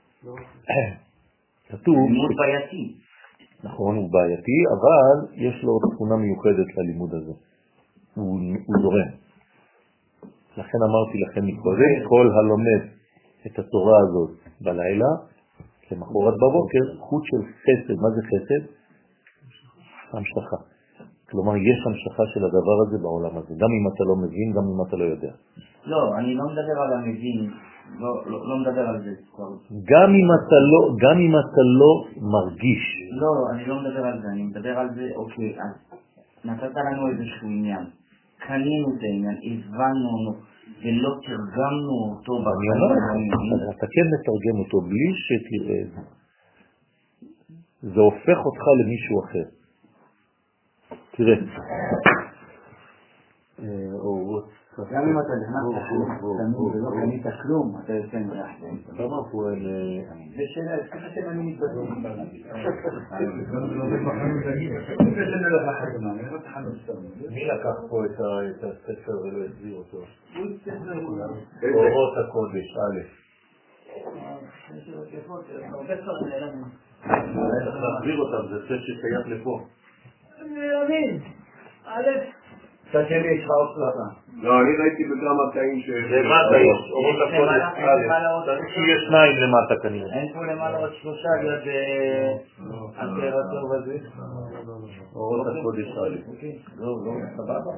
כתוב... לימוד בעייתי. נכון, הוא בעייתי, אבל יש לו תכונה מיוחדת ללימוד הזה. הוא זורם. לכן אמרתי לכם מקודם, כל הלומד את התורה הזאת בלילה, למחרת בבוקר, חוט של חסד. מה זה חסד? המשכה. כלומר, יש המשכה של הדבר הזה בעולם הזה, גם אם אתה לא מבין, גם אם אתה לא יודע. לא, אני לא מדבר על המבין, לא מדבר על זה. גם אם אתה לא מרגיש. לא, אני לא מדבר על זה, אני מדבר על זה, אוקיי, אז נתת לנו איזשהו עניין, קנינו את העניין, הבנו אותו, ולא תרגמנו אותו בחיים. אתה כן מתרגם אותו בלי שתראה את זה. זה הופך אותך למישהו אחר. תראה. גם אם אתה נכנס לחנות ולא קנית כלום, אתה יוצא מריח. למה פה זה שאלה, ככה שאני מתבטא. מי לקח פה את הספר ולא הסביר אותו? אורות הקודש, א'. צריך להחזיר אותם, זה ספר ששייך לפה. אני מבין. א', קצת שלי יש לך עוד סלטה. לא, אני ראיתי בכמה קטעים ש... למטה יש, אורות הקודש, יש שניים למטה כנראה. אין פה למעלה עוד שלושה ליד הסר הטוב הזה. אורות הקודש א'. לא, סבבה.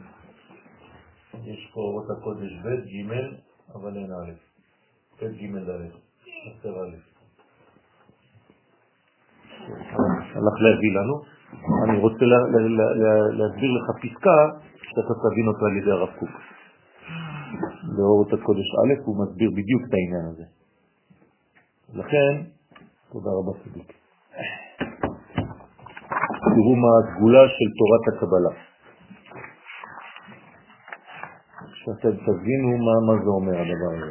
יש פה אורות הקודש ב', ג', אבל אין א'. ב', ג', ד'. הסר א'. הלך להביא לנו. אני רוצה להסביר לך פסקה שאתה תבין אותה על ידי הרב קוק. באורות הקודש א' הוא מסביר בדיוק את העניין הזה. לכן, תודה רבה צדיק. תראו מה הסגולה של תורת הקבלה. שאתם תבינו מה זה אומר הדבר הזה.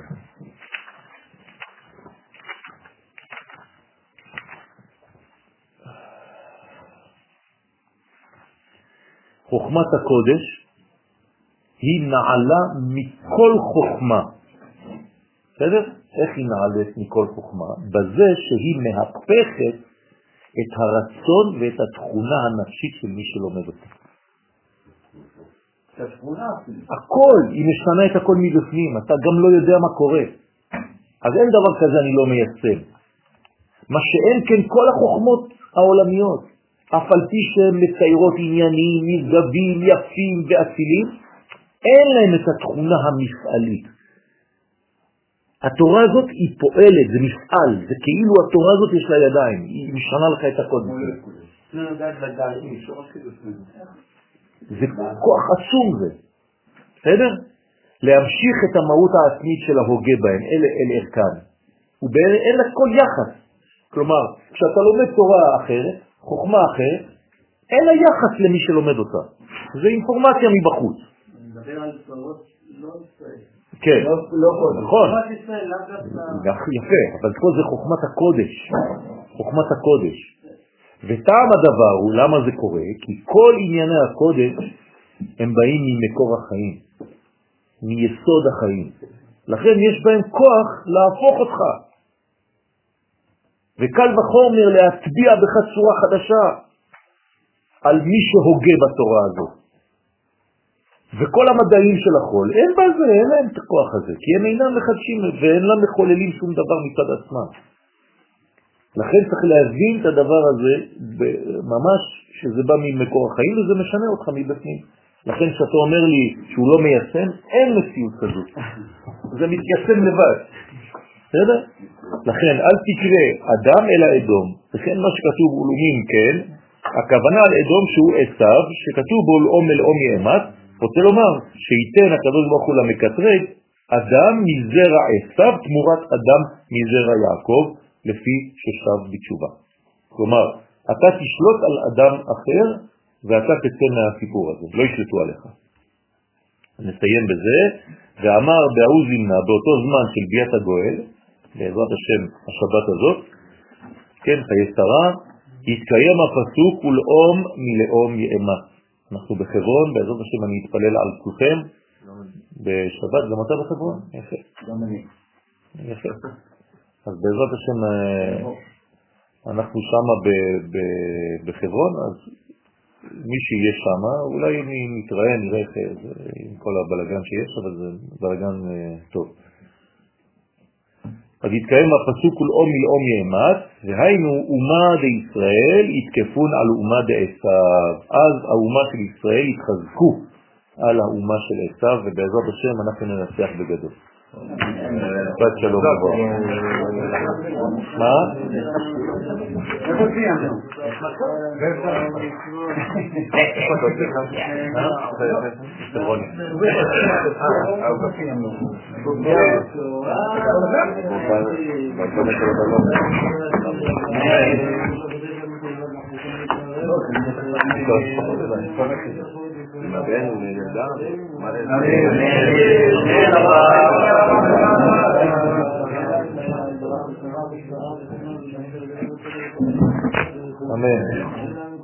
חוכמת הקודש היא נעלה מכל חוכמה. בסדר? איך היא נעלת מכל חוכמה? בזה שהיא מהפכת את הרצון ואת התכונה הנפשית של מי שלומד אותה. הכל, היא משנה את הכל מבפנים, אתה גם לא יודע מה קורה. אז אין דבר כזה אני לא מיישם. מה שאין כן כל החוכמות העולמיות, אף על פי שהן מציירות ענייניים, נשגבים, יפים ואצילים, אין להם את התכונה המפעלית. התורה הזאת היא פועלת, זה מפעל, זה כאילו התורה הזאת יש לה ידיים, היא משנה לך את הכל. זה כוח עצום זה, בסדר? להמשיך את המהות העצמית של ההוגה בהם, אל ערכן. ואין לה כל יחס. כלומר, כשאתה לומד תורה אחרת, חוכמה אחרת, אין לה יחס למי שלומד אותה. זה אינפורמציה מבחוץ. אני מדבר על תורות לא ישראל. כן, נכון. יפה, אבל פה זה חוכמת הקודש. חוכמת הקודש. וטעם הדבר הוא למה זה קורה, כי כל ענייני הקודש הם באים ממקור החיים, מיסוד החיים. לכן יש בהם כוח להפוך אותך. וקל וחומר להטביע בך צורה חדשה על מי שהוגה בתורה הזאת. וכל המדעים של החול, אין בזה, אין להם את הכוח הזה, כי הם אינם מחדשים ואין להם מחוללים שום דבר מצד עצמם. לכן צריך להבין את הדבר הזה ממש שזה בא ממקור החיים וזה משנה אותך מבפנים. לכן שאתה אומר לי שהוא לא מיישם, אין מציאות כזאת. זה מתיישם לבד. בסדר? לכן אל תקרא אדם אלא אדום. לכן מה שכתוב אולומים כן, הכוונה על אדום שהוא עשיו, שכתוב בו לאום אלאום יאמת, רוצה לומר שייתן הקדוש ברוך הוא למקטרג אדם מזרע עשיו תמורת אדם מזרע יעקב, לפי ששב בתשובה. כלומר, אתה תשלוט על אדם אחר, ואתה תצא מהסיפור הזה, לא ישלטו עליך. נסיים בזה, ואמר בעוז ימנה, באותו זמן של ביאת הגואל, בעזרת השם השבת הזאת, כן, חיי שרה, יתקיים הפסוק ולאום מלאום יאמה. אנחנו בחברון, בעזרת השם אני אתפלל על כולכם, בשבת, גם אתה בחברון? יפה. גם אני. יפה. אז בעזרת השם אנחנו שמה בחברון, אז מי שיהיה שמה, אולי נתראה, נראה עם כל הבלגן שיש, אבל זה בלגן טוב. אז יתקיים הפסוק ולאום מלאום יאמת, והיינו אומה דישראל יתקפון על אומה דעשיו. אז האומה של ישראל יתחזקו על האומה של עשיו, ובעזרת השם אנחנו ננצח בגדול. בת שלום עבור. מה? איפה סיימנו? אמן.